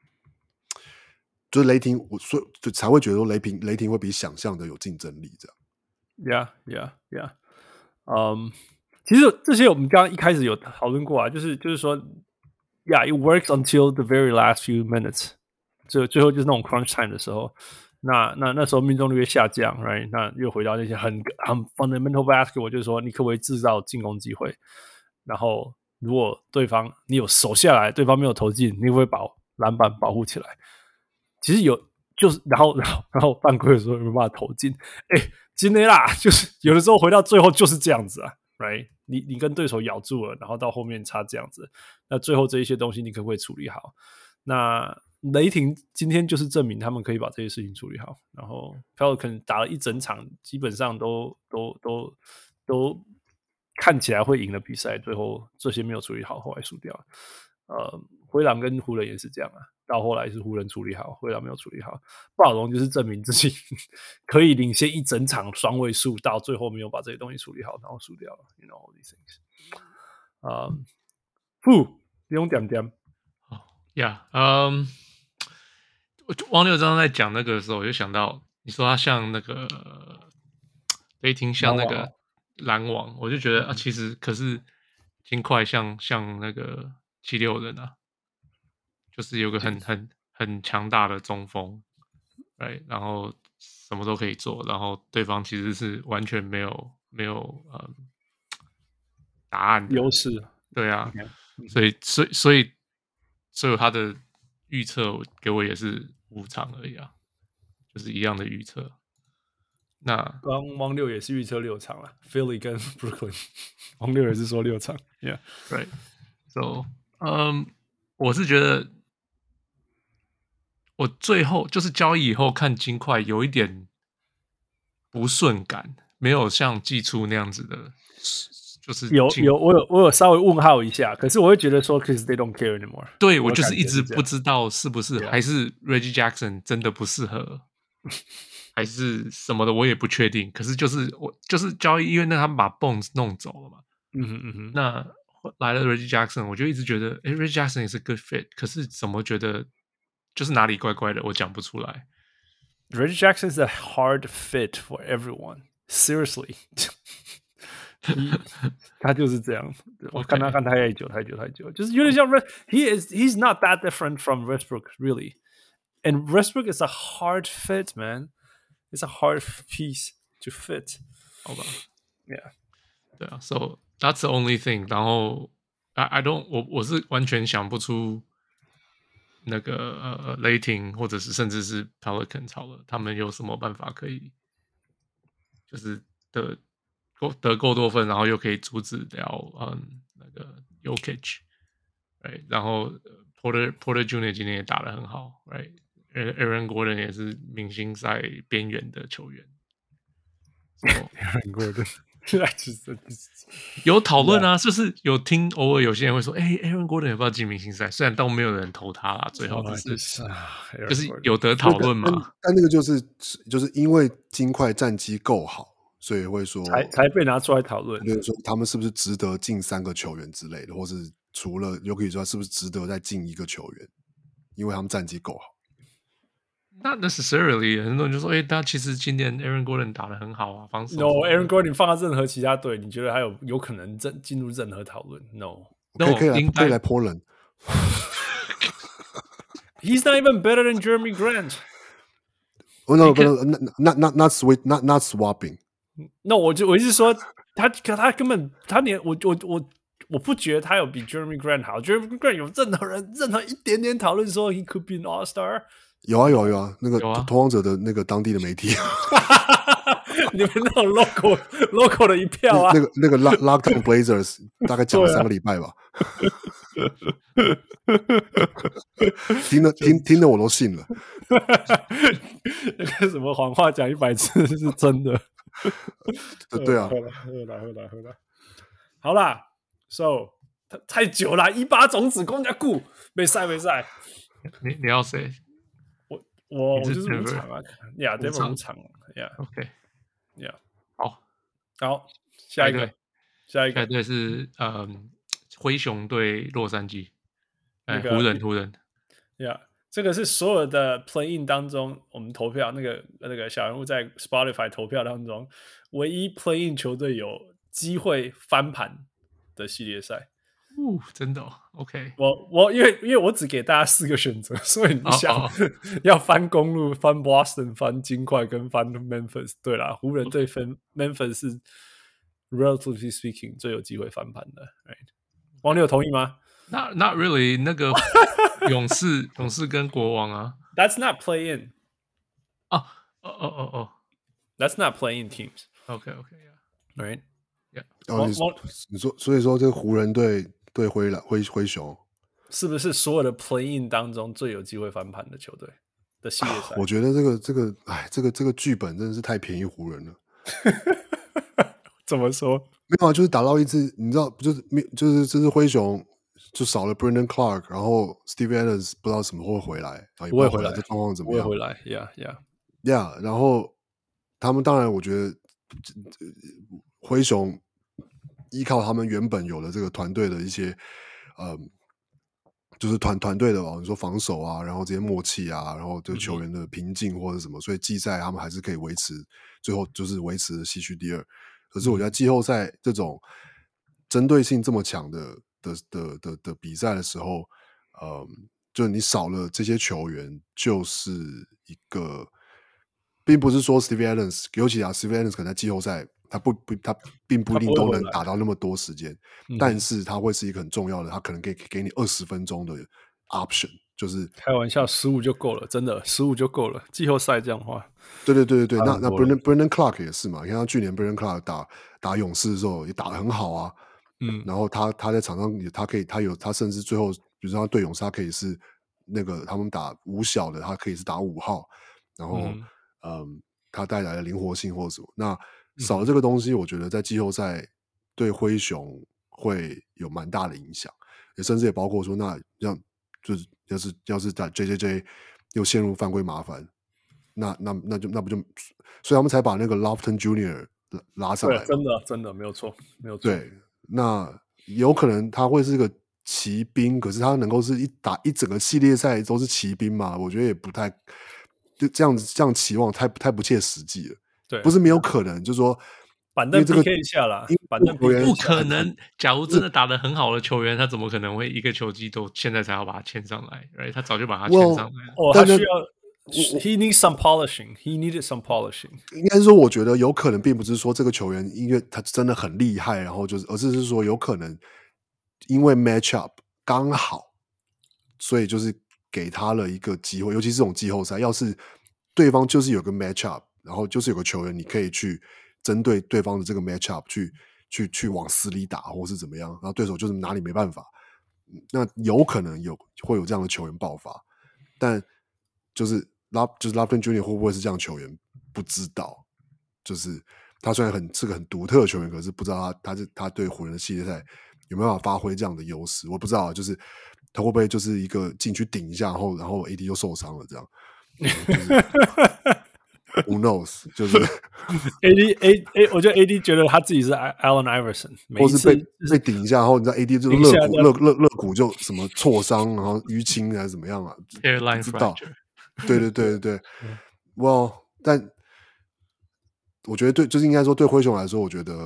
就是雷霆，我所就才會覺得說雷霆雷霆會比想象的有競爭力這樣。 Yeah, yeah, yeah. 嗯、um, 其實這些我們剛剛一開始有討論過啊，就是就是說 ，Yeah, it works until the very last few minutes. 最最後就是那種 crunch time 的時候。那那那時候命中率下降 ，right？ 那又回到那些很很 fundamental basketball，就是說你可不可以制造進攻機會，然後如果對方你有守下來，對方沒有投進，你會不會把籃板保護起來？其實有，就是然後然後然後犯規的時候有沒有辦法投進？哎，今天啦，就是有的時候回到最後就是這樣子啊 ，right？你你跟對手咬住了，然後到後面差這樣子，那最後這一些東西你可不可以處理好？那雷霆今天就是證明他們可以把這些事情處理好，然後 Pelican 打了一整場，基本上都都都都看起來會贏的比賽，最後這些沒有處理好，後來輸掉了。呃，灰狼跟湖人也是這樣啊，到後來是湖人處理好，灰狼沒有處理好。暴龍就是證明自己可以領先一整場雙位數，到最後沒有把這些東西處理好，然後輸掉了。You know all these things。啊，不用點點。 呀，嗯。汪六剛剛在講那個的時候，我就想到你說他像那個雷霆，像那個籃網，我就覺得啊，其實可是金塊像像那個七六人啊，就是有個很很很強大的中鋒，對，然後什麼都可以做，然後對方其實是完全沒有沒有呃答案的優勢， 對啊， okay. 所以所以所以所以他的預測給我也是五場而已啊，就是一樣的預測。那剛汪六也是預測六場了 ，Philly 跟 Brooklyn， 汪六也是說六場 ，Yeah，Right，So， 嗯，我是覺得我最後就是交易以後看金塊有一點不順感，沒有像季初那樣子的。就是有有我有我有稍微問號一下，可是我會覺得說 ，cause they don't care anymore。 對，我就是一直不知道是不是還是 Reggie Jackson 真的不適合，還是什麼的，我也不確定。可是就是我就是交易，因為那他們把 Bones 弄走了嘛。 嗯哼嗯哼。 那來了 Reggie Jackson，我就一直覺得，哎 ，Reggie Jackson 也是 good fit， 可是怎麼覺得就是哪裡怪怪的，我講不出來。 Reggie Jackson is a hard fit for everyone. Seriously. 他就是這樣，我看他看太久太久太久，就是有點像 He is he's not that different from Westbrook really, and Westbrook is a hard fit, man. It's a hard piece to fit. 好吧 Yeah. 對啊 So that's the only thing. 然後 I I don't 我我是完全想不出那個呃雷霆或者是甚至是 Pelicans 好了，他們有什麼辦法可以就是的。得夠多分，然後又可以阻止掉嗯那個 Jokic， right？ 然後 Porter Porter Junior 今天也打得很好 ，right？Aaron Gordon 也是明星賽邊緣的球員。So, Aaron Gordon 有討論啊，就是有聽偶爾有些人會說，哎 ，Aaron Gordon 也不知道進明星賽，雖然都沒有人投他啦，最後只是、oh, 就是有得討論嘛。 但, 但那個就是就是因為金塊戰績夠好。所以會說才才被拿出來討論， 就是說他們是不是值得進三個球員之類的，或是除了有可以說是不是值得再進一個球員，因為他們戰績夠好。 Not necessarily， 很多人就說，哎、欸，他其實今年 Aaron Gordon 打得很好啊，防守。 No，Aaron Gordon 放到任何其他隊，你覺得還有有可能進進入任何討論 ？No， 可以可以來可以來 Portland。 He's not even better than Jeremy Grant。Oh no， not not not sweet not not swapping。 那我就我一直說他，他根本他連我我我我不覺得他有比 Jeremy Grant 好。Jeremy Grant 有任何人任何一點點討論說 he could be an All Star。 有啊有啊有啊，那個拓荒者的那個當地的媒體， 你們那種 local local 的一票啊， 那個那個 Lockdown Blazers 大概講了三個禮拜吧，聽了聽聽了我都信了。 那個什麼謊話講一百次是真的。 對啊， 喝了喝了喝了喝了，好啦 ，So 太久了，一把種子公家顧沒賽沒賽。 你你要誰？ 我我我就是五場啊，呀，這邊五場呀 ，OK， 呀， 好， 好，下一個，下一個， 下一個是嗯，灰熊對洛杉磯，哎，湖人湖人， 呀。這個是所有的 play-in 當中，我們投票那個那個小人物在 Spotify 投票當中，唯一 play-in 球隊有機會翻盤的系列賽。 哦，真的、哦、？OK， 我我因為因為我只給大家四個選擇，所以你想、oh, oh. 要翻公路、翻 Boston、翻金塊跟翻 Memphis。對啦，湖人對分 Memphis 是 relatively speaking 最有機會翻盤的。Right? 王六同意嗎 ？Not not really， 那個勇士勇士跟國王啊。 That's not play in。 哦哦哦哦哦 ，That's not play in teams。OK OK，Yeah，right，Yeah。 哦， 你你說，所以說這個湖人隊對灰狼灰灰熊，是不是所有的 play in 當中最有機會翻盤的球隊的系列賽？ 我覺得這個這個，哎，這個這個劇本真的是太便宜湖人了。 怎麼說？ 沒有啊，就是打到一支，你知道，就是就是這支灰熊就少了 Brandon Clark， 然後 Steve Adams 不知道什麼會回來， 不會回來， 這狀況怎麼樣？ 不會回來 ，Yeah Yeah Yeah。然後他們當然，我覺得灰熊依靠他們原本有的這個團隊的一些，嗯，就是團團隊的吧，你說防守啊，然後這些默契啊，然後對球員的平靜或者什麼，嗯、所以季賽他們還是可以維持，最後就是維持西區第二。可是我覺得季後賽這種針對性這麼強的的的的的比賽的時候，嗯，就你少了這些球員，就是一個，並不是說 Steve Adams， 尤其啊 Steve Adams 可能在季後賽他不不他並不一定都能打到那麼多時間，但是他會是一個很重要的，他可能可以給你二十分鐘的 option。就是開玩笑，十五就夠了，真的十五就夠了。季後賽這樣的話， 對對對對對，那那 Brandon Brandon Clark 也是嘛，你看他去年 Brandon Clark 打打勇士的時候也打得很好啊，嗯，然後他他在場上也他可以他有他甚至最後，比如說他對勇士他可以是那個他們打五小的，他可以是打五號，然後嗯，嗯，他帶來的靈活性或者什麼，那少了這個東西，我覺得在季後賽對灰熊會有蠻大的影響，也甚至也包括說那讓就是要是要是在 J J J 又陷入犯規麻煩，那那那就那不就，所以他們才把那個 Lofton Junior 拉上來。 真的真的沒有錯，沒有錯。 對，那有可能他會是個騎兵，可是他能夠是一打一整個系列賽都是騎兵嘛？我覺得也不太就這樣子這樣期望太太不切實際了。對，不是沒有可能，就是說。 板凳 P K 一下啦，板凳 P K 不可能。假如真的打得很好的球員，他怎麼可能會一個球季都現在才要把他簽上來 ？Right？ 他早就把他簽上來了。 哦，他需要 ，He needs some polishing. He needed some polishing. 應該是說，我覺得有可能，並不是說這個球員因為他真的很厲害，然後就是，而是是說有可能因為 match up 剛好，所以就是給他了一個機會。尤其是這種季後賽，要是對方就是有個 match up， 然後就是有個球員你可以去。針對對方的這個 matchup 去去去往死裡打，或是怎麼樣，然後對手就是拿你沒辦法，那有可能有會有這樣的球員爆發，但就是拉就是 Lofton Junior 會不會是這樣的球員，不知道。就是他雖然很是個很獨特的球員，可是不知道他他是他對湖人的系列賽有沒有辦法發揮這樣的優勢，我不知道。就是他會不會就是一個進去頂一下，然後然後 A D 又受傷了這樣。嗯就是 Who knows？ 就是 A D A A， 我覺得 A D 覺得他自己是 Allen Iverson， 或是被被頂一下，然後你知道 A D 就肋骨肋肋肋骨就什麼挫傷，然後淤青還是怎麼樣啊？不知道。對對對對對，哇、well, ！但我覺得對，就是應該說對灰熊來說，我覺得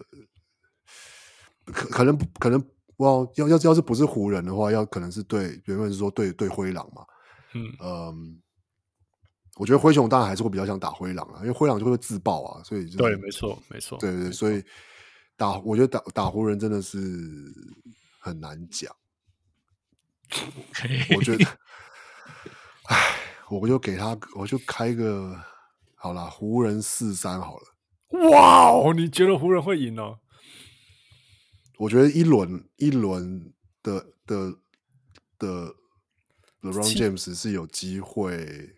可可能可能哇，要要要是不是湖人的話，要可能是對，原本是說對對灰狼嘛，嗯嗯。我覺得灰熊當然還是會比較想打灰狼啊，因為灰狼就會自爆啊，所以、就是、 對，沒錯，沒錯， 對對，所以打我覺得打打湖人真的是很難講。Okay. 我覺得，唉，我就給他，我就開個好啦，湖人四三好了。 哇哦，你覺得湖人會贏哦？ 我覺得一輪一輪的的的 LeBron James 是有機會。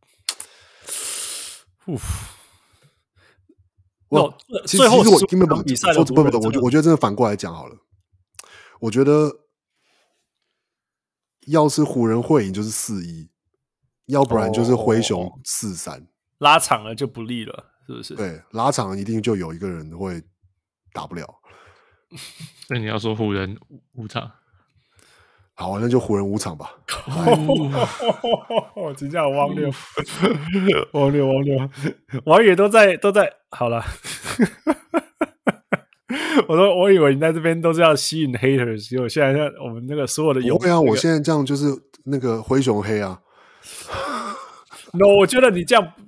嗚， 我其實其實我根本不比賽不不不，我我覺得真的反過來講好了。我覺得要是湖人會贏就是四一，要不然就是灰熊四三。 拉長了就不利了，是不是？ 對，拉長一定就有一個人會打不了。 那你要說湖人五場？ 好，那就湖人五場吧。 我真叫汪六，汪六，汪六，王爺都在都在。好了，我說我以為你在這邊都是要吸引 haters， 結果現在我們那個所有的有， 對啊，我現在這樣就是那個灰熊黑啊。 No， 我覺得你這樣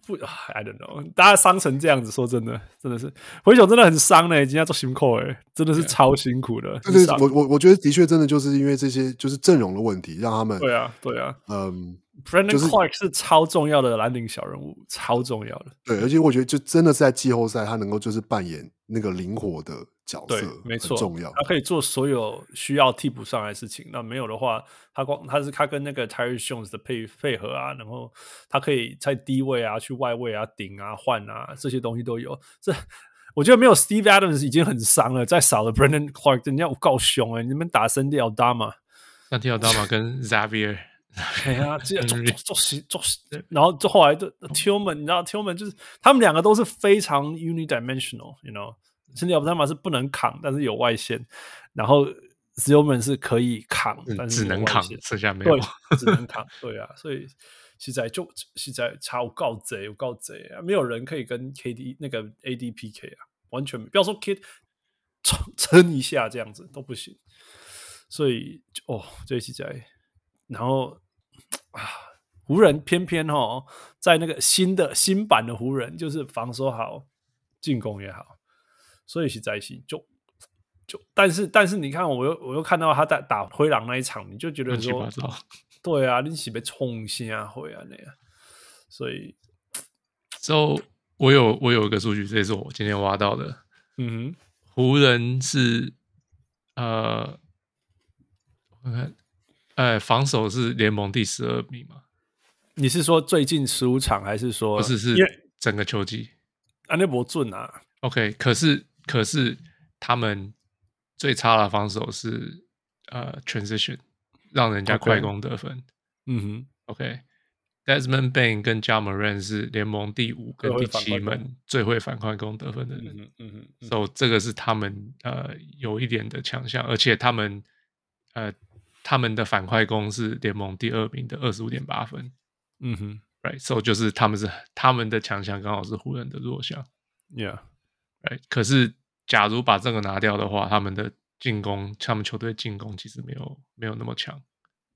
不 ，I don't know， 大家傷成這樣子，說真的，真的是灰熊真的很傷呢，今天做辛苦哎，真的是超辛苦的。 對，對，我我我覺得的確真的就是因為這些就是陣容的問題，讓他們對啊對啊， 嗯 ，Brandon Clarke 是超重要的藍領小人物，超重要的。 對，而且我覺得就真的是在季後賽，他能夠就是扮演那個靈活的角色， 對，沒錯， 很重要。 他可以做所有需要替補上來的事情。那沒有的話，他光他是他跟那個 Tyus Jones 的配配合啊，然後他可以在低位啊、去外位啊、頂啊、換啊，這些東西都有。這我覺得沒有 Steve Adams 已經很傷了，再少了 Brandon Clarke， 人家我夠凶哎、欸！你們打Santi Aldama，Santi Aldama 跟 Xavier， 哎呀，這做做做做，然後就後來的 Tillman， 你知道 Tillman 就是他們兩個都是非常 unidimensional，you know。Santi Aldama 是不能扛，但是有外線，然後 Tillman 是可以扛，但是只能扛，剩下沒有， 對，只能扛，對啊，所以現在就現在差我告賊，我告賊啊，沒有人可以跟 K D 那個 A D P K 啊，完全不要說 K D 撐一下這樣子都不行，所以哦，這現在，然後啊，湖人偏偏哦，在那個新的新版的湖人，就是防守好，進攻也好。所以實在是就就，但是但是你看，我又我又看到他在打灰狼那一場，你就覺得說，對啊，你是被衝下回啊那樣，所以， 之後我有我有一個數據，這也是我今天挖到的，嗯哼，湖人是呃，我看，哎，防守是聯盟第十二名嘛？ 你是說最近十五場，還是說不是是整個球季？ 啊，那不準啊。 OK， 可是。可是他們最差的防守是呃 transition， 讓人家快攻得分。Okay. 嗯哼 ，OK，Desmond Bane 跟 Ja Morant 是聯盟第五跟第七門最會反快攻得分的人。嗯嗯嗯，嗯 so 這個是他們呃有一點的強項，而且他們呃他們的反快攻是聯盟第二名的二十五點八分。嗯哼 ，Right，so 就是他們是他們的強項剛好是湖人的弱項。 Yeah。 Right. 可是，假如把這個拿掉的話，他們的進攻，他們球隊進攻其實沒有沒有那麼強。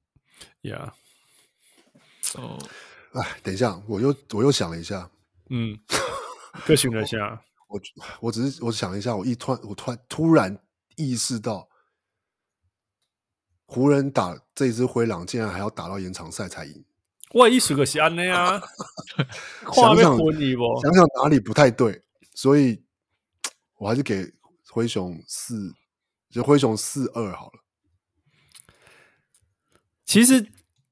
Yeah。 哦， 哎，等一下，我又我又想了一下， 嗯，各想了一下， 我我只是我想了一下，我一突然我突然突然意識到，湖人打這一支灰狼，竟然還要打到延長賽才贏。 我意思就是安尼啊， 想想想想哪裡不太對，所以。我還是給灰熊四，就灰熊四二好了。 其實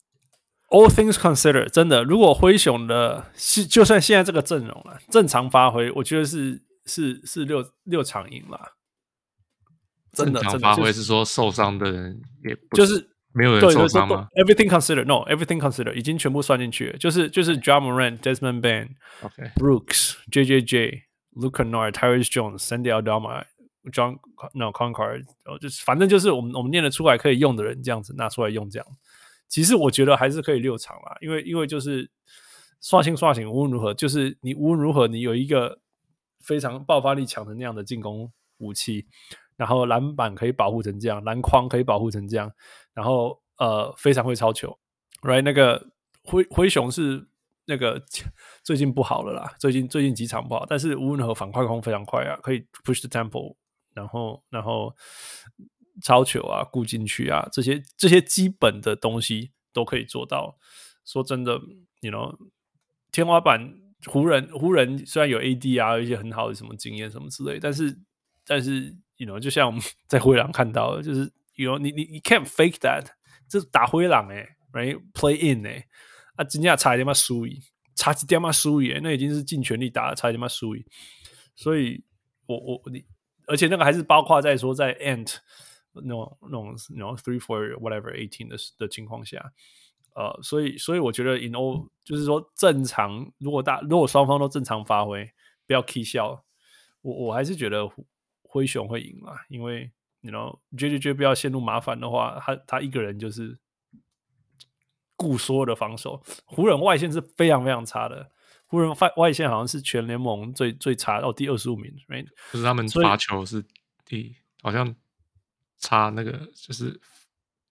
，all things considered， 真的，如果灰熊的，就算現在這個陣容了，正常發揮，我覺得是是是六六場贏了。真的， 正常發揮是說受傷的人也不就是沒有人受傷嗎 ？Everything considered，no，everything considered 已經全部算進去了，就是就是 Ja Morant、Desmond Bane、Brooks、J J J。Luke Kennard、Tyus Jones、Santi Aldama、John No Concord， 就是反正就是我們我們念得出來可以用的人，這樣子拿出來用這樣。其實我覺得還是可以六場啦，因為因為就是刷新刷新，無論如何，就是你無論如何你有一個非常爆發力強的那樣的進攻武器，然後籃板可以保護成這樣，籃筐可以保護成這樣，然後呃非常會抄球 ，right？ 那個灰灰熊是。那個最近不好了啦，最近最近幾場不好，但是無論如何反快攻非常快啊，可以 push the tempo， 然後然後抄球啊，顧進去啊，這些這些基本的東西都可以做到。說真的 ，you know， 天花板湖人湖人雖然有 A D 啊，有一些很好的什麼經驗什麼之類，但是但是 you know， 就像我們在灰狼看到的，就是 you know， 你你你 can't fake that， 這是打灰狼哎、欸、，right play in 哎、欸。啊，真正差一點嘛輸贏，差一點嘛輸贏，那已經是盡全力打了，差一點嘛輸贏。所以我，我我你，而且那個還是包括在說在 Ant 那種那種那種 three four whatever eighteen 的的情況下，呃，所以所以我覺得 in all 就是說正常，如果大如果雙方都正常發揮，不要起笑，我我還是覺得灰熊會贏啦，因為你 you know J J J 不要陷入麻煩的話，他他一個人就是。顧所有的防守，湖人外線是非常非常差的。湖人外線好像是全聯盟最最差哦，第二十五名。Right? 就是他們罰球是第，好像差那個就是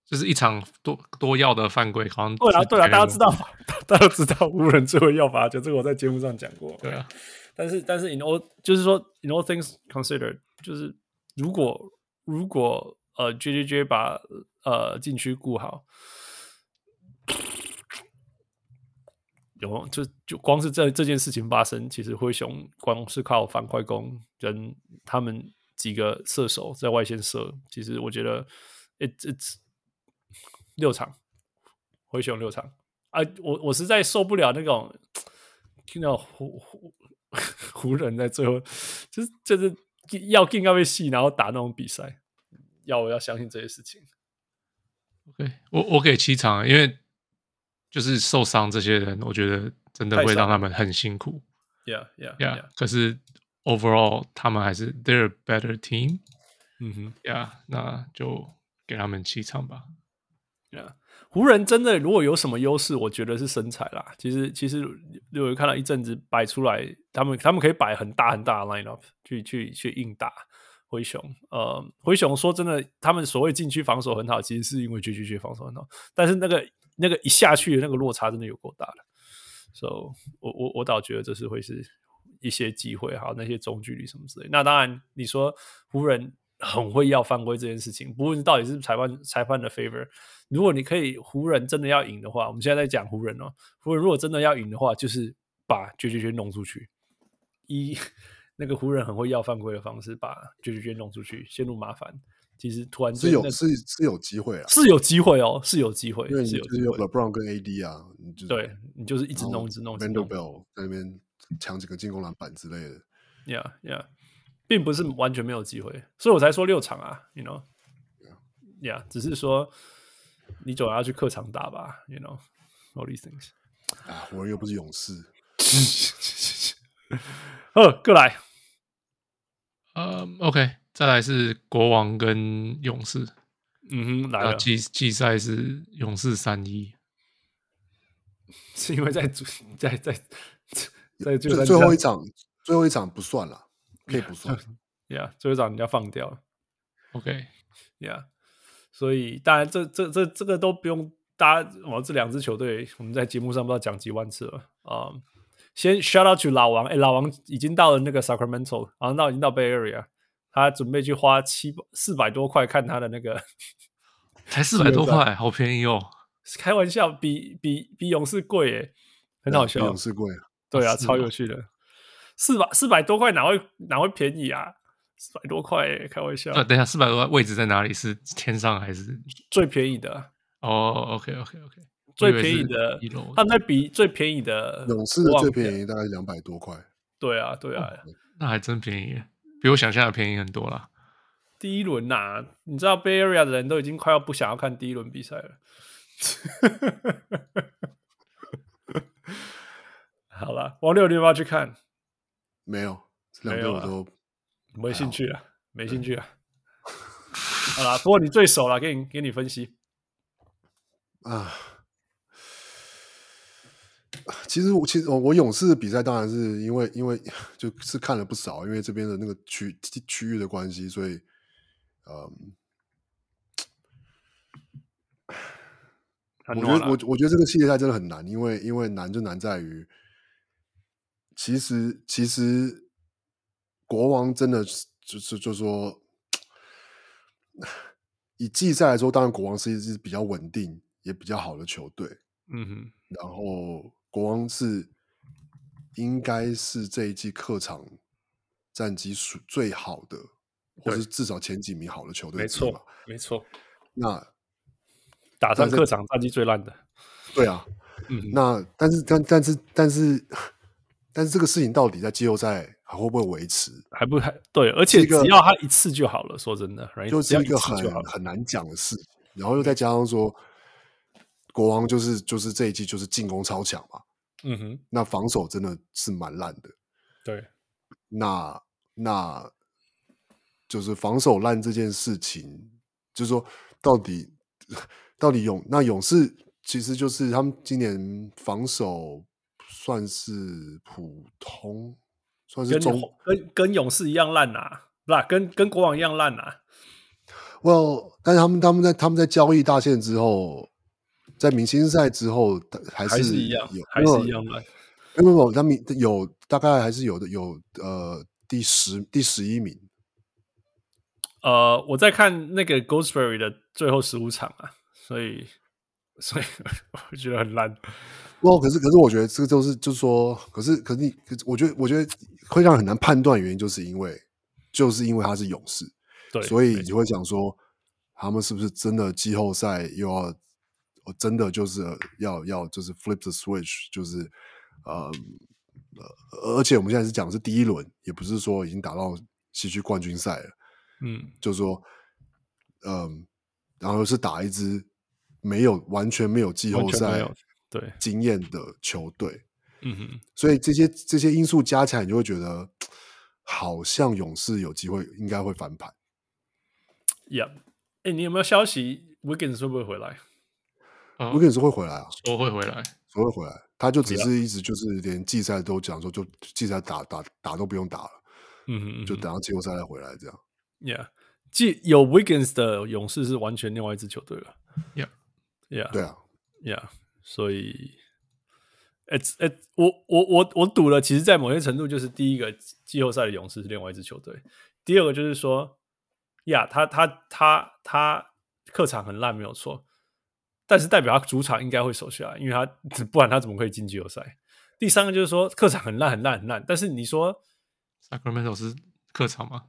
就是一場多多要的犯規，好像對啊對啊，大家知道，大家都知道湖人最後要罰球，這個我在節目上講過。 對啊， 但是但是 in all 就是說 in all things considered， 就是如果如果呃 J J J 把呃禁區顧好，有就就光是這這件事情發生，其實灰熊光是靠反快攻跟他們幾個射手在外線射，其實我覺得 it it's 六場灰熊六場啊，我我實在受不了那種聽到湖湖湖人在最後就是就是要進要被戲，然後打那種比賽，要我要相信這些事情。 OK， 我我給七場，因為就是受傷這些人，我覺得真的會讓他們很辛苦。 Yeah, yeah, yeah. yeah. 可是 overall 他們還是 they're a better team。 嗯哼 ，Yeah， 那就給他們七場吧。 Yeah， 湖人真的如果有什麼優勢，我覺得是身材啦。其實其實有看到一陣子擺出來，他們他們可以擺很大很大的 lineup 去去去硬打灰熊。呃，灰熊說真的，他們所謂禁區防守很好，其實是因為 J J J 防守很好，但是那個那個一下去的那個落差真的有夠大的。So 我我我倒覺得這是會是一些機會，還有那些中距離什麼之類。那當然，你說湖人很會要犯規這件事情，不論到底是裁判裁判的 favor， 如果你可以湖人真的要贏的話，我們現在在講湖人哦，湖人如果真的要贏的話，就是把 J J J 弄出去，以那個湖人很會要犯規的方式把 J J J 弄出去，陷入麻煩。其實突然間、那個、 是有是是有機會啊， 是有機會哦，是有機會， 因為你是就是有 LeBron 跟 A D 啊，你就是、 對你就是一直弄一直弄 Vanderbilt 在那邊搶幾個進攻籃板之類的。 Yeah, yeah， 並不是完全沒有機會，所以我才說六場啊 ，you know， yeah， 只是說你總要去客場打吧 ，you know all these things。 啊，湖人又不是勇士。 呃，過來， 呃、um, ，OK， 再來是國王跟勇士。 嗯哼，來了。 季季賽是勇士三一， 是因為在在在在最最後一場，最後一場不算了，可以不算。 Yeah， 最後一場人家放掉了。 OK，Yeah，、 yeah. 所以當然這這這這個都不用大家，我這兩支球隊我們在節目上不知道講幾萬次了啊。Um, 先 shout out to 老王，哎，老王已經到了那個 Sacramento， 然後到已經到 Bay Area， 他準備去花七四百多塊看他的那個， 才四百多塊，好便宜哦。 開玩笑，比比比勇士貴耶，很好笑。 比勇士貴， 對啊，啊超有趣的。四百四百多塊哪會哪會便宜啊？四百多塊耶，開玩笑。 呃、啊，等一下，四百多塊位置在哪裡？是天上還是最便宜的？ 哦 ，OK OK OK， 最便宜的，他們在比最便宜的勇士的最便宜大概兩百多塊。對啊，對啊、哦， 那還真便宜，比我想象的便宜很多啦。 第一輪吶、啊，你知道 Bay Area 的人都已經快要不想要看第一輪比賽了。好了，王六，你要不要去看？ 沒有，兩個我都沒興趣了，沒興趣了。好了，不過你最熟了，給你給你分析啊。其實我其實我勇士的比賽當然是因為因為就是看了不少，因為這邊的那個區區域的關係，所以嗯。我覺得我我覺得這個系列賽真的很難，因為因為難就難在於，其實其實國王真的就是就說，以季賽來說，當然國王是一支比較穩定也比較好的球隊， 嗯哼， 然後國王是應該是這一季客場戰績數最好的，或是至少前幾名好的球隊， 沒錯沒錯， 那。 打上客場戰績最爛的， 對啊，嗯，那但是但但是但是但是這個事情到底在季後賽還會不會維持？ 還不還對，而且只要他一次就好了。說真的， 就是一個很很難講的事。然後又再加上說，國王就是就是這一季就是進攻超強嘛，嗯哼，那防守真的是蠻爛的。 對， 那那就是防守爛這件事情，就是說到底。到底勇那勇士其實就是他們今年防守算是普通，算是中跟跟跟勇士一樣爛啊，不啦，跟跟國王一樣爛啊。 Well， 但是他們他們在他們在交易大限之後，在明星賽之後還是還是一樣， 有還是一樣爛。 沒有沒有，他們有大概還是有的有呃第十第十一名。 呃，我在看那個 Goldsberry 的最後十五場啊，所以所以我覺得很爛。 不，可是可是我覺得這個就是就是說，可是可是你，我覺得我覺得會讓人很難判斷，原因就是因為就是因為他是勇士， 對， 所以你會講說他們是不是真的季後賽又要真的就是要要就是 flip the switch， 就是呃呃，而且我們現在是講的是第一輪，也不是說已經打到西區冠軍賽了。 嗯， 就是說，嗯，然後是打一支沒有完全沒有季後賽對經驗的球隊， 嗯哼， 所以這些這些因素加起來，你就會覺得好像勇士有機會，應該會翻盤。 Yeah， 哎，你有沒有消息 Wiggins 會不會回來？ 呃、 Wiggins 會回來啊， 說會回來， 說會回來，他就只是一直就是連季賽都講說，就季賽打打打都不用打了， 嗯哼嗯哼， 就等到季後賽再回來這樣。 Yeah， 既有 Wiggins 的勇士是完全另外一支球隊了。Yeah，Yeah， 對啊 ，Yeah， 所以 ，It's it， 我我我我賭了，其實，在某些程度，就是第一個季後賽的勇士是另外一支球隊，第二個就是說，Yeah， 他他他他客場很爛沒有錯，但是代表他主場應該會守下來，因為他不然他怎麼可以進季後賽？第三個就是說，客場很爛很爛很爛，但是你說 Sacramento 是客場嗎？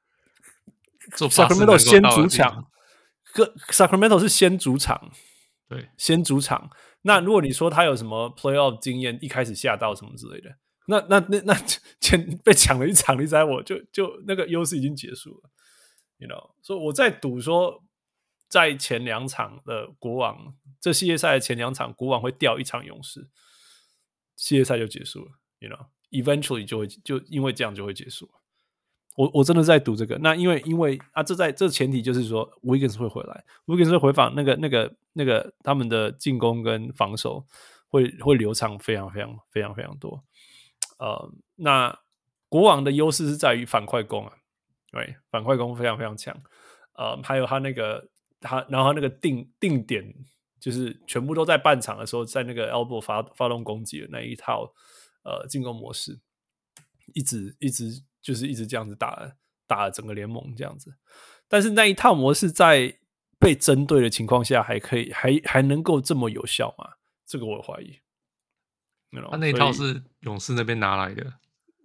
Sacramento 先主場 ，Sacramento 是先主場， 對， 先主場。那如果你說他有什麼 playoff 經驗，一開始下到什麼之類的，那那那那前被搶了一場，你猜我就就那個優勢已經結束了 ，you know。所以我在賭說，在前兩場的國王，這系列賽的前兩場，國王會掉一場勇士，系列賽就結束了 ，you know。Eventually 就會就因為這樣就會結束了。我我真的在賭這個，那因為因為啊，這在這前提就是說 ，Wiggins 會回來 ，Wiggins 會回訪那個那個那個他們的進攻跟防守會會流暢非常非常非常非常多。呃，那國王的優勢是在於反快攻啊，對，反快攻非常非常強。呃，還有他那個他，然後他那個定定點就是全部都在半場的時候，在那個 elbow 發發動攻擊的那一套呃進攻模式，一直一直。就是一直這樣子打了打了整個聯盟這樣子，但是那一套模式在被針對的情況下，還可以還還能夠這麼有效嗎？這個我懷疑。他、you know, 那一套是勇士那邊拿來的，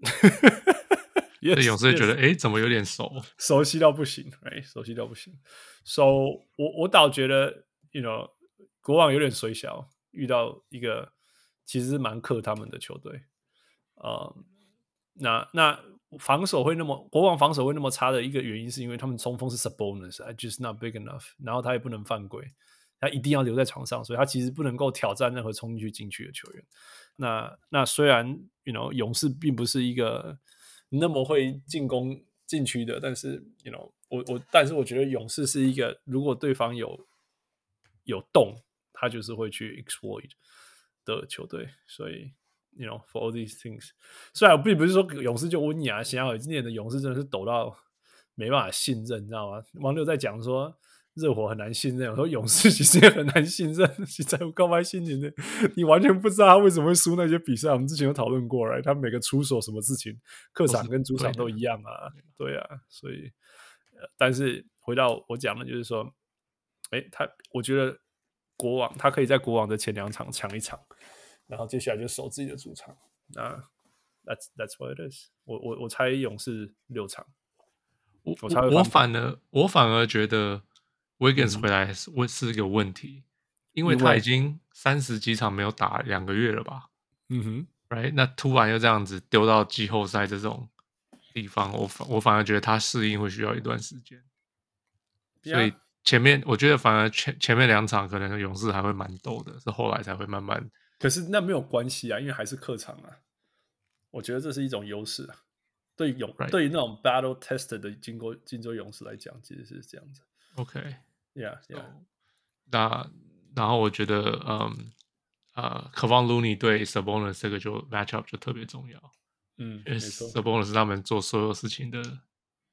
yes, 所以勇士覺得哎、 yes. 欸，怎麼有點熟， 熟悉到不行，哎，熟悉到不行。So 我我倒覺得，you know， 國王有點衰小，遇到一個其實是蠻克他們的球隊，呃，那那。防守會那麼國王防守會那麼差的一個原因，是因為他們中鋒是 Sabonis，I just not big enough， 然後他也不能犯規，他一定要留在場上，所以他其實不能夠挑戰任何衝進去禁區的球員。那那雖然 you know 勇士並不是一個那麼會進攻禁區的，但是 you know 我我但是我覺得勇士是一個如果對方有有洞，他就是會去 exploit 的球隊，所以。You know, for all these things， 雖然我並不是說勇士就溫雅，想要今年的勇士真的是抖到沒辦法信任，你知道嗎？網友在講說熱火很難信任，我說勇士其實也很難信任。現在我告白新年的，你完全不知道他為什麼會輸那些比賽。我們之前有討論過來，他每個出手什麼事情，客場跟主場都一樣啊，對啊，所以，但是回到我講的，就是說，哎，他我覺得國王他可以在國王的前兩場搶一場。然後接下來就守自己的主場，那 that's that's what it is 我。我我我猜勇士六場， 我我猜我反而我反而覺得 Wiggins 回來是會是一個問題，嗯、因為他已經三十幾場沒有打兩個月了吧？ 嗯哼 ，right？ 那突然又這樣子丟到季後賽這種地方，我反我反而覺得他適應會需要一段時間，所以前面我覺得反而前前面兩場可能勇士還會蠻鬥的，是後來才會慢慢。 可是那沒有關係啊，因為還是客場啊。我覺得這是一種優勢啊。對勇 Right. 對於那種 battle tested 的金州金州勇士來講，其實是這樣子。 OK，Yeah，Yeah。 Yeah, yeah. 那然後我覺得，嗯，呃 Kevon Looney 對 Sabonis 這個就 matchup 就特別重要。 嗯， 因為 Sabonis 是他們做所有事情的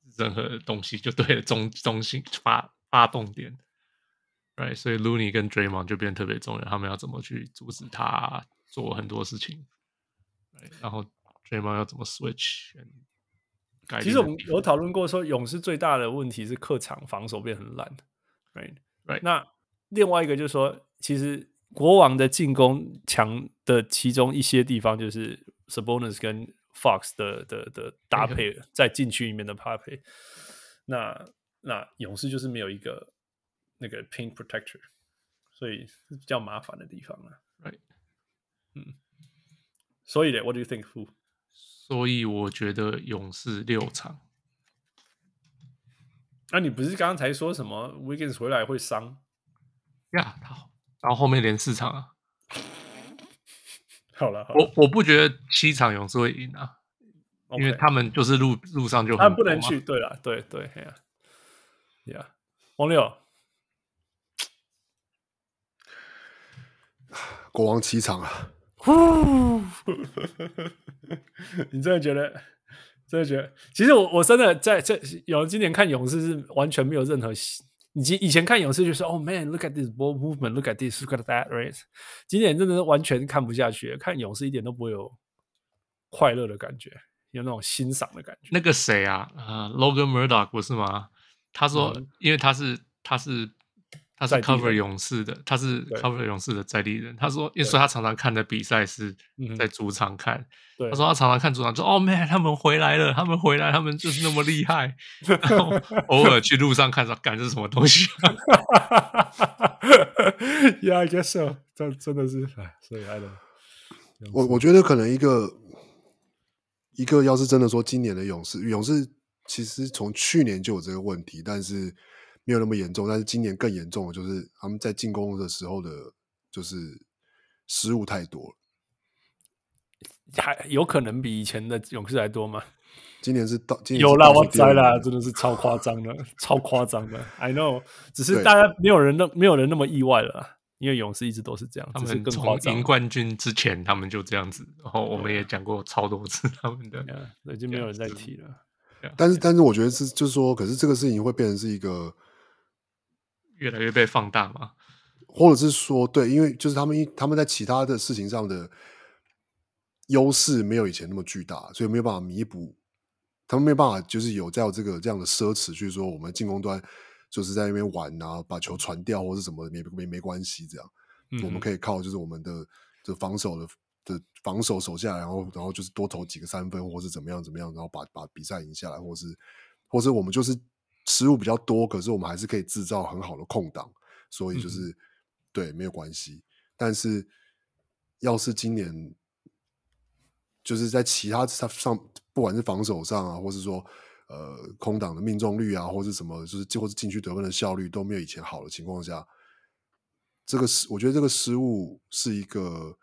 任何東西就對了，中中心發發動點。Right， 所以 Looney 跟 Draymond 就變得特別重要，他們要怎麼去阻止他做很多事情。Right， 然後 Draymond 要怎麼 switch。 其實我們有討論過說，勇士最大的問題是客場防守變很爛。Right，, right. 那另外一個就是說，其實國王的進攻強的其中一些地方，就是 Sabonis 跟 Fox 的的的搭配，在禁區裡面的搭配。那那勇士就是沒有一個那個 paint protector， 所以是比較麻煩的地方啊。 Right， 嗯，所以呢 ，What do you think, Fu？ 所以我覺得勇士六場。 那、啊、你不是剛剛才說什麼 Wiggins 回來會傷？ 呀，好，然後後面連四場啊。 好了，好了， 我我不覺得七場勇士會贏啊， okay. 因為他們就是路路上就很他們不能去，對了，對對，哎呀，呀，王六， 國王七場啊。 你真的覺得？真的覺得？其實我我真的在這有今年看勇士是完全沒有任何，以前以前看勇士就說哦 man，look at this ball movement，look at this，look at that，right？ 今年真的是完全看不下去，看勇士一點都不會有快樂的感覺，有那種欣賞的感覺。 那個誰啊，呃 ，Logan Murdoch 不是嗎？他說，嗯、因為他是他是。他是 cover 勇士的，他是 cover 勇士的在地人。他說，因為他常常看的比賽是在主場看。他說他常常看主場，說：“哦 man，他們回來了，他們回來，他們就是那麼厲害。”然後偶爾去路上看，說：“幹這是什麼東西、啊、 ？”Yeah, I guess so。這真的是，哎，所以 I don't know。 我我覺得可能一個一個，要是真的說今年的勇士，勇士其實從去年就有這個問題，但是。沒有那麼嚴重，但是今年更嚴重的就是他們在進攻的時候的，就是失誤太多了。 還有可能比以前的勇士還多嗎？ 今年是到今年有啦，我猜啦，真的是超誇張的，超誇張的。I know， 只是大家沒有人那沒有人那麼意外了啦，因為勇士一直都是這樣， 他們從贏冠軍之前他們就這樣子，然後我們也講過超多次他們的， 已經沒有人再提了。 但是，但是我覺得是，就是說，可是這個事情會變成是一個。 越來越被放大嘛， 或者是說，對，因為就是他們他們在其他的事情上的優勢沒有以前那麼巨大，所以沒有辦法彌補，他們沒有辦法就是有這樣這個這樣的奢侈去說我們進攻端就是在那邊玩啊，把球傳掉或是什麼沒沒沒關係這樣、嗯，我們可以靠就是我們的的防守的的防守守下來，然後然後就是多投幾個三分或是怎麼樣怎麼樣，然後把把比賽贏下來，或是或是我們就是。失誤比較多，可是我們還是可以製造很好的空檔，所以就是、嗯、對沒有關係。但是要是今年就是在其他上，不管是防守上啊，或是說呃空檔的命中率啊，或是什麼，就是或是禁區得分的效率都沒有以前好的情況下，這個失我覺得這個失誤是一個，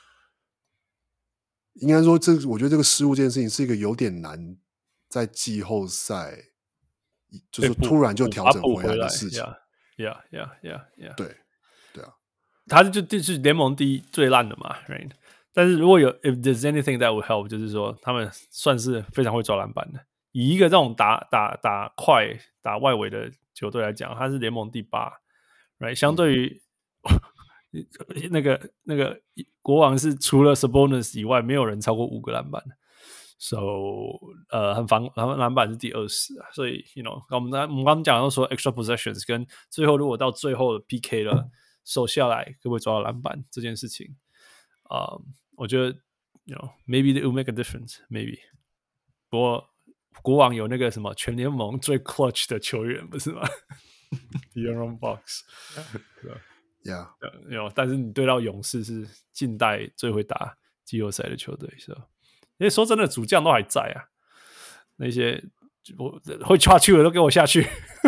應該說這我覺得這個失誤這件事情是一個有點難在季後賽。就是突然就調整回來的事情 ，Yeah, yeah, yeah, yeah。 對，對啊， 他就就是聯盟第一最爛的嘛 ，Right？ 但是如果有 ，If there's anything that would help， 就是說他們算是非常會抓籃板的。以一個這種打打打快打外圍的球隊來講，他是聯盟第八 ，Right？ 相對於、嗯、那個那個國王是除了 Sabonis 以外，沒有人超過五個籃板。So， 呃，很防籃籃板是第二十啊，所以 you know， 我們剛我們剛剛講到說 extra possessions 跟最後如果到最後的 P K 了，守下來可不可以抓到籃板這件事情啊、嗯，我覺得 you know maybe it will make a difference，maybe。不過國王有那個什麼全聯盟最 clutch 的球員不是嗎？De'Aaron Fox，yeah， 有，但是你對到勇士是近代最會打季後賽的球隊，是吧？因為說真的，主將都還在啊，那些我會下去的都給我下去，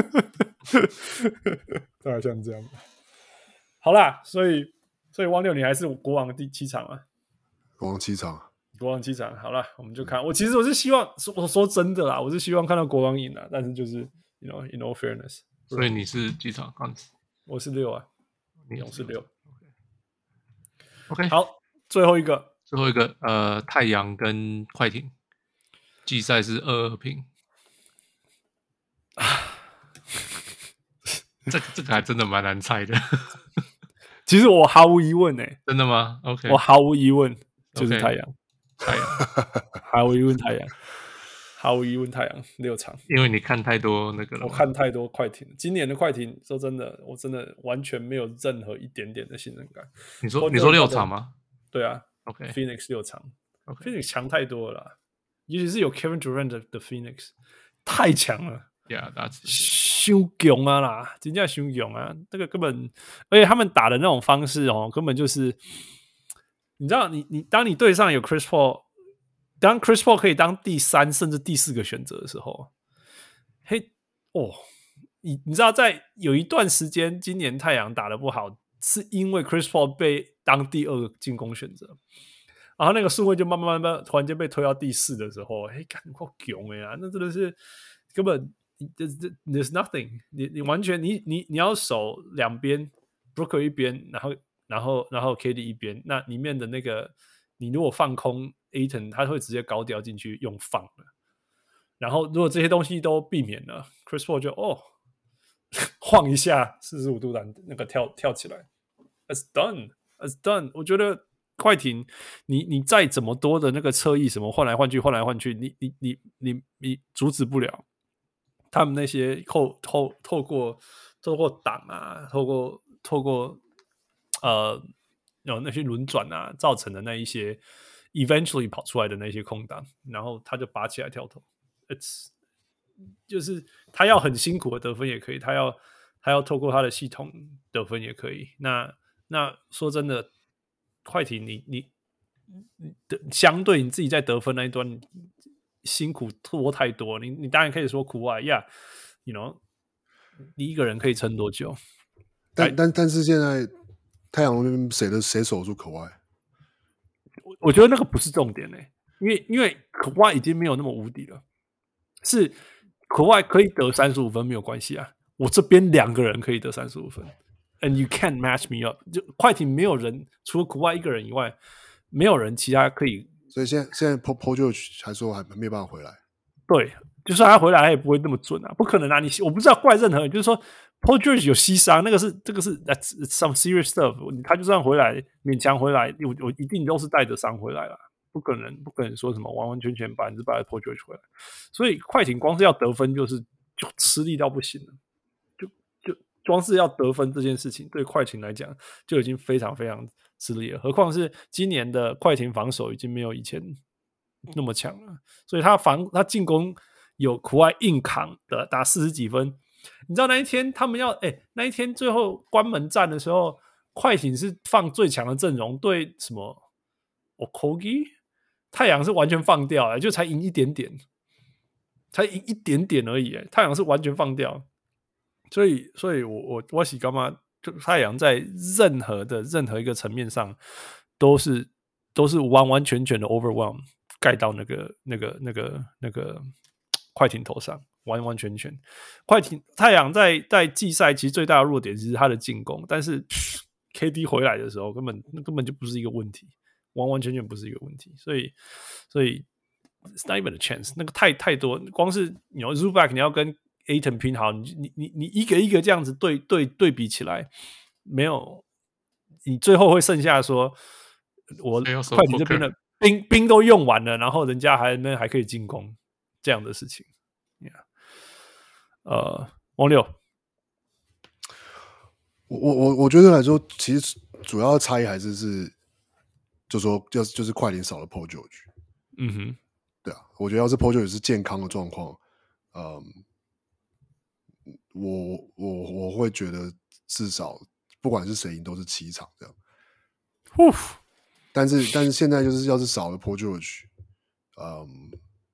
大概像這樣。好啦，所以所以汪六，你還是國王的第七場啊？ 國王七場， 國王七場。好啦，我們就看。我其實我是希望說，我說真的啦，我是希望看到國王贏啊，但是就是 you know in all fairness， 所以你是幾場？ 我是六啊，勇士六。 OK， 好，最後一個。 最後一個，呃，太陽跟快艇季賽是二二平。 這個這個還真的蠻難猜的。 其實我毫無疑問誒、欸， 真的嗎 ？OK， 我毫無疑問就是太陽， okay, 太陽， 毫無疑問太陽，毫無疑問太陽六場。 因為你看太多那個了， 我看太多快艇，今年的快艇說真的，我真的完全沒有任何一點點的信任感。 你說你說六場嗎？ 對啊 ，OK，Phoenix、 okay, 六場 ，OK，Phoenix、 okay, 強太多了啦，尤其是有 Kevin Durant 的, 的 Phoenix 太強了。 Yeah，that's 太強啊啦，真的太強啊！這個根本，而且他們打的那種方式哦，根本就是，你知道你，你你當你隊上有 Chris Paul， 當 Chris Paul 可以當第三甚至第四個選擇的時候，嘿哦，你你知道，在有一段時間，今年太陽打得不好，是因為 Chris Paul 被當第二個進攻選擇，然後那個順位就慢慢慢慢突然間被推到第四的時候，嘿，感覺好強哎呀，那真的是根本。There's, there's nothing， 你你完全你你你要守兩邊 ，Brooker 一邊，然後然後然後 K D 一邊，那裡面的那個你如果放空 Ayton， 他會直接高調進去用放了。然後如果這些東西都避免了 ，Chris Paul 就哦晃一下四十五度的那個跳跳起來 ，It's done, it's done。我覺得快艇，你你再怎麼多的那個側翼什麼換來換去換來換去，你你你你你阻止不了。他們那些透透透過透過擋啊，透過透過呃有那些輪轉啊造成的那一些 eventually 跑出來的那些空檔，然後他就拔起來跳投。It's 就是他要很辛苦的得分也可以，他要他要透過他的系統得分也可以。那那說真的，快艇你你你的相對你自己在得分那一端。辛苦拖太多，你你當然可以說苦外呀 ，you know， 你一個人可以撐多久？ 但但但是現在太陽那邊誰的誰守住可外？ 我我覺得那個不是重點嘞、欸，因為因為可外已經沒有那麼無敵了，是可外可以得三十五分沒有關係啊，我這邊兩個人可以得三十五分 ，and you can't match me up， 就快艇沒有人除了可外一個人以外，沒有人其他可以。 所以現在現在 Paul George 還說還沒有辦法回來，對， 就算他回來，他也不會那麼準啊，不可能啊！你我不知道怪任何人，就是說 Paul George 有膝傷，那個是這個是 that's some serious stuff， 他就算回來勉強回來，我我一定都是帶着傷回來啦，不可能不可能說什麼完完全全百分之百的 Paul George 回來，所以快艇光是要得分就是就吃力到不行了，就就光是要得分這件事情對快艇來講就已經非常非常吃力了，何況是今年的快艇防守已經沒有以前那麼強了，所以他防他進攻有苦外硬扛的打四十幾分。你知道那一天他們要哎、欸、那一天最後關門戰的時候，快艇是放最強的陣容對什麼 Okogie， 太陽是完全放掉、欸，就才贏一點點，才贏一點點而已、欸，太陽是完全放掉。所以所以我我我是幹嘛？就太陽在任何的任何一個層面上都是都是完完全全的 overwhelm 蓋到那個那個那個那個快艇頭上，完完全全。快艇太陽在在季賽其實最大的弱點是他的進攻，但是 K D 回來的時候根本根本就不是一個問題，完完全全不是一個問題。所以所以 it's not even a chance， 那個太太多，光是你要 Zubac 你要跟Ayton 拼好，你你你你一個一個這樣子對對對比起來，沒有你最後會剩下說，我快艇這邊的兵兵都用完了，然後人家還那還可以進攻這樣的事情。Yeah. 呃，王六， 我我我我覺得來說，其實主要的差異還是是，就說就就是快艇少了 Paul George。 嗯哼， 對啊，我覺得要是 Paul George 是健康的狀況，嗯。我我我會覺得至少不管是誰贏都是七場這樣， 呼但是但是現在就是要是少了 Paul George， 嗯，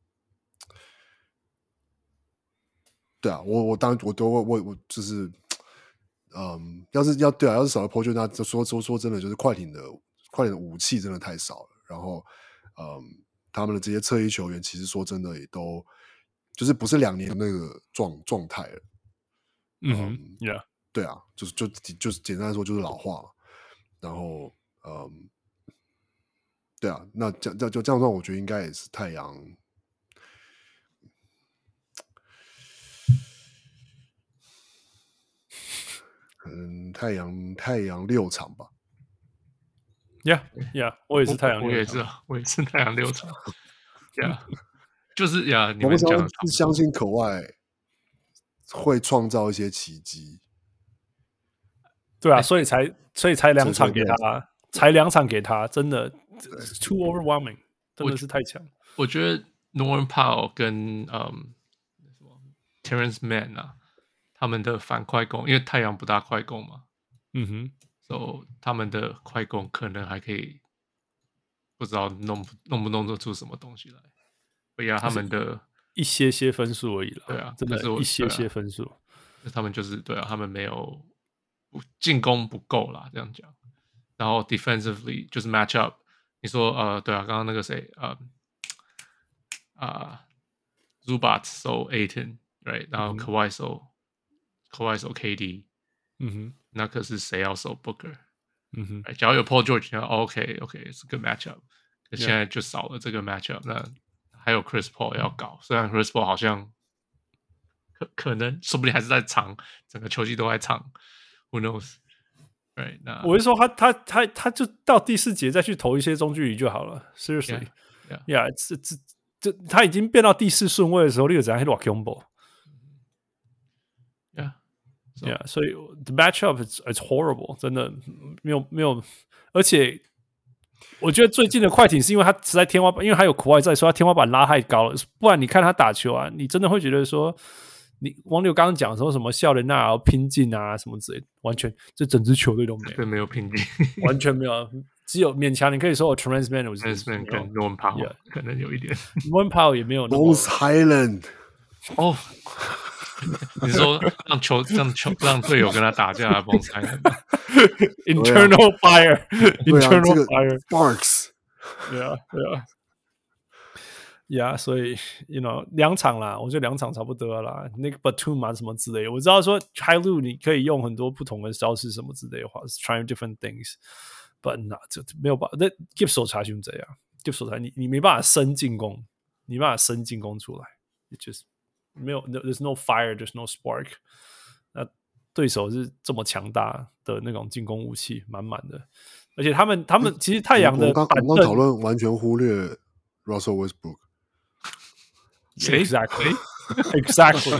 對啊，我我當然我都我我我就是，嗯，要是要對啊，要是少了 Paul George， 那就說說說真的，就是快艇的快艇的武器真的太少了，然後嗯，他們的這些側翼球員其實說真的也都就是不是兩年的那個狀狀態了。 嗯哼、um, 對啊，就是就就是簡單來說就是老化嘛，然後嗯，對啊，那這這就這樣說，我覺得應該也是太陽， 可能太陽太陽六場吧。 Yeah, yeah， 我也是太陽六場， 我也是啊，我也是太陽六場。Yeah， 就是呀， yeah, 你們講講的是相信可外會創造一些奇蹟。 對啊，所以才所以才兩場給他，才兩場給他，真的 too overwhelming， 真的是太強。 我覺得 Norman Powell 跟嗯什麼 Terrence Mann 啊，他們的反快攻，因為太陽不大快攻嘛， 嗯哼， 所以他們的快攻可能還可以，不知道弄弄不弄得出什麼東西來。不要他們的一些些分數而已了， 對啊， 真的是一些些分數。 啊、他們就是對啊，他們沒有進攻不夠啦，這樣講。然後 defensively 就是 match up， 你說呃，對啊，剛剛那個誰呃啊 Zubac 收 Ayton，right， 然後 Kawhi 收 Kawhi 收 K D， 嗯哼， 那可是誰要收 Booker？ 嗯哼， right, 假如有 Paul George， 那 OK OK 是個 match up， 可現在就少了這個 match up， 那還有 Chris Paul 要搞，雖然 Chris Paul 好像可可能說不定還是在場，整個球季都在場 ，Who knows？Right， 那我是說他他他他就到第四節再去投一些中距離就好了。Seriously， yeah， yeah， 這這這他已經變到第四順位的時候，你就怎樣去打 combo？Yeah，yeah， 所以 the matchup is it's horrible， 真的沒有沒有，而且我覺得最近的快艇是因為他實在天花板，因為他有Kawhi在，所以他天花板拉太高了。不然你看他打球啊，你真的會覺得說。你王六剛剛講說什麼笑人啊、拼勁啊什麼之類的，完全這整支球隊都沒有， 對，沒有拼勁， 完全沒有，只有勉強你可以說我 Terrence Mann，Terrence Mann 跟 Norman Powell 可能有一點 ，Norman Powell 也沒有那麼 Bones Highland 哦，你說讓球讓球讓隊友跟他打架 ，Bones Highland，internal fire，internal fire，Sparks， 對啊，對啊。呀、yeah, 所以 you know 兩場啦，我覺得兩場差不多啦。那個 Batum 啊什麼之類的，我知道說 High-Low 你可以用很多不同的招式什麼之類的話 ，trying different things，but not 這沒有辦法。那 Gibbs 手查就這樣 ，Gibbs 手查你你沒辦法生進攻，你沒辦法生進攻出來 ，it just 沒有 ，there's no fire，there's no spark。那對手是這麼強大的那種進攻武器，滿滿的，而且他們他們其實太陽的板凳， 我剛討論完全忽略 Russell Westbrook。 Exactly, exactly,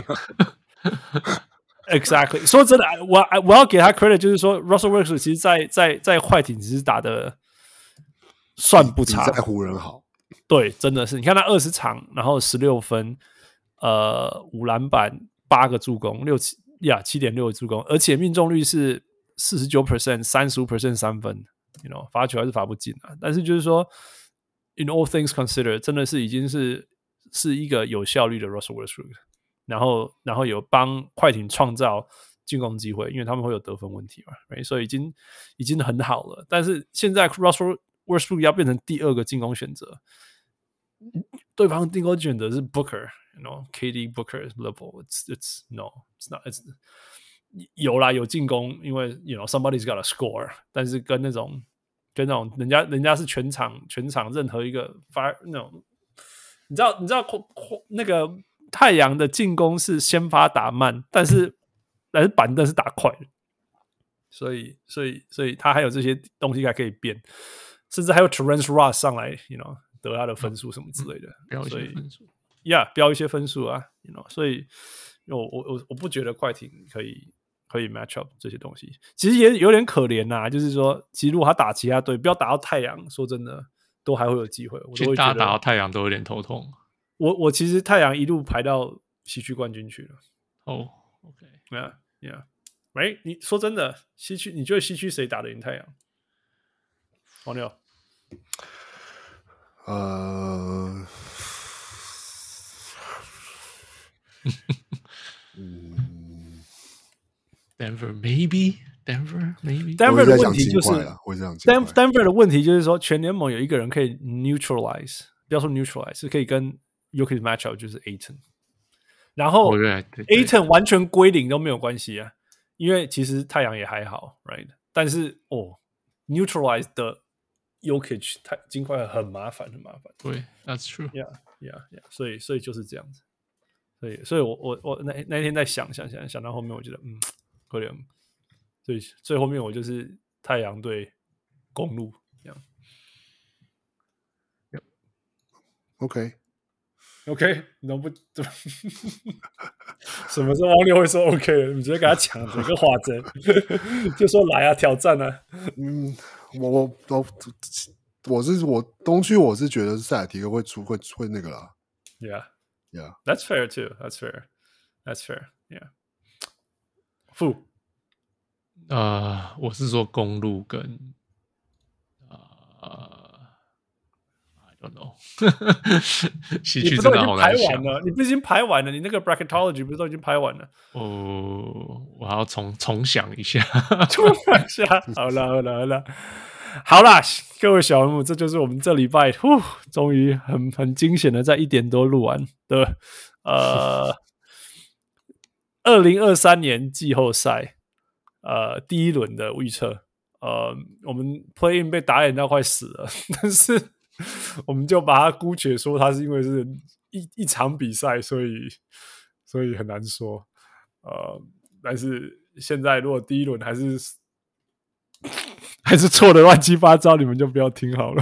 exactly. 說真的，我我要給他 credit，就是說 Russell Westbrook 其實在在在快艇只是打的算不差， 比在湖人好。 對，真的是。你看他二十場，然後十六分，呃，五籃板，八個助攻，六七呀七點六助攻，而且命中率是四十九 percent， 三十五 percent 三分。You know， 罰球還是罰不進啊。但是就是說 ，in all things considered， 真的是已經是。是一個有效率的 Russell Westbrook， 然後然後有幫快艇創造進攻機會，因為他們會有得分問題嘛， right? 所以已經已經很好了。但是現在 Russell Westbrook 要變成第二個進攻選擇，對方進攻選擇是 Booker，you know K D Booker level，it's it's no it's not it's 有啦有進攻，因為 you know somebody's got a score， 但是跟那種跟那種人家人家是全場全場任何一個 fire 那種。你知道，你知道那個太陽的進攻是先發打慢，但是但是板凳是打快的，所以所以所以他還有這些東西還可以變，甚至還有 Terrence Ross 上來 ，you know 得他的分數什麼之類的， 嗯、標一些分數， 呀，標一些分數啊 ，you know， 所以我我我我不覺得快艇可以可以 match up 這些東西，其實也有點可憐吶、啊，就是說，其實如果他打其他隊，不要打到太陽，說真的。都還會有機會，我都會覺得大家打到太陽都有點頭痛。 我我其實太陽一路排到西區冠軍去了。 哦、oh, ，OK，Yeah Yeah，Right？ 你說真的，西區你覺得西區誰打得贏太陽？黃牛？ 呃， 嗯 ，Denver maybe。Denver maybe Denver 的問題就是 Denver Denver 的問題就是說，全聯盟有一個人可以 neutralize， 不要說 neutralize， 是可以跟 Jokic match up， 就是 Ayton。然後 Ayton 完全歸零都沒有關係啊，因為其實太陽也還好 ，right？ 但是哦 ，neutralize 的 Jokic 太金塊很麻煩，很麻煩。 對 ，That's true。Yeah, yeah, yeah。所以，所以就是這樣子。所以，所以我我我那那天在想想想想到後面，我覺得嗯，可憐。 所以最後面我就是太陽對公鹿這樣。 OK OK， 能不什麼時候王六會說 OK 了？你直接給他搶這個話針，就說來啊，挑戰啊。 嗯，我我我我是我東區，我是覺得塞爾提克會出會會那個啦。 Yeah, yeah, that's fair too. That's fair. That's fair. Yeah. 負呃，我是說公鹿跟呃。西区真的好難想。 你不是已經排完了？你那個 bracketology 不是都已經排完了？ 哦，我還要重重想一下， 重想一下。好了，好了，好了，好啦，各位小人物，這就是我們這禮拜，呼，終於很很驚險的在一點多錄完的，呃，二零二三年季後賽，呃，第一輪的預測，呃，我們 play in 被打臉到快死了，但是。我們就把它姑且說，它是因為是一一場比賽，所以所以很難說。呃，但是現在如果第一輪還是還是錯的亂七八糟，你們就不要聽好了。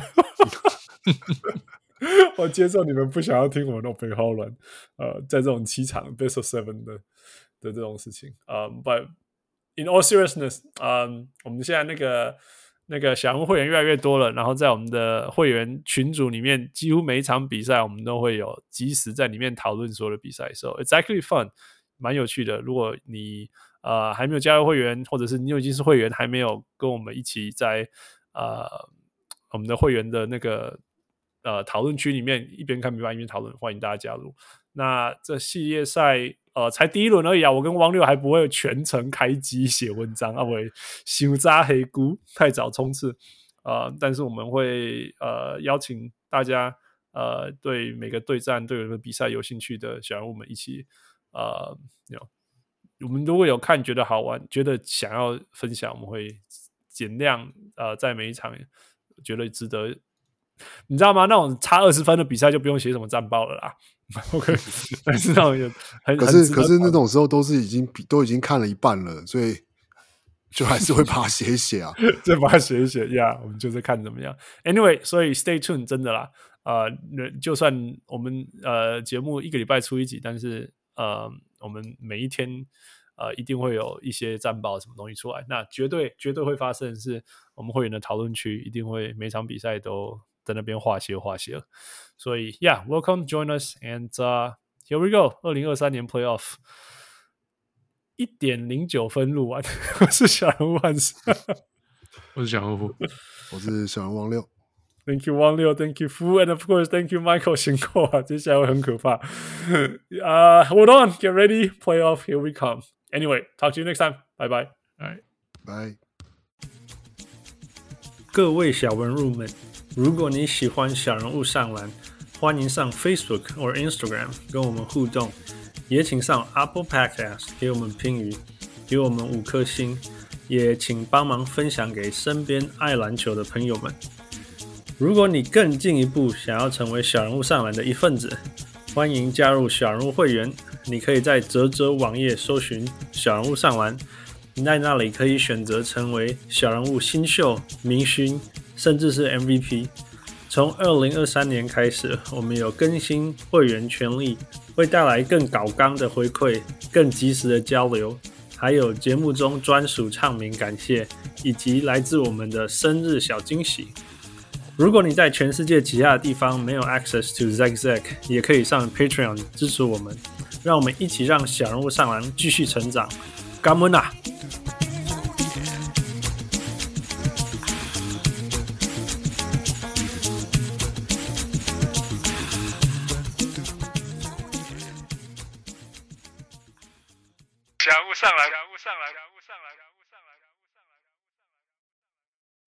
我接受你們不想要聽我那種背後亂。呃，在這種七場 best of seven 的的這種事情，呃、um, ，but in all seriousness，嗯、um, 我們現在那個。那個小人物會員越來越多了，然後在我們的會員群組裡面，幾乎每一場比賽我們都會有即時在裡面討論所有的比賽 ，so it's actually fun， 蠻有趣的。如果你呃還沒有加入會員，或者是你已經是會員還沒有跟我們一起在呃我們的會員的那個呃討論區裡面一邊看比賽一邊討論，歡迎大家加入。那這系列賽呃才第一輪而已啊，我跟汪六還不會全程開機寫文章啊，會傷早黑菇太早衝刺呃，但是我們會呃邀請大家呃對每個對戰對每個比賽有興趣的小人物們一起呃 you know, 我們如果有看覺得好玩覺得想要分享，我們會盡量呃在每一場覺得值得，你知道嗎？那種差二十分的比賽就不用寫什麼戰報了啦。OK， 但是那種很可是可是那種時候都是已經都已經看了一半了，所以就還是會把它寫一寫啊， 就把它寫一寫呀。Yeah, 我們就是看怎麼樣。Anyway， 所以 stay tuned， 真的啦。呃，就算我們呃節目一個禮拜出一集，但是呃我們每一天呃一定會有一些戰報什麼東西出來。那絕對絕對會發生的是，我們會員的討論區一定會每場比賽都在那邊畫寫畫寫。所以 yeah, welcome, join us, and uh, here we go. 二零二三年 playoff 一點零九分錄完，我是小人物漢斯， 我是小人物， 我是小人王六。 Thank you 王六 ，Thank you Fu, and of course Thank you Michael 辛苦啊，接下來會很可怕。uh, hold on, get ready, playoff, here we come. Anyway, talk to you next time. Bye bye. Bye bye. 各位小人物們，如果你喜歡小人物上籃，歡迎上 Facebook 或 Instagram 跟我們互動，也請上 Apple Podcast 給我們評語，給我們五顆星，也請幫忙分享給身邊愛籃球的朋友們。如果你更進一步想要成為小人物上籃的一份子，歡迎加入小人物會員。你可以在嘖嘖網頁搜尋小人物上籃，在那裡可以選擇成為小人物新秀、明星，甚至是 M V P。從二零二三年開始，我們有更新會員權利，會帶來更高綱的回饋、更及時的交流，還有節目中專屬唱名感謝，以及來自我們的生日小驚喜。如果你在全世界其他的地方沒有 access to Zack Zack， 也可以上 Patreon 支持我們，讓我們一起讓小人物上籃繼續成長。感恩啊！小人物上籃，小人物上籃，小人物上籃，小人物上籃。